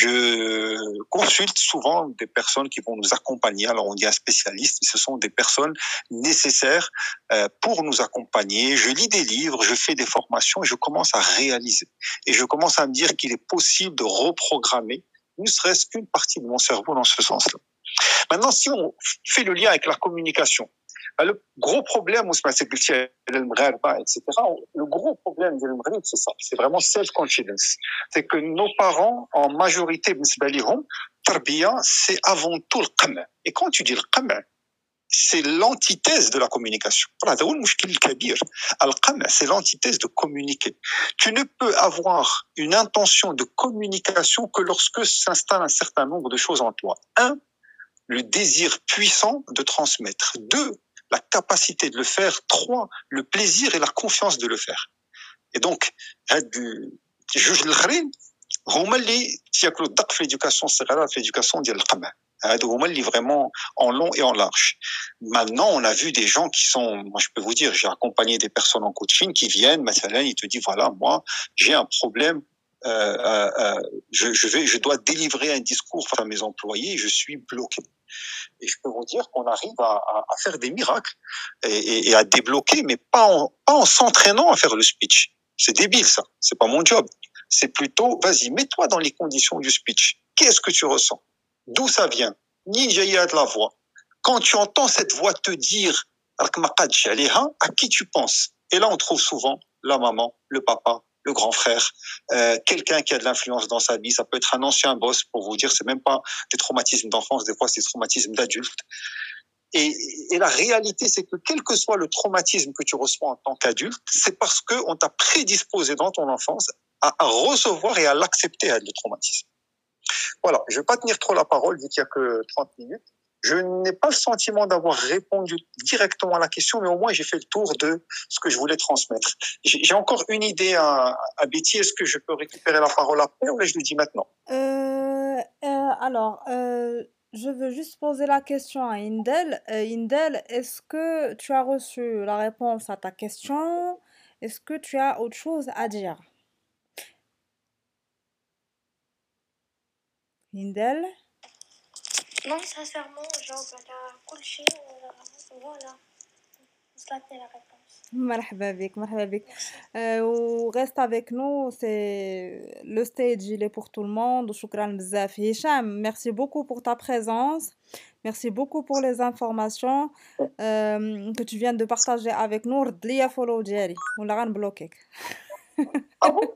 je consulte souvent des personnes qui vont nous accompagner. Alors on dit un spécialiste, mais ce sont des personnes nécessaires euh, pour nous accompagner. Je lis des livres, je fais des formations et je commence à réaliser. Et je commence à me dire qu'il est possible de reprogrammer, ne serait-ce qu'une partie de mon cerveau dans ce sens-là. Maintenant, si on fait le lien avec la communication, le gros problème, c'est que et cetera. Le gros problème de l'Maghreb, c'est ça. C'est vraiment self-confidence. C'est que nos parents, en majorité, c'est avant tout le qama. Et quand tu dis le qama, c'est l'antithèse de la communication. C'est l'antithèse de communiquer. Tu ne peux avoir une intention de communication que lorsque s'installe un certain nombre de choses en toi. Un, le désir puissant de transmettre. Deux, la capacité de le faire. Trois, le plaisir et la confiance de le faire. Et donc, juge الآخرين هما اللي تياكلوا الدق في l'éducation الصغيرة في l'éducation ديال القمع. هادو هما اللي vraiment en long et en large. Maintenant, on a vu des gens qui sont, moi je peux vous dire, j'ai accompagné des personnes en coaching qui viennent, مثلا, ils te disent voilà, moi j'ai un problème, euh, euh, je, je vais, je dois délivrer un discours à mes employés, je suis bloqué. Et je peux vous dire qu'on arrive à, à, à faire des miracles et, et, et à débloquer, mais pas en, pas en s'entraînant à faire le speech. C'est débile ça, c'est pas mon job. C'est plutôt, vas-y, mets-toi dans les conditions du speech. Qu'est-ce que tu ressens? D'où ça vient? Ni jaïa de la voix. Quand tu entends cette voix te dire à qui tu penses? Et là, on trouve souvent la maman, le papa, le grand frère, euh, quelqu'un qui a de l'influence dans sa vie. Ça peut être un ancien boss, pour vous dire, c'est même pas des traumatismes d'enfance, des fois c'est des traumatismes d'adulte. Et, et la réalité, c'est que quel que soit le traumatisme que tu reçois en tant qu'adulte, c'est parce qu'on t'a prédisposé dans ton enfance à, à recevoir et à l'accepter, à le traumatisme. Voilà, je ne vais pas tenir trop la parole, vu qu'il n'y a que trente minutes. Je n'ai pas le sentiment d'avoir répondu directement à la question, mais au moins j'ai fait le tour de ce que je voulais transmettre. J'ai encore une idée à, à Betty. Est-ce que je peux récupérer la parole après ou là je le dis maintenant? euh, euh, Alors, euh, je veux juste poser la question à Indel. Euh, Indel, est-ce que tu as reçu la réponse à ta question? Est-ce que tu as autre chose à dire? Indel? Non, sincèrement, genre, على كل شيء voilà. وصلتني la réponse. مرحبا بك مرحبا بك euh, و reste avec nous, c'est le stage il est pour tout le monde. وشكرا بزاف هشام, merci beaucoup pour ta présence, merci beaucoup pour les informations euh, que tu viens de partager avec nous. رد ليا فولو ديالي ولا غنبلوكيك. Ah bon?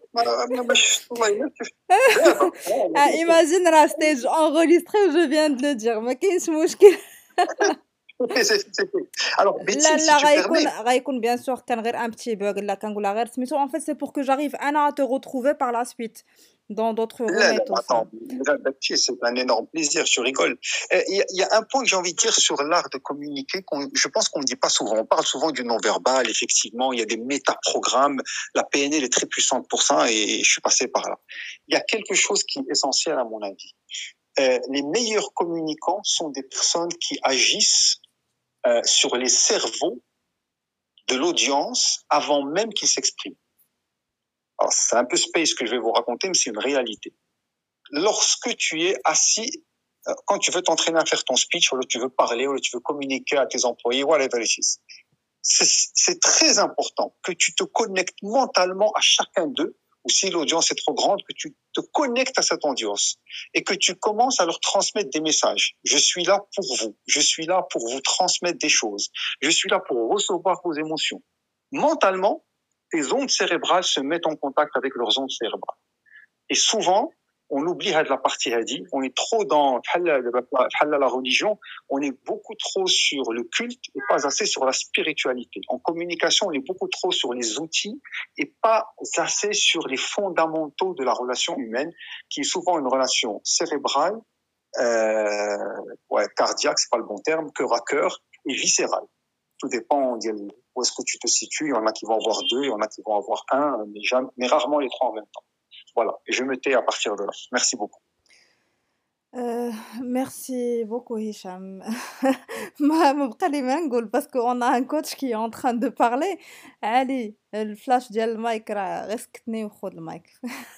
Ah, imagine la stage enregistrée, je viens de le dire, ما كاينش مشكل. Alors, لا Betty, si لا tu غيكون permets, غيكون bien sûr كان غير un petit bug لا كنقولها غير سميتو en fait c'est pour que j'arrive أنا à te retrouver par la suite dans d'autres là, rooms là, et tout ça. attends, là, Betty, c'est un énorme plaisir, je rigole. Euh, Il y, a- il y a un point que j'ai envie de dire sur l'art de communiquer, qu'on, je pense qu'on ne dit pas souvent. On parle souvent du non-verbal, effectivement, il y a des métaprogrammes. La P N L est très puissante pour ça et je suis passé par là. Il y a quelque chose qui est essentiel à mon avis. Euh, les meilleurs communicants sont des personnes qui agissent euh, sur les cerveaux de l'audience avant même qu'ils s'expriment. Alors, c'est un peu space que je vais vous raconter, mais c'est une réalité. Lorsque tu es assis, euh, quand tu veux t'entraîner à faire ton speech, ou tu veux parler, ou tu veux communiquer à tes employés, whatever it is, c'est, c'est très important que tu te connectes mentalement à chacun d'eux, ou si l'audience est trop grande, que tu te connectes à cette audience et que tu commences à leur transmettre des messages. Je suis là pour vous. Je suis là pour vous transmettre des choses. Je suis là pour recevoir vos émotions. Mentalement, tes ondes cérébrales se mettent en contact avec leurs ondes cérébrales. Et souvent, on oublie de la partie hadi, on est trop dans la religion, on est beaucoup trop sur le culte et pas assez sur la spiritualité. En communication, on est beaucoup trop sur les outils et pas assez sur les fondamentaux de la relation humaine, qui est souvent une relation cérébrale, euh, ouais, cardiaque, c'est pas le bon terme, cœur à cœur, et viscérale. Tout dépend de où est-ce que tu te situes. Il y en a qui vont avoir deux, il y en a qui vont avoir un, mais, jamais, mais rarement les trois en même temps. Voilà, et je me tais à partir de là. Merci beaucoup. Euh, merci beaucoup Hicham. ما ما بقى لي ما نقول parce qu'on a un coach qui est en train de parler. علي الفلاش ديال المايك راه غير سكتني وخذ المايك.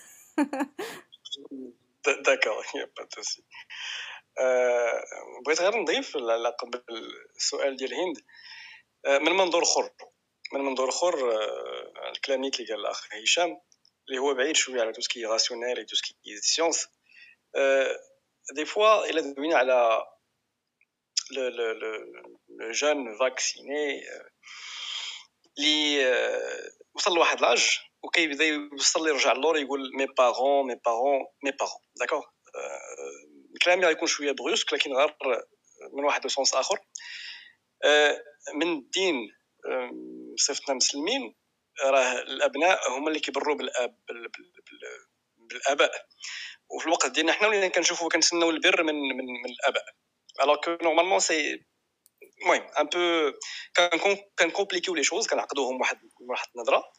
داكور با دو سوسي. بغيت غير نضيف على قبل السؤال ديال هند من منظور اخر من منظور اخر الكلام اللي قال الاخ هشام اللي هو بعيد شويه على توسكي راسيونيل اي توسكي سيونس. دي فوا الا دوينا على لو لو لو جون فاكسيني اللي وصل لواحد لاج وكيبدا يوصل لي يرجع للور يقول مي بارون مي بارون مي بارون داكوغ. الكلام غيكون شويه بروسك لكن غير من واحد السونس اخر. من الدين صفتنا مسلمين راه الابناء هما اللي كيبروا بالاب بالاباء وفي الوقت ديالنا حنا ولينا كنشوفوا كنتسناو البر من من, من الاباء alors que normalement c'est المهم ان بو كان كنكومبليكيو لي شوز كنعقدوهم واحد واحد النظره.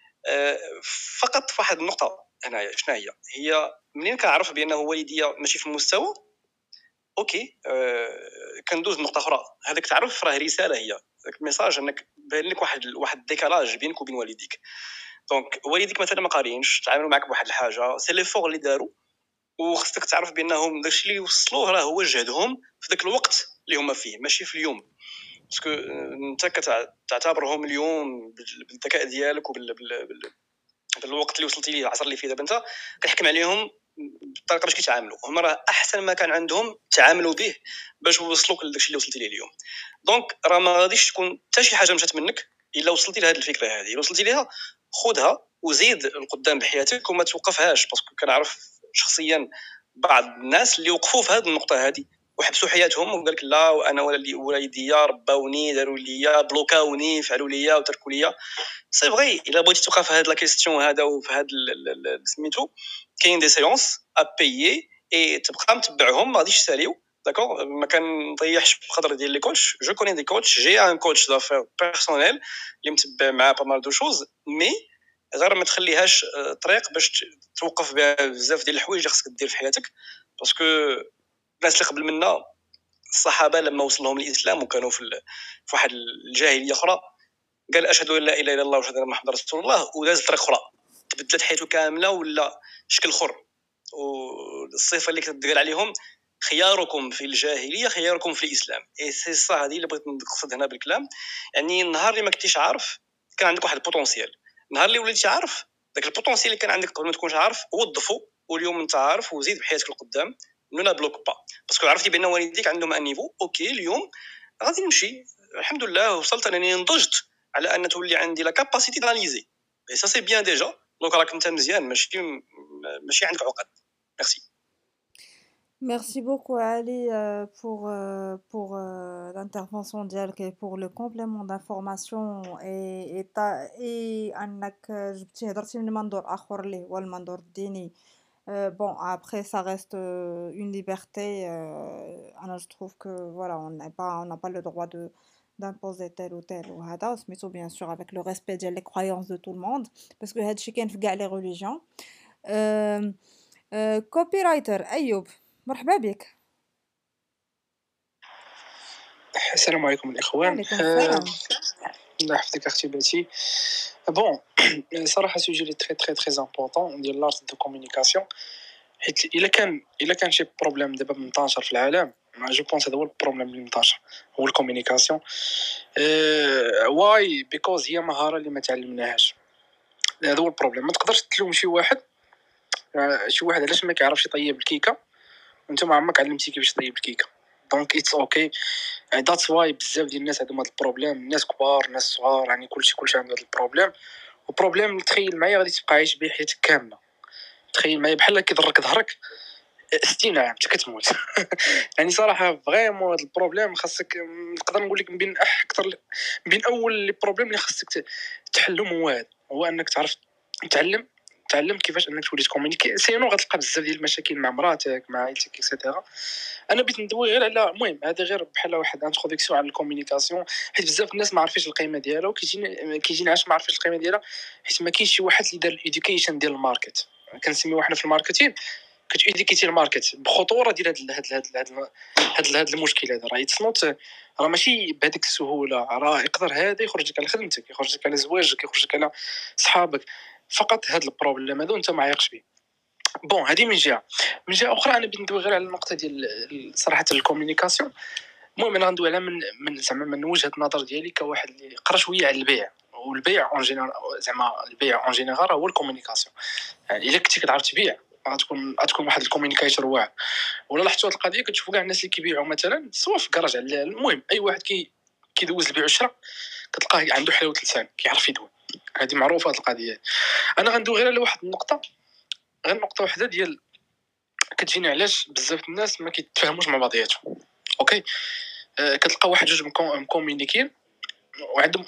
فقط في واحد النقطه هنايا شنو هي هي منين كنعرف بانه والديا ماشي في المستوى اوكي أه كندوز نقطه اخرى هذاك تعرف راه رساله هي داك الميساج انك باين لك واحد واحد ديكالاج بينك وبين والديك. دونك والديك مثلا ما قارينش تعاملوا معك بواحد الحاجه سي لي فور اللي داروا وخصك تعرف بانهم داكشي اللي وصلوه راه هو جهدهم في ذاك الوقت اللي هما فيه ماشي في اليوم باسكو انت كتعتبرهم اليوم بالذكاء ديالك وبال بالوقت اللي وصلتي ليه العصر اللي فيه دابا انت كتحكم عليهم بالطريقه باش كيتعاملوا هما راه احسن ما كان عندهم تعاملوا به باش يوصلوك لداكشي اللي وصلتي ليه اليوم. دونك راه ما غاديش تكون حتى شي حاجه مشات منك الا وصلتي لهاد الفكره هذه الا وصلتي ليها خذها وزيد القدام بحياتك وما توقفهاش باسكو كنعرف شخصيا بعض الناس اللي وقفوا في هذه النقطه هذه وحبسوا حياتهم وقال لك لا وانا ولا والديا رباوني داروا ليا بلوكاوني فعلوا ليا وتركوا ليا. سي فغي الا بغيتي توقف في هاد لا كيستيون هذا وفي هاد سميتو كاين دي سيونس ا بايي اي تبقى متبعهم ما غاديش يساليو داكور. ما كنضيعش بقدر ديال لي كوتش جو كوني دي كوتش جي ان كوتش دافير بيرسونيل اللي متبع معاه با مال دو شوز مي غير ما تخليهاش طريق باش توقف بها بزاف ديال الحوايج اللي خصك دير في حياتك باسكو الناس اللي قبل منا الصحابه لما وصل لهم الاسلام وكانوا في في واحد الجاهليه اخرى قال اشهد ان لا اله الا الله واشهد ان محمد رسول الله وداز طريق اخرى تبدلت حياته كامله ولا شكل اخر. والصفه اللي كتقال عليهم خياركم في الجاهليه خياركم في الاسلام اي سي صا هذه اللي بغيت نقصد هنا بالكلام. يعني النهار اللي ما كنتيش عارف كان عندك واحد البوتونسيال النهار اللي وليتي عارف داك البوتونسيال اللي كان عندك قبل ما تكونش عارف وظفو واليوم انت عارف وزيد بحياتك القدام نو لا بلوك با باسكو عرفتي بان والديك عندهم ان نيفو اوكي اليوم غادي نمشي الحمد لله وصلت انني نضجت على ان تولي عندي لا كاباسيتي داناليزي اي سا سي بيان ديجا دونك راك انت مزيان ماشي ماشي عندك عقد. ميرسي. Merci beaucoup Ali euh, pour, euh, pour euh, l'intervention ديالك et pour le complément d'information et et ta- et انك جبتي هضرتي من منظور اخر اللي هو المنظور الديني. Euh, bon, après, ça reste euh, une liberté. Euh, alors, je trouve que voilà, on n'a pas, on n'a pas le droit de d'imposer tel ou tel ou hada, mais tout bien sûr avec le respect des croyances de tout le monde, parce que هادشي كاين في كاع les religions. Euh, euh, copywriter أيوب مرحبا بك. السلام عليكم الاخوان. وعليكم آه، السلام. الله يحفظك اختي باتي. بون صراحه سوجي لي تري تري تري امبورطون ديال لارت دو كومونيكاسيون، حيت الا كان الا كان شي بروبليم دابا منتشر في العالم، جو بونس هذا هو البروبليم اللي منتشر، هو الكومونيكاسيون. واي بيكوز هي مهاره اللي ما تعلمناهاش، هذا هو البروبليم. ما تقدرش تلوم شي واحد آه، شي واحد علاش ما كيعرفش يطيب الكيكه وانت ما عمرك علمتي كيفاش تطيب الكيكه. دونك اتس اوكي. ذاتس واي بزاف ديال الناس عندهم هذا البروبليم، الناس كبار الناس صغار، يعني كلشي كلشي عنده هذا البروبليم. وبروبليم اللي تخيل معايا غادي تبقى عايش به حياتك كامله. تخيل معايا بحال كيضرك ظهرك ستين عام حتى كتموت. يعني صراحه فريمون هذا البروبليم خاصك، نقدر نقول لك من بين اكثر من بين اول لي بروبليم اللي خاصك تحلهم هو هذا، هو انك تعرف تعلم تعلم كيفاش انك تولي تكومونيكي. سينو غتلقى بزاف ديال المشاكل مع مراتك مع عائلتك اكسيتيرا. انا بغيت ندوي غير على المهم هذا غير بحال واحد انتروداكسيون على الكومونيكاسيون، حيت بزاف الناس ما عارفينش القيمه ديالها، وكيجيني كيجيني علاش ما عارفينش القيمه ديالها، حيت ما كاينش شي واحد اللي دار الاديوكيشن ديال الماركت. كنسميو حنا في الماركتين كتيديكيتي الماركت بخطوره ديال هاد هاد هاد هاد هاد هاد المشكل هذا. راه تصنوت راه ماشي بهذيك السهوله، راه يقدر هذا يخرجك على خدمتك، يخرجك على زواجك، يخرجك على صحابك. فقط هاد البروبليم هذا انت ما عايقش به. بون هذه من جهه. من جهه اخرى انا بغيت ندوي غير على النقطه ديال صراحه الكومونيكاسيون. المهم انا غندوي على من من زعما من وجهه النظر ديالي كواحد اللي قرا شويه على البيع، والبيع اون جينيرال زعما البيع اون جينيرال هو الكومونيكاسيون. يعني الا كنتي كتعرف تبيع غتكون غتكون واحد الكومونيكايتور واعر. ولا لاحظتوا هذه القضيه كتشوفوا كاع الناس اللي كيبيعوا مثلا سواء في كراج على المهم اي واحد كي كيدوز البيع والشراء كتلقاه عنده حلاوه لسان كيعرف يدوي. هذه معروفه هذه القضيه. انا غندوي غير على واحد النقطه، غير نقطه واحده ديال كتجيني علاش بزاف الناس ما كيتفاهموش مع بعضياتهم. اوكي أه كتلقى واحد جوج مكومونيكين وعندهم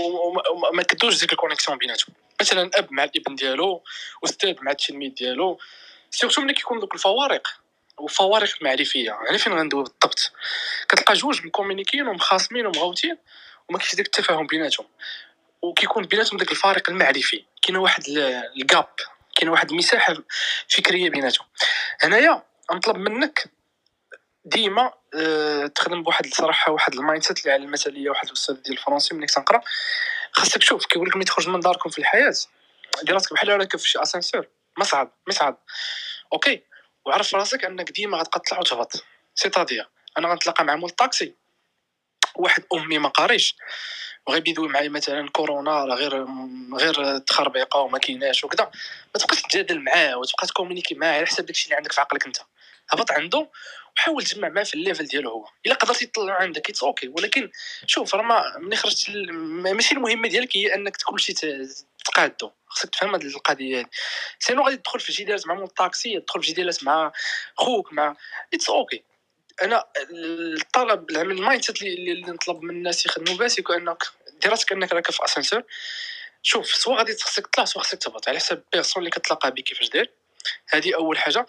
ما كدوش ديك الكونيكسيون بيناتهم. مثلا اب مع الابن ديالو، استاذ مع التلميذ ديالو، سيرتو ملي كيكون دوك الفوارق وفوارق المعرفيه. يعني فين غندوي بالضبط؟ كتلقى جوج مكومونيكين ومخاصمين ومغوتين وما كاينش داك التفاهم بيناتهم، وكيكون بيناتهم داك الفارق المعرفي، كاين واحد الجاب، كاين واحد المساحه فكريه بيناتهم. هنايا نطلب منك ديما أه تخدم بواحد الصراحه واحد المايند سيت اللي على المثاليه. واحد الاستاذ ديال الفرنسي ملي كتنقرا خاصك تشوف كيقول لك ملي تخرج من داركم في الحياه دير راسك بحال راكب في شي اسانسور، ما صعب ما صعب اوكي. وعرف راسك انك ديما غتبقى تطلع وتهبط. سيتادير انا غنتلاقى مع مول الطاكسي واحد امي ما قاريش وغيبي يدوي معايا مثلا كورونا راه غير غير تخربيقه وما كايناش وكذا، ما تبقاش تجادل معاه وتبقى تكومونيكي معاه على حساب داكشي اللي عندك في عقلك انت. هبط عنده وحاول تجمع معاه في الليفل ديالو هو. الا قدرتي تطلع عندك اتس اوكي، ولكن شوف راه ما ملي خرجت ماشي المهمه ديالك هي انك كلشي تقادو. خصك تفهم هذه القضيه هذه. سينو غادي تدخل في جدالات مع مول الطاكسي، تدخل في جدالات مع خوك مع اتس اوكي. انا الطلب العمل المايند سيت اللي, اللي نطلب من الناس يخدموا بها سيكون انك دير راسك انك راك في اسانسور. شوف سواء غادي خصك تطلع سواء خصك تهبط على حسب بيرسون اللي كتلاقى به كيفاش داير. هذه اول حاجه.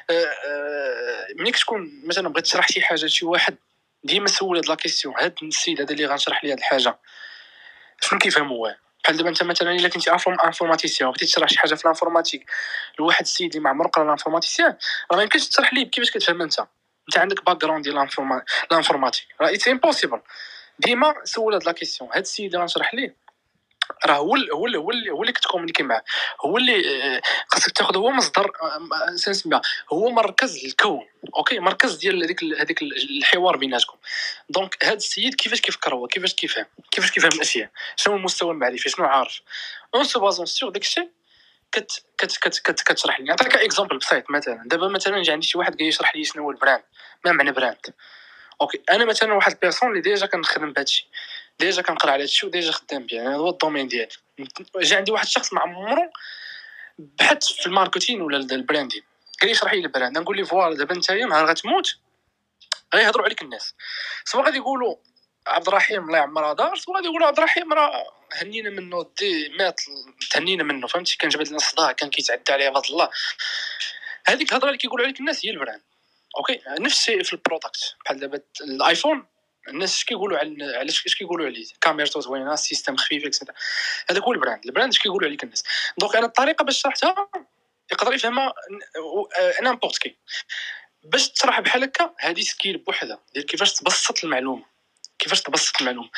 ملي كتكون مثلا بغيت تشرح شي حاجه لشي واحد ديما سول هاد لا كيسيون، هاد السيد هذا اللي غنشرح ليه هاد الحاجه شنو كيفهم هو. بحال دابا انت مثلا الا كنتي انفورماتيسيان وبغيتي تشرح شي حاجه في الانفورماتيك لواحد السيد اللي ما عمره قرا الانفورماتيسيان، راه ما يمكنش تشرح ليه كيفاش كتفهم انت انت عندك باك جراوند ديال الانفورماتيك. راه اتس امبوسيبل. ديما سول هاد لا كيسيون. هاد السيد اللي غنشرح ليه راه هو هو هو اللي هو اللي كتكومونيكي معاه، هو اللي خاصك تاخذ هو مصدر نسميها هو مركز الكون. اوكي مركز ديال هذيك هذيك الحوار بيناتكم. دونك هذا السيد كيفاش كيفكر هو، كيفاش كيفهم كيفاش كيفهم الاشياء، شنو هو المستوى المعرفي، شنو عارف. اون سو بازون سور داكشي كت كت كت كت كتشرح لي. نعطيك اكزامبل بسيط. مثلا دابا مثلا جا عندي شي واحد جاي يشرح لي شنو هو البراند، ما معنى براند. اوكي انا مثلا واحد البيرسون اللي ديجا كنخدم بهادشي، ديجا كنقرا على هادشي وديجا خدام بيه، يعني هو الدومين ديالي. جا عندي واحد الشخص ما عمرو بحث في الماركتين ولا البراندين، قال لي شرح لي البراند، نقول لي فوالا دابا نتايا نهار غتموت غيهضروا عليك الناس، سواء غادي يقولوا عبد الرحيم الله يعمرها دار، سواء غادي يقولوا عبد الرحيم راه هنينا منه دي مات تهنينا منه، فهمتي؟ كان جبد لنا الصداع، كان كيتعدى عليه بفضل الله. هذيك الهضره اللي كيقولوا عليك الناس هي البراند. اوكي نفس الشيء في البرودكت، بحال دابا الايفون الناس اش كيقولوا على علاش اش كيقولوا عليه كاميرته زوينه السيستم خفيف اكسترا، هذاك هو البراند. البراند اش كيقولوا عليك الناس. دونك انا الطريقه باش شرحتها يقدر يفهمها نامبورت كي. باش تشرح بحال هكا هذه سكيل بوحدها ديال كيفاش تبسط المعلومه، كيفاش تبسط المعلومه.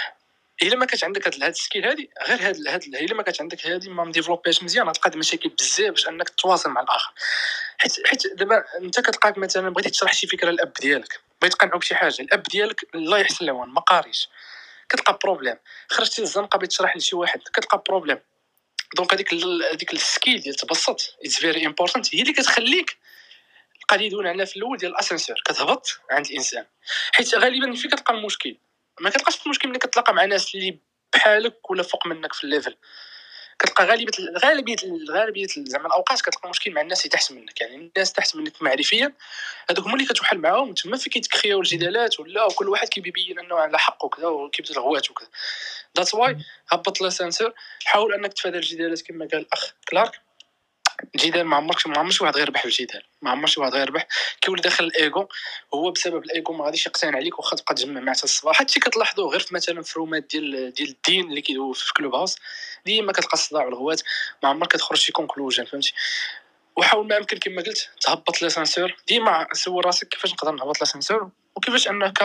الا ما كانت عندك هاد السكيل هذه غير هاد هاد الا ما كانت عندك هذه ما مديفلوبيش مزيان غتلقى مشاكل بزاف باش انك تواصل مع الاخر. حيت حيت دابا انت كتلقاك مثلا بغيتي تشرح شي فكره للاب ديالك، بغيت تقنعو بشي حاجه، الاب ديالك الله يحسن العوان ما قاريش، كتلقى بروبليم. خرجتي للزنقه بغيت تشرح لشي واحد كتلقى بروبليم. دونك هذيك هذيك السكيل ديال تبسط اتس فيري امبورطانت، هي اللي كتخليك القضيه اللي دونا عليها في الاول ديال الاسانسور كتهبط عند الانسان. حيت غالبا فين كتلقى المشكل؟ ما كتلقاش المشكل ملي كتلاقى مع ناس اللي بحالك ولا فوق منك في الليفل. كتلقى غالبيه غالبيه غالبيه زعما الاوقات كتلقى مشكل مع الناس اللي تحت منك، يعني الناس تحت منك معرفيا هذوك هما اللي كتوحل معاهم تما فين كيتكرياو الجدالات، ولا وكل واحد كيبين انه على حق وكذا وكيبدا الغوات وكذا. ذاتس واي هبط لاسانسور، حاول انك تفادى الجدالات كما قال الاخ كلارك. الجدال ما عمرك ما عمر شي واحد غيربح بالجدال، ما عمر شي واحد غيربح. كيولي داخل الايغو، هو بسبب الايغو ما غاديش يقتنع عليك واخا تبقى تجمع معاه حتى الصباح. هادشي كتلاحظوه غير في مثلا في رومات ديال ديال الدين اللي كيدوزو في كلوب هاوس، ديما كتلقى الصداع والغوات، ما عمرك كتخرج شي كونكلوجن، فهمتي؟ وحاول ما يمكن كما قلت تهبط لاسانسور. ديما سول راسك كيفاش نقدر نهبط لاسانسور، وكيفاش انك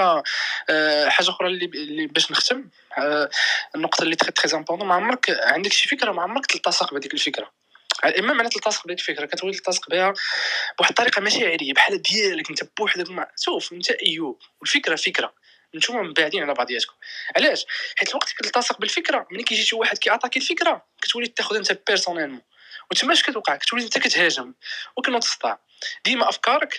أه حاجه اخرى اللي, اللي باش نختم أه النقطه اللي تري تري امبورطون، ما عمرك عندك شي فكره ما عمرك تلتصق بهذيك الفكره. اما معنى تلتصق بهذيك الفكره كتولي تلتصق بها بواحد الطريقه مشاعريه بحال ديالك انت بوحدك. مع شوف انت ايوب والفكره فكره، نتوما مبعدين على بعضياتكم. علاش؟ حيت الوقت كتلتصق بالفكره ملي كيجي شي واحد كيعطاكي الفكره كتولي تاخذ انت بيرسونيلمون، وتماش كتوقع كتولي انت كتهاجم وكنوض تصدع. ديما افكارك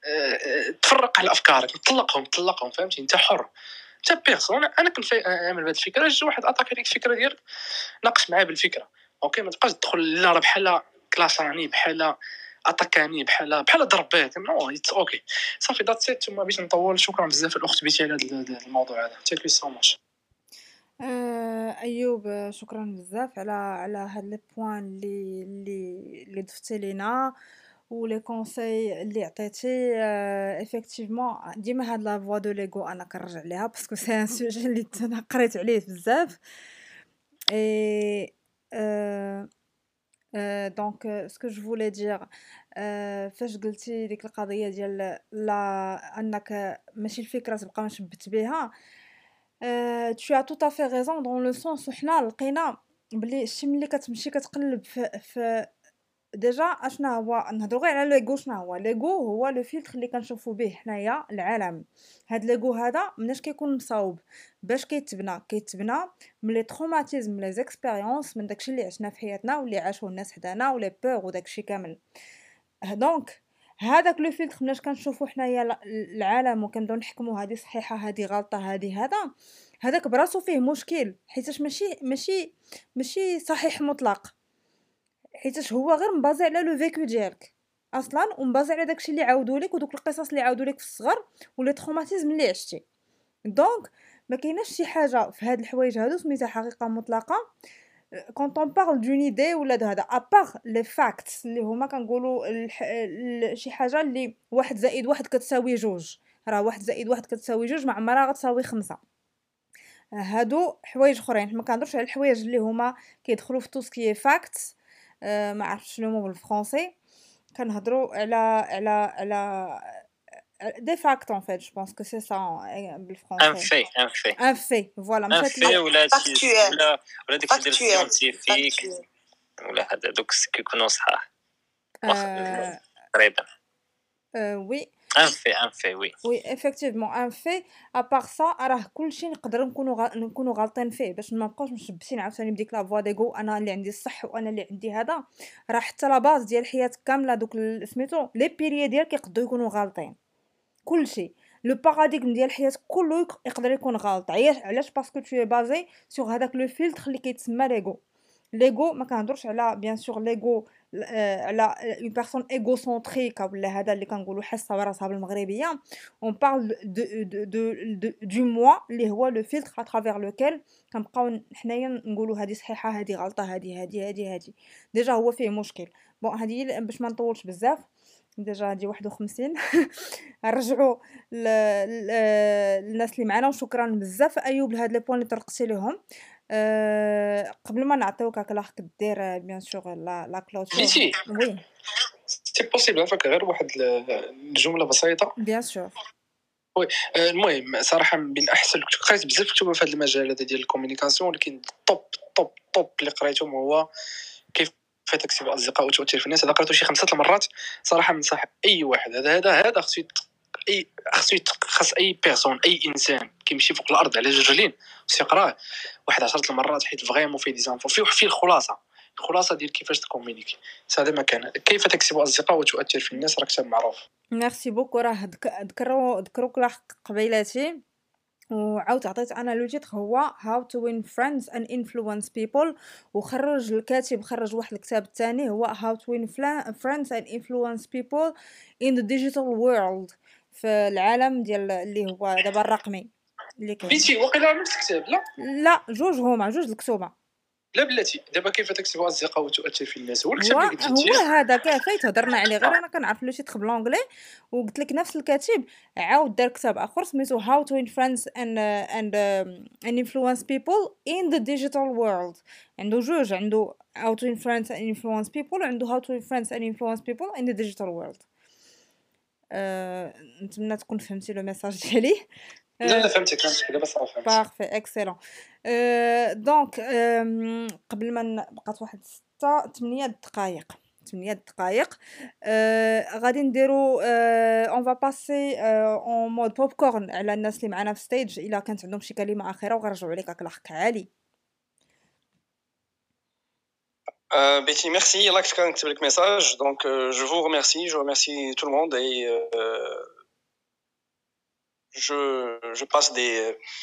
أه تفرق على افكارك، طلقهم طلقهم فهمتي؟ انت حر، انت بيرسون. انا كنت نعمل بهذه الفكره، جا واحد عطاك هذيك الفكره ديالك ناقش معاه بالفكره. اوكي ما تبقاش تدخل لا راه بحال كلاساني بحال اتاكاني بحال بحال ضربات. نو اتس اوكي صافي ذات سيت. ثم باش نطول، شكرا بزاف الاخت بيتي على هذا الموضوع هذا. ثانك يو سو ماتش. ايوب شكرا بزاف على على هاد لي بوين اللي اللي اللي ضفتي لينا ولي كونساي اللي عطيتي. ايفيكتيفمون ديما هاد لا فوا دو ليغو انا كنرجع ليها باسكو سي ان سوجي اللي انا قريت عليه بزاف. اي euh, euh, donc euh, ce que je voulais dire euh, فاش قلتي ديك القضيه ديال لا انك ماشي الفكره تبقى مشبت بها، euh, tu as tout à fait raison dans le sens حنا لقينا بلي شي ملي كتمشي كتقلب في, في ديجا اشنا هو نهضروا غير على ليغو. شنو هو ليغو؟ هو لو فلتر اللي كنشوفوا به حنايا العالم. هاد ليغو هذا مناش كيكون مصاوب باش كيتبنى كيتبنى من لي تروماتيزم من لي زيكسبيريونس من داكشي اللي عشنا في حياتنا واللي عاشوه الناس حدانا ولي بور وداكشي كامل. دونك هذاك لو فلتر مناش كنشوفوا حنايا العالم وكنبداو نحكموا هذه صحيحه هذه غلطه هذه هذا هذاك براسو فيه مشكل، حيتاش ماشي ماشي ماشي صحيح مطلق، حيتاش هو غير مبازي على لو فيكو ديالك اصلا ومبازي على داكشي اللي عاودوا لك ودوك القصص اللي عاودوا لك في الصغر ولي تروماتيزم اللي عشتي. دونك ما كايناش شي حاجه في هاد الحوايج هادو سميتها حقيقه مطلقه كونط اون بارل دون ايدي ولا هذا ابار لي فاكتس اللي هما كنقولوا الح... ال... شي حاجه اللي واحد زائد واحد كتساوي جوج. راه واحد زائد واحد كتساوي جوج ما عمرها غتساوي خمسة. هادو حوايج اخرين. ما كنهضرش على الحوايج اللي هما كيدخلوا في توسكي فاكتس. أه ما عرفتش شنو هما بالفرنسي. كنهضروا على على على دي فاكت ان فيت جو بونس كو سي سا بالفرنسي. ان في ان في ان في فوالا ان مشات في لي ولا شي ولا ولا داكشي ديال فاكتويل سيانتيفيك فاكتويل ولا هذا دوك كيكونوا صحاح أه تقريبا. أه وي ان في ان في وي وي ايفيكتيفمون ان في ابار سا راه كلشي نقدروا نكونوا غا... نكونوا غالطين فيه باش ما نبقاوش مشبسين عاوتاني بديك لا فوا ديغو انا اللي عندي الصح وانا اللي عندي هذا. راه حتى لا باز ديال الحياه كامله دوك سميتو لي بيريي ديالك يقدروا يكونوا غالطين. كلشي لو باراديغم ديال الحياه كله يقدر يكون غلط. علاش؟ باسكو تو بازي سور هذاك لو فلتر اللي كيتسمى ليغو. ليغو ما كنهضرش على بيان سور ليغو على اون بيرسون ايغوسنتريك ولا هذا اللي كنقولوا حاسه براسها بالمغربيه. اون بارل دو دو دو دو موا اللي هو لو فيلتر ا ترافير لوكيل كنبقاو حنايا نقولوا هذه صحيحه هذه غلطه هذه هذه هذه هذه ديجا هو فيه مشكل. بون هذه باش ما نطولش بزاف ديجا هادي واحد وخمسين نرجعوا للناس اللي معنا وشكرا بزاف ايوب لهاد لي بوين اللي طرقتي لهم. أه قبل ما نعطيوك هكا راح كدير بيان سور لا لا كلوتور. بيتي وي سي بوسيبل عفاك غير واحد الجمله بسيطه. بيان سور وي آه، المهم صراحه من احسن كنت قريت بزاف كتب في هذا المجال هذا ديال الكومونيكاسيون، ولكن الطوب الطوب الطوب اللي قريتهم هو كيف تكسب اصدقاء وتؤثر في الناس. هذا قريته شي خمسة المرات صراحه. ننصح اي واحد هذا هذا هذا خصو يت- اي خصو يت- خص اي بيرسون اي انسان كيمشي فوق الارض على جوج رجلين خصو يقراه واحد عشرة المرات، حيت فريمون فيه دي زانفو فيه فيه الخلاصه الخلاصه ديال كيفاش تكومونيكي. هذا ما كان كيف تكسب اصدقاء وتؤثر في الناس راه كتاب معروف. ميرسي بوكو. راه ذكروا ذكروك راه قبيلاتي وعاود عطيت انا لو تيتر هو how to win friends and influence people، وخرج الكاتب خرج واحد الكتاب الثاني هو how to win fla- friends and influence people in the digital world، في العالم ديال اللي هو دابا الرقمي اللي كاين. بيتي وقيلا نفس الكتاب؟ لا لا جوج هما جوج الكتوبه. لا بلاتي دابا كيف تكسب اصدقاء وتؤثر في الناس هو هو الكتاب اللي قلت هو لي. هذا كافيت هضرنا عليه غير انا كنعرف لو تيتر بالانجلي وقلت لك نفس الكاتب عاود دار كتاب اخر سميتو how to win friends and uh, and um, and influence people in the digital world. عنده جوج، عنده how to win friends and influence people وعنده how to win friends and influence people in the digital world. أه... نتمنى تكون فهمتي لو ميساج ديالي. لا لا فهمتك فهمتك دابا صافي فهمت. بارفي اكسلون. أه دونك أه قبل ما ن- بقات واحد ستة ثمانية دقائق ثمانية دقائق أه غادي نديرو اون فا باسي اون مود بوب كورن على الناس اللي معنا في ستيج الا كانت عندهم شي كلمه اخيره وغنرجعوا عليك هاك الحق عالي. Euh, Betty, merci. Il y a là que quelqu'un qui te message. Donc, euh, je vous remercie. Je remercie tout le monde et euh, je, je passe des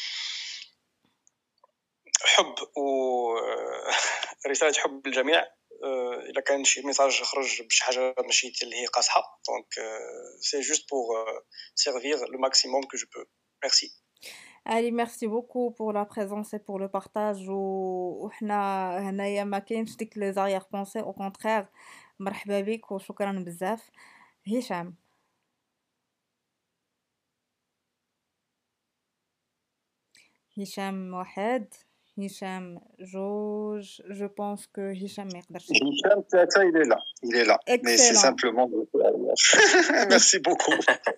حب و رسالة حب للجميع. إلا كان شي ميساج خرج بشي حاجة ماشي اللي هي قاصحة دونك سي جوست بور سيرفير لو ماكسيموم كو جو بو. ميرسي. Allez, merci beaucoup pour la présence et pour le partage. و- وحنا هنايا ما كاينش ديك لي زاريير بونسي، او كونترير مرحبا بك وشكرا بزاف. هشام هشام واحد هشام جوج جو بونس كو هشام ما يقدرش. Hicham Tata, il est là. Il est là. Mais c'est Excellent. simplement. Merci beaucoup.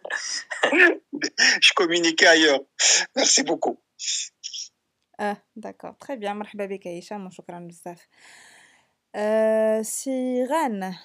Je communiquais ailleurs. Merci beaucoup. اه داكور تري بيان. مرحبا بك يا هشام وشكرا بزاف. أه سيغان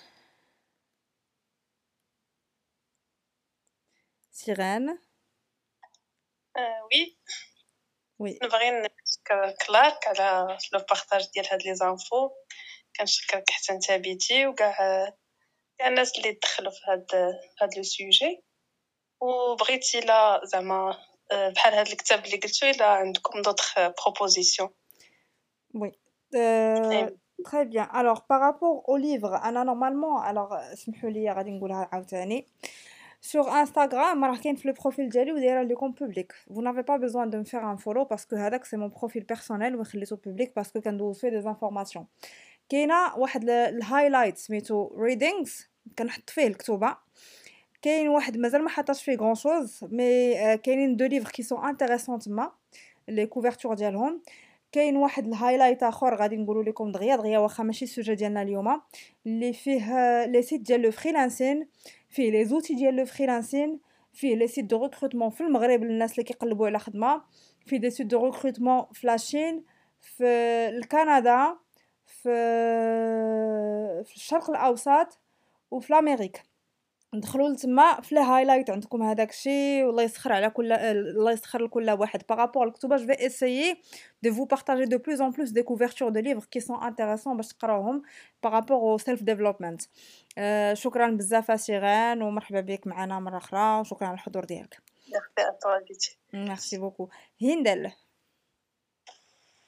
سيغان آه وي وي نبغي نشكر كلارك على لو بارطاج ديال هاد لي زانفو. كنشكرك حتى انت بيتي وكاع كاع الناس اللي دخلوا في هاد هاد لو سوجي. وبغيتي لا زعما آه، بحال هاد الكتاب اللي قلتو الا عندكم دوطخ بروبوزيسيون. Oui. Euh, très bien. Alors, par rapport au livre, أنا normalement, alors اسمحوا لي غادي نقولها عاوتاني. Sur Instagram, راه كاين في le profil ديالي ودايره لكم public. Vous n'avez pas besoin de me faire un follow parce que هذاك c'est mon profil personnel وخليته public parce que كندوز فيه des informations. كاينه واحد الهايلايت سميتو readings كنحط فيه الكتوبه. كاين واحد مازال ما حطاش فيه غون شوز مي كاينين دو ليفر كي سون انتريسون تما لي كوفرتور ديالهم. كاين واحد الهايلايت اخر غادي نقولوا لكم دغيا دغيا واخا ماشي السوجي ديالنا اليوم اللي فيه لي سيت ديال لو فريلانسين، فيه لي زوتي ديال لو فريلانسين، فيه لي سيت دو ريكروتمون في المغرب للناس اللي كيقلبوا على خدمه، فيه دي سيت دو ريكروتمون في لاشين، في الكندا، في في الشرق الاوسط وفي امريكا. ندخلوا لتما في الهايلايت عندكم هذاك الشيء والله يسخر على كل الله يسخر لكل واحد. بارابور الكتوبه جو في اسيي دو فو بارطاجي دو بلوس ان بلوس دي كوفرتور دو ليفر كي سون انتريسون باش تقراوهم بارابور او سيلف ديفلوبمنت. أه شكرا بزاف سيغان ومرحبا بك معنا مره اخرى وشكرا على الحضور ديالك. ميرسي ا توا بيتي. ميرسي بوكو. هندل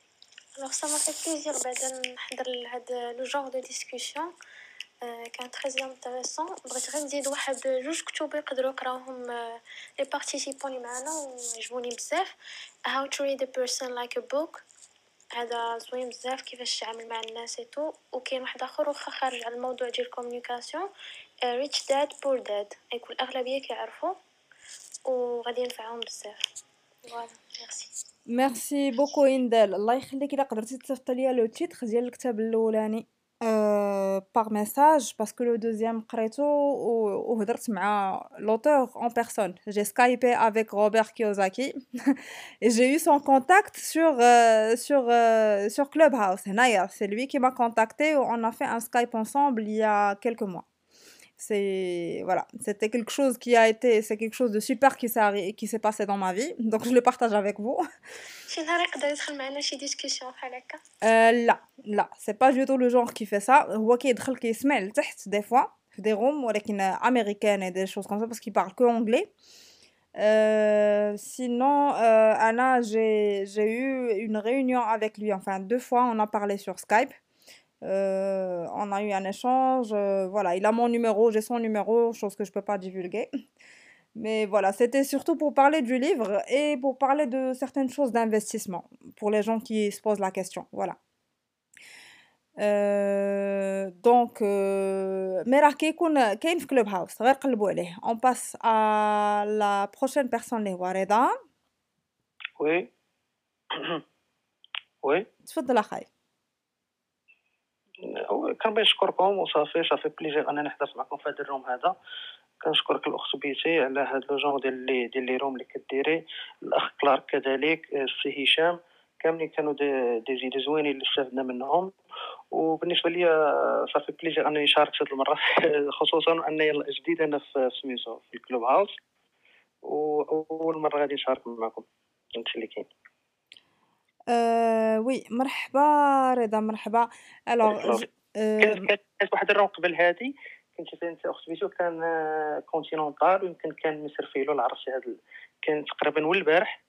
Alors ça m'a fait plaisir بعدا نحضر لهذا لو جونغ دو ديسكوسيون كان très intéressant. بغيت غير نزيد واحد جوج كتب يقدروا يقراوهم لي بارتيسيبون اللي معنا وعجبوني بزاف. How to read a person like a book هذا زوين بزاف كيفاش تعامل مع الناس ايتو. وكاين واحد اخر واخا خارج على الموضوع ديال الكومونيكاسيون ريتش داد بور داد يكون الاغلبيه كيعرفوا وغادي ينفعهم بزاف. فوالا ميرسي. ميرسي بوكو اندال. الله يخليك الا قدرتي تصيفط ليا لو تيتر ديال الكتاب الاولاني باغ ميساج باسكو لو دوزيام قريتو وهضرت مع لوتور اون بيرسون. جي سكايبي افيك روبرت كيوزاكي et j'ai eu son contact sur euh, sur euh, sur Clubhouse هنايا. C'est lui qui m'a contacté et on a fait un Skype ensemble il y a quelques mois. C'est voilà, c'était quelque chose qui a été c'est quelque chose de super qui s'est arri- qui s'est passé dans ma vie. Donc je le partage avec vous. شي نهار يقدر يدخل معنا شي ديسكوسيون بحال هكا. Euh, لا لا c'est pas du tout le genre qui fait ça. هو كيدخل كيسمع لتحت des fois في des rooms ولكن américaines et des choses comme ça parce qu'il parle que anglais. Euh, sinon euh, Anna j'ai j'ai eu une réunion avec lui, enfin deux fois on a parlé sur Skype. Euh, on a eu un échange, euh, voilà, il a mon numéro, j'ai son numéro, chose que je peux pas divulguer. Mais voilà, c'était surtout pour parler du livre et pour parler de certaines choses d'investissement, pour les gens qui se posent la question, voilà. Euh, donc, euh, mais راه كيكون كاين في كلوب هاوس غير قلبوا عليه. On passe à la prochaine personne اللي هو رضا. وي وي تفضل اخاي. كنبغي نشكركم وصافي صافي بليزير انني حضرت معكم في هذا الروم هذا. كنشكرك الاخت بيتي على هذا لو جون ديال لي ديال لي روم اللي كديري، الاخ كلارك كذلك، السي هشام، كاملين كانوا دي دي زيد زوينين اللي استفدنا منهم. وبالنسبه لي صافي بليزير انني شاركت هذه المره خصوصا انني جديد انا في سميتو في الكلوب هاوس واول مره غادي نشارك معكم انت اللي كاين. أه وي مرحبا رضا مرحبا. الوغ كانت كانت واحد الروم قبل هذه كنت انت اخت بيتو كان كونتينونتال ويمكن كان مصر فيلو عرفتي هذا كان تقريبا هو البارح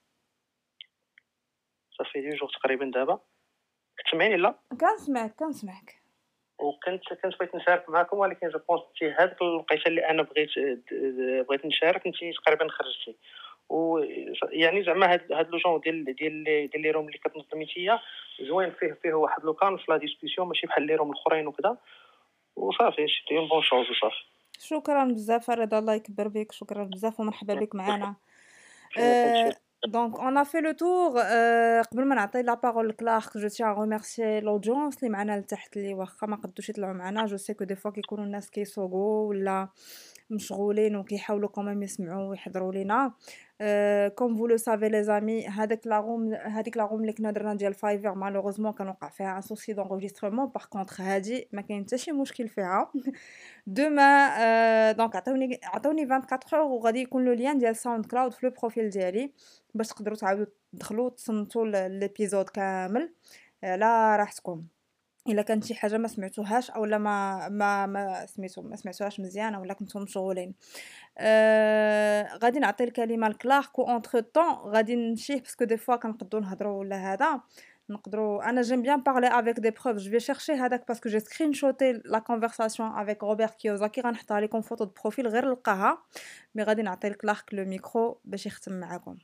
صافي دي جوغ تقريبا دابا كتسمعيني لا كنسمعك كنسمعك وكنت كنت بغيت نشارك معكم ولكن جو بونس تي هذيك الوقيته اللي انا بغيت بغيت نشارك انت تقريبا خرجتي و يعني زعما هاد هاد لو جون ديال ديال ديال لي روم اللي كتنظمي فيا زوين فيه فيه واحد لو كان في لا ديسكوسيون ماشي بحال لي روم الاخرين وكذا وصافي شتي اون بون شوز وصافي. شكرا بزاف رضا الله يكبر بك. شكرا بزاف ومرحبا بك معنا. أه Donc, on a fait le tour. Euh, قبل ما نعطي la parole لكلارك je tiens à remercier l'audience اللي معنا لتحت اللي واخا ما قدوش يطلعوا معنا. جو سي كو دي فوا كيكونوا الناس كيسوقوا ولا مشغولين وكيحاولوا كمان يسمعوا ويحضروا لينا. كوم فو لو سافي لي زامي هذاك لا روم هذيك لا روم اللي كنا درنا ديال فايفر مالوغوزمون كان وقع فيها ان سوسي دونغوجيسترمون. باغ كونطخ هادي ما كاين حتى شي مشكل فيها. دوما دونك عطوني عطوني أربعة وعشرين اور وغادي يكون لو لين ديال ساوند كلاود في لو بروفيل ديالي باش تقدروا تعاودوا تدخلوا تصنتوا ليبيزود كامل على راحتكم. الا كانت شي حاجه ما سمعتوهاش او لا ما ما ما سميتو ما سمعتوهاش مزيان ولا كنتم مشغولين آه، غادي نعطي الكلمه لكلارك و اونتر طون غادي نمشي باسكو دي فوا كنقدروا نهضروا ولا هذا نقدروا. انا جيم بيان بارلي افيك دي بروف جو في شيرشي هذاك باسكو جي سكرين شوتي لا كونفرساسيون افيك روبرت كيوزاكي غنحطها لكم فوتو دو بروفيل غير نلقاها. مي غادي نعطي لكلارك لو ميكرو باش يختم معكم.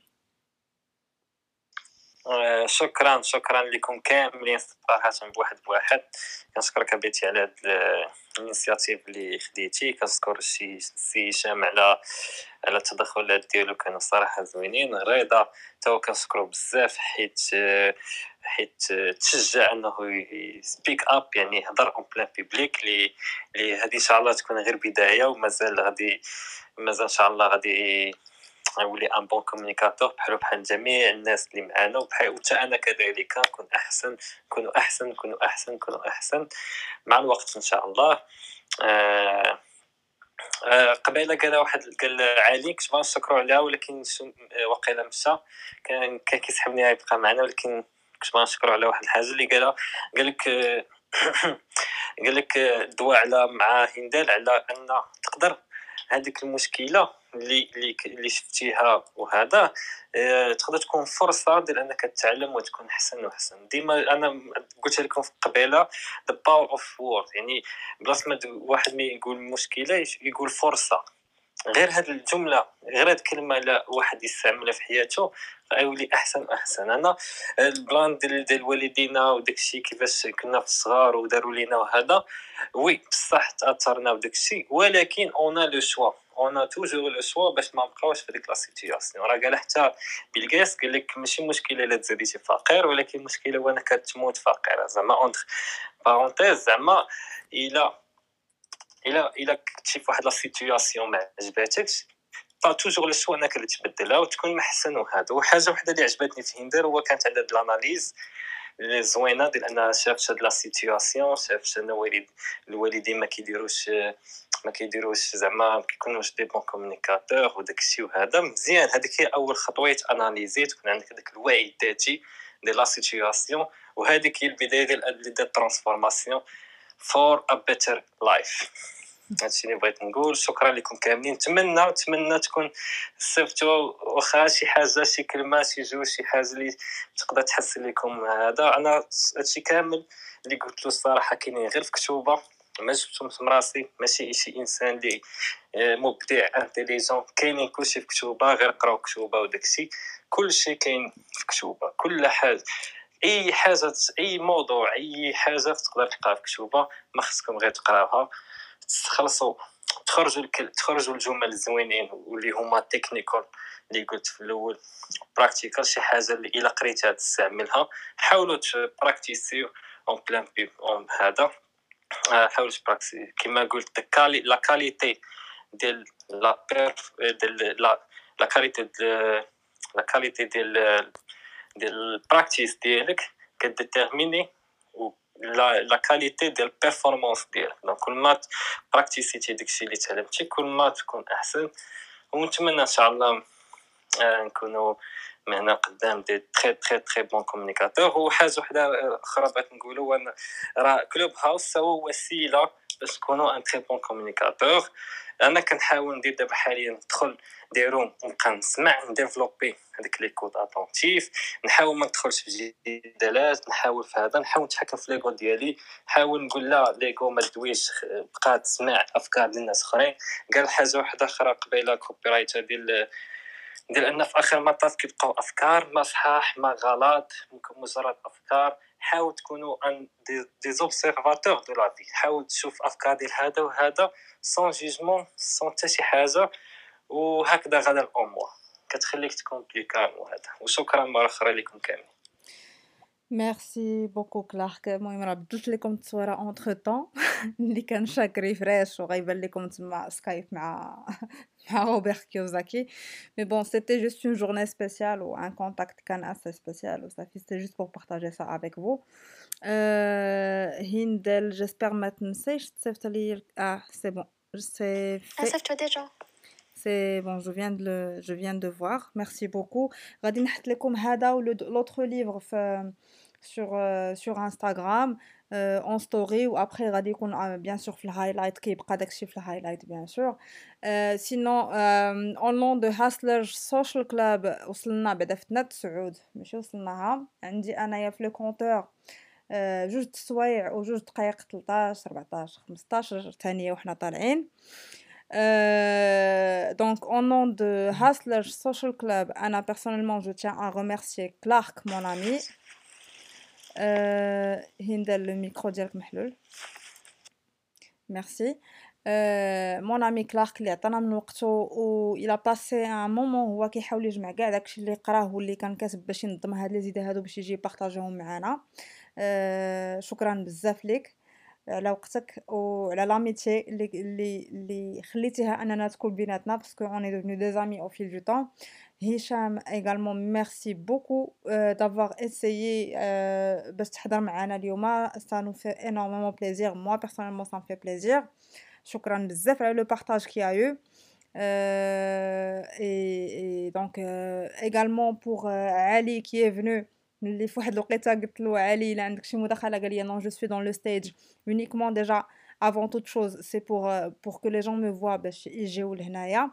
شكرا شكرا لكم كاملين صراحه بواحد بواحد. كنشكرك بيتي على هاد الانيشياتيف اللي خديتي. كنشكر السي هشام على على التدخلات ديالو كانوا صراحه زوينين. رضا تا هو كنشكرو بزاف حيت حيت تشجع انه سبيك اب يعني يهضر اون بلان بيبليك لي لي هذه ان شاء الله تكون غير بدايه ومازال غادي مازال ان شاء الله غادي يولي ان بون كومونيكاتور بحال بحال جميع الناس اللي معانا وبحال حتى انا كذلك نكون احسن نكونوا احسن نكونوا احسن نكونوا احسن مع الوقت ان شاء الله. آه آه قبيله قال واحد قال علي كنت باغي نشكروا عليها ولكن واقيلا مشى كان كان كيسحبني يبقى معنا ولكن كنت باغي نشكروا على واحد الحاجه اللي قالها قال لك قال لك الدواء على مع هندال على ان تقدر هذيك المشكله اللي اللي ك- اللي شفتيها وهذا آه، تقدر تكون فرصه ديال انك تتعلم وتكون احسن واحسن. ديما انا قلت لكم في قبيله the power of word، يعني بلاص ما د- واحد ما يقول مشكله يش- يقول فرصه. غير هاد الجمله، غير هاد الكلمه لا واحد يستعملها في حياته غيولي احسن واحسن. انا البلان ديال ديال والدينا وداكشي كيفاش كنا في الصغار وداروا لينا وهذا، وي بصح تاثرنا بداكشي، ولكن اون لو شوا، اون توجور لو شوا باش ما نبقاوش في ديك لا سيتوياسيون. راه قال حتى بيل غيتس قال لك ماشي مشكله الا تزاديتي فقير، ولكن مشكله وانا كتموت فقير. زعما اونتر بارونتيز، زعما الا الا الا كنتي في واحد لا سيتوياسيون ما عجباتكش با توجور لو سوا انك تبدلها وتكون محسن. وهذا وحاجه وحده اللي عجبتني في هندر هو كانت عندها د الاناليز اللي زوينه ديال انها شافت هاد لا سيتوياسيون، شافت ان الوالد الوالدين ما كيديروش ما كيديروش زعما ما كيكونوش دي بون كومونيكاتور وداك الشيء. وهذا مزيان، هذيك هي اول خطوه اناليزي، تكون عندك داك الوعي الذاتي ديال لا سيتوياسيون، وهذيك هي البدايه ديال ديال الترانسفورماسيون فور ا بيتر لايف. هادشي اللي بغيت نقول. شكرا لكم كاملين، نتمنى نتمنى تكون استفدتوا، واخا شي حاجه شي كلمه شي جوج شي حاجه اللي تقدر تحسن لكم. هذا انا هادشي كامل اللي قلت له الصراحه كاينين غير في كتوبه، ما جبتهم من راسي، ماشي شي انسان اللي مبدع انتيليجون. كاينين كلشي في كتوبه، غير قراو كتوبه وداكشي، كلشي كاين في كتوبه. كل حاجه، اي حاجه، اي موضوع، اي حاجه تقدر تلقاها في كتوبه، ما خصكم غير تقراوها تخلصوا تخرجوا الكل... تخرجوا الجمل الزوينين واللي هما تكنيكال اللي قلت في الاول، براكتيكال شي حاجه اللي الا قريتها تستعملها. حاولوا تبراكتيسيو اون بلان بي اون هذا. حاولوا تبراكتيسي كما قلت كالي لا كاليتي ديال لا بيرف ديال لا لا كاليتي ديال لا كاليتي ديال ديال البراكتيس ديالك كديتيرميني لا لا كاليتي ديال البيرفورمانس ديالك. دونك كل ما براكتيسيتي داكشي اللي تعلمتي كل ما تكون احسن. ونتمنى ان شاء الله نكونوا معنا قدام دي تري تري تري بون كومونيكاتور. وحاجه وحده اخرى بغيت نقولوا، انا راه كلوب هاوس هو وسيله باش تكونوا ان تري بون كومونيكاتور. انا كنحاول ندير دابا حاليا ندخل دي روم ونبقى نسمع نديفلوبي هذيك لي كود اتونتيف، نحاول ما ندخلش في جدالات، نحاول في هذا نحاول نتحكم في ليغو ديالي، نحاول نقول لا ليغو ما تدويش، بقى تسمع افكار ديال الناس اخرين. قال حاجه واحده اخرى قبيله كوبي رايت ديال ديال ان في اخر المطاف كيبقاو افكار ما صحاح ما غلط، ممكن مجرد افكار. حاول تكونوا ان دي زوبسيرفاتور دو لا في، حاول تشوف افكار ديال هذا وهذا سون جوجمون سون حتى شي حاجه، وهكذا غدا الامور كتخليك تكون بلي كالم. وهذا وشكرا مره اخرى لكم كاملين. ميرسي بوكو كلارك. المهم راه بدلت لكم التصويره اونتر طون اللي كان شاك ريفريش وغيبان لكم تما سكايب مع مع روبرت كيوزاكي. مي بون سيتي جوست اون جورني سبيسيال و ان كونتاكت كان اسي سبيسيال و صافي، سيتي جوست بور بارطاجي سا افيك فو. هندل جيسبر ما تنسيش تصيفط لي. اه سي بون سي Ah, في. ça toi déjà. C'est bon, je viens de le, je viens de voir. Merci beaucoup. غادي نحط لكم هذا و l'autre livre في sur euh, sur Instagram euh, en story, ou après غادي يكون euh, bien sûr في الهايلايت كيبقى داكشي في الهايلايت bien sûr. euh, sinon euh, au nom de Hustler Social Club وصلنا بعدا فتنا تسعود ماشي وصلناها. عندي انايا في لو كونتور آه، جوج سوايع وجوج دقائق تلطاش ربعطاش خمسطاش ثانيه وحنا طالعين. Euh, donc, au nom de Hustler Social Club, Anna, personnellement, je tiens à remercier Clark, mon ami. Euh, Hindel, le micro ديالك محلول. Merci. Euh, mon ami Clark اللي عطانا من وقته و il a passé un moment هو كيحاول يجمع كاع داكشي اللي قراه واللي كان كاتب باش ينظم هاد لي زيد هادو باش يجي يبارطاجيهم معنا. Euh, شكرا بزاف ليك على وقتك وعلى لاميتي اللي اللي اللي خليتيها اننا تكون بيناتنا باسكو اون اي devenu des amis au fil du temps. هشام également merci beaucoup euh, d'avoir essayé euh, باش تحضر معنا اليوم. ça nous fait énormément plaisir, moi personnellement ça me fait plaisir. شكرا بزاف على le partage qu'il y a eu. Euh, et, et donc euh, également pour euh, Ali qui est venu اللي في واحد الوقيته قلت له علي الا عندك شي مداخله قال لي non je suis dans le stage uniquement déjà avant toute chose c'est pour euh, pour que les gens me voient باش يجيو لهنايا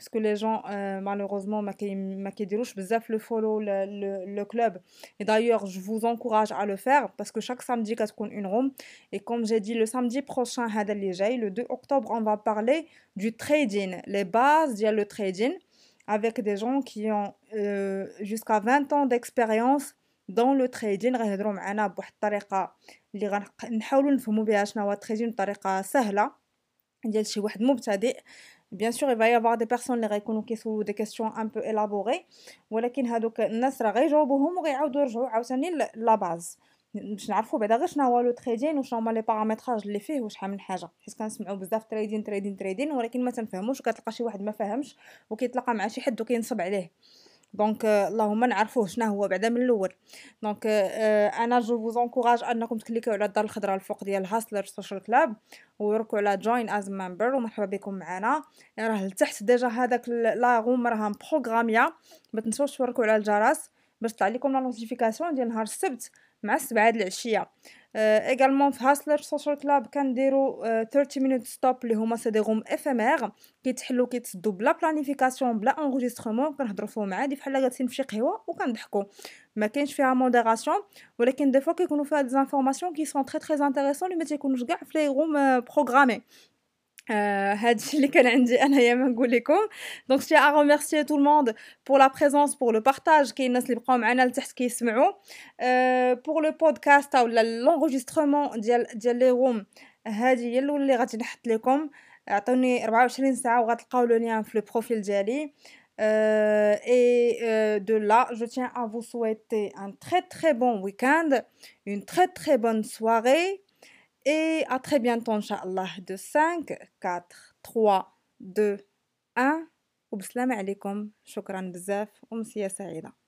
puisque les gens euh, malheureusement ما كي ما كيديروش بزاف le follow le, le, le club. Et d'ailleurs je vous encourage à le faire parce que chaque samedi كتكون une room. Et comme j'ai dit le samedi prochain هذا اللي جاي le deux octobre on va parler du trading, les bases ديال le trading avec des gens qui ont euh, jusqu'à vingt ans d'expérience dans le trading. غيهضروا معنا بواحد الطريقه اللي غنحاولوا نفهموا بها شنو هو التريدين بطريقه سهله ديال شي واحد مبتدئ. Bien sûr il va y avoir des personnes اللي غيكونوا كيسولوا des questions un peu élaborées ولكن هادوك الناس راه غيجاوبوهم وغيعاودوا يرجعوا عاوتاني لا باز باش نعرفوا بعدا غير شنو هو لو تريدين وشنو هما لي بارامتراج اللي فيه وشحال من حاجه، حيت كنسمعوا بزاف تريدين تريدين تريدين ولكن ما تنفهموش وكتلقى شي واحد ما فاهمش وكيتلاقى مع شي حد وكينصب عليه. دونك اللهم نعرفوه شنو هو بعدا من الاول. دونك انا جو فوز انكوراج انكم تكليكيو على الدار الخضراء الفوق ديال هاسلر سوشيال كلاب ويركوا على جوين از ممبر ومرحبا بكم معنا. راه لتحت ديجا هذاك لا روم راها مبروغراميه، ما تنسوش توركوا على الجرس باش تطلع لكم لا نوتيفيكاسيون ديال نهار السبت مع السبعة د العشيه. ايغالمون في هاسلر سوشيال كلاب كنديروا ثلاثين مينوت ستوب اللي هما سي دي روم افيمير كيتحلوا كيتسدوا بلا بلانيفيكاسيون بلا انغيسترمون، كنهضروا فيهم عادي بحال جالسين في شي قهوه وكنضحكوا، ما كاينش فيها موديراسيون ولكن دي فوا كيكونوا فيها دي انفورماسيون كي سون تري تري انتريسون اللي ما تيكونوش كاع في لي روم بروغرامي. Euh, هادشي اللي كان عندي انايا ما نقول لكم. دونك je tiens à remercier tout le monde pour la présence pour le partage. كاين الناس اللي بقاو معنا لتحت كيسمعوا euh, pour le podcast او l'enregistrement ديال ديال لي روم. هذه هي الاولى اللي غادي نحط لكم، عطوني أربعة وعشرين ساعه وغتلقاو لو لين في لو بروفيل ديالي. Euh, et euh, de là, je tiens à vous souhaiter un très très bon week-end, une très très bonne soirée. Et à très bientôt, Inch'Allah, de cinq, quatre, trois, deux, un. وبسلامة عليكم، شكرا بزاف ومسيا سعيدة.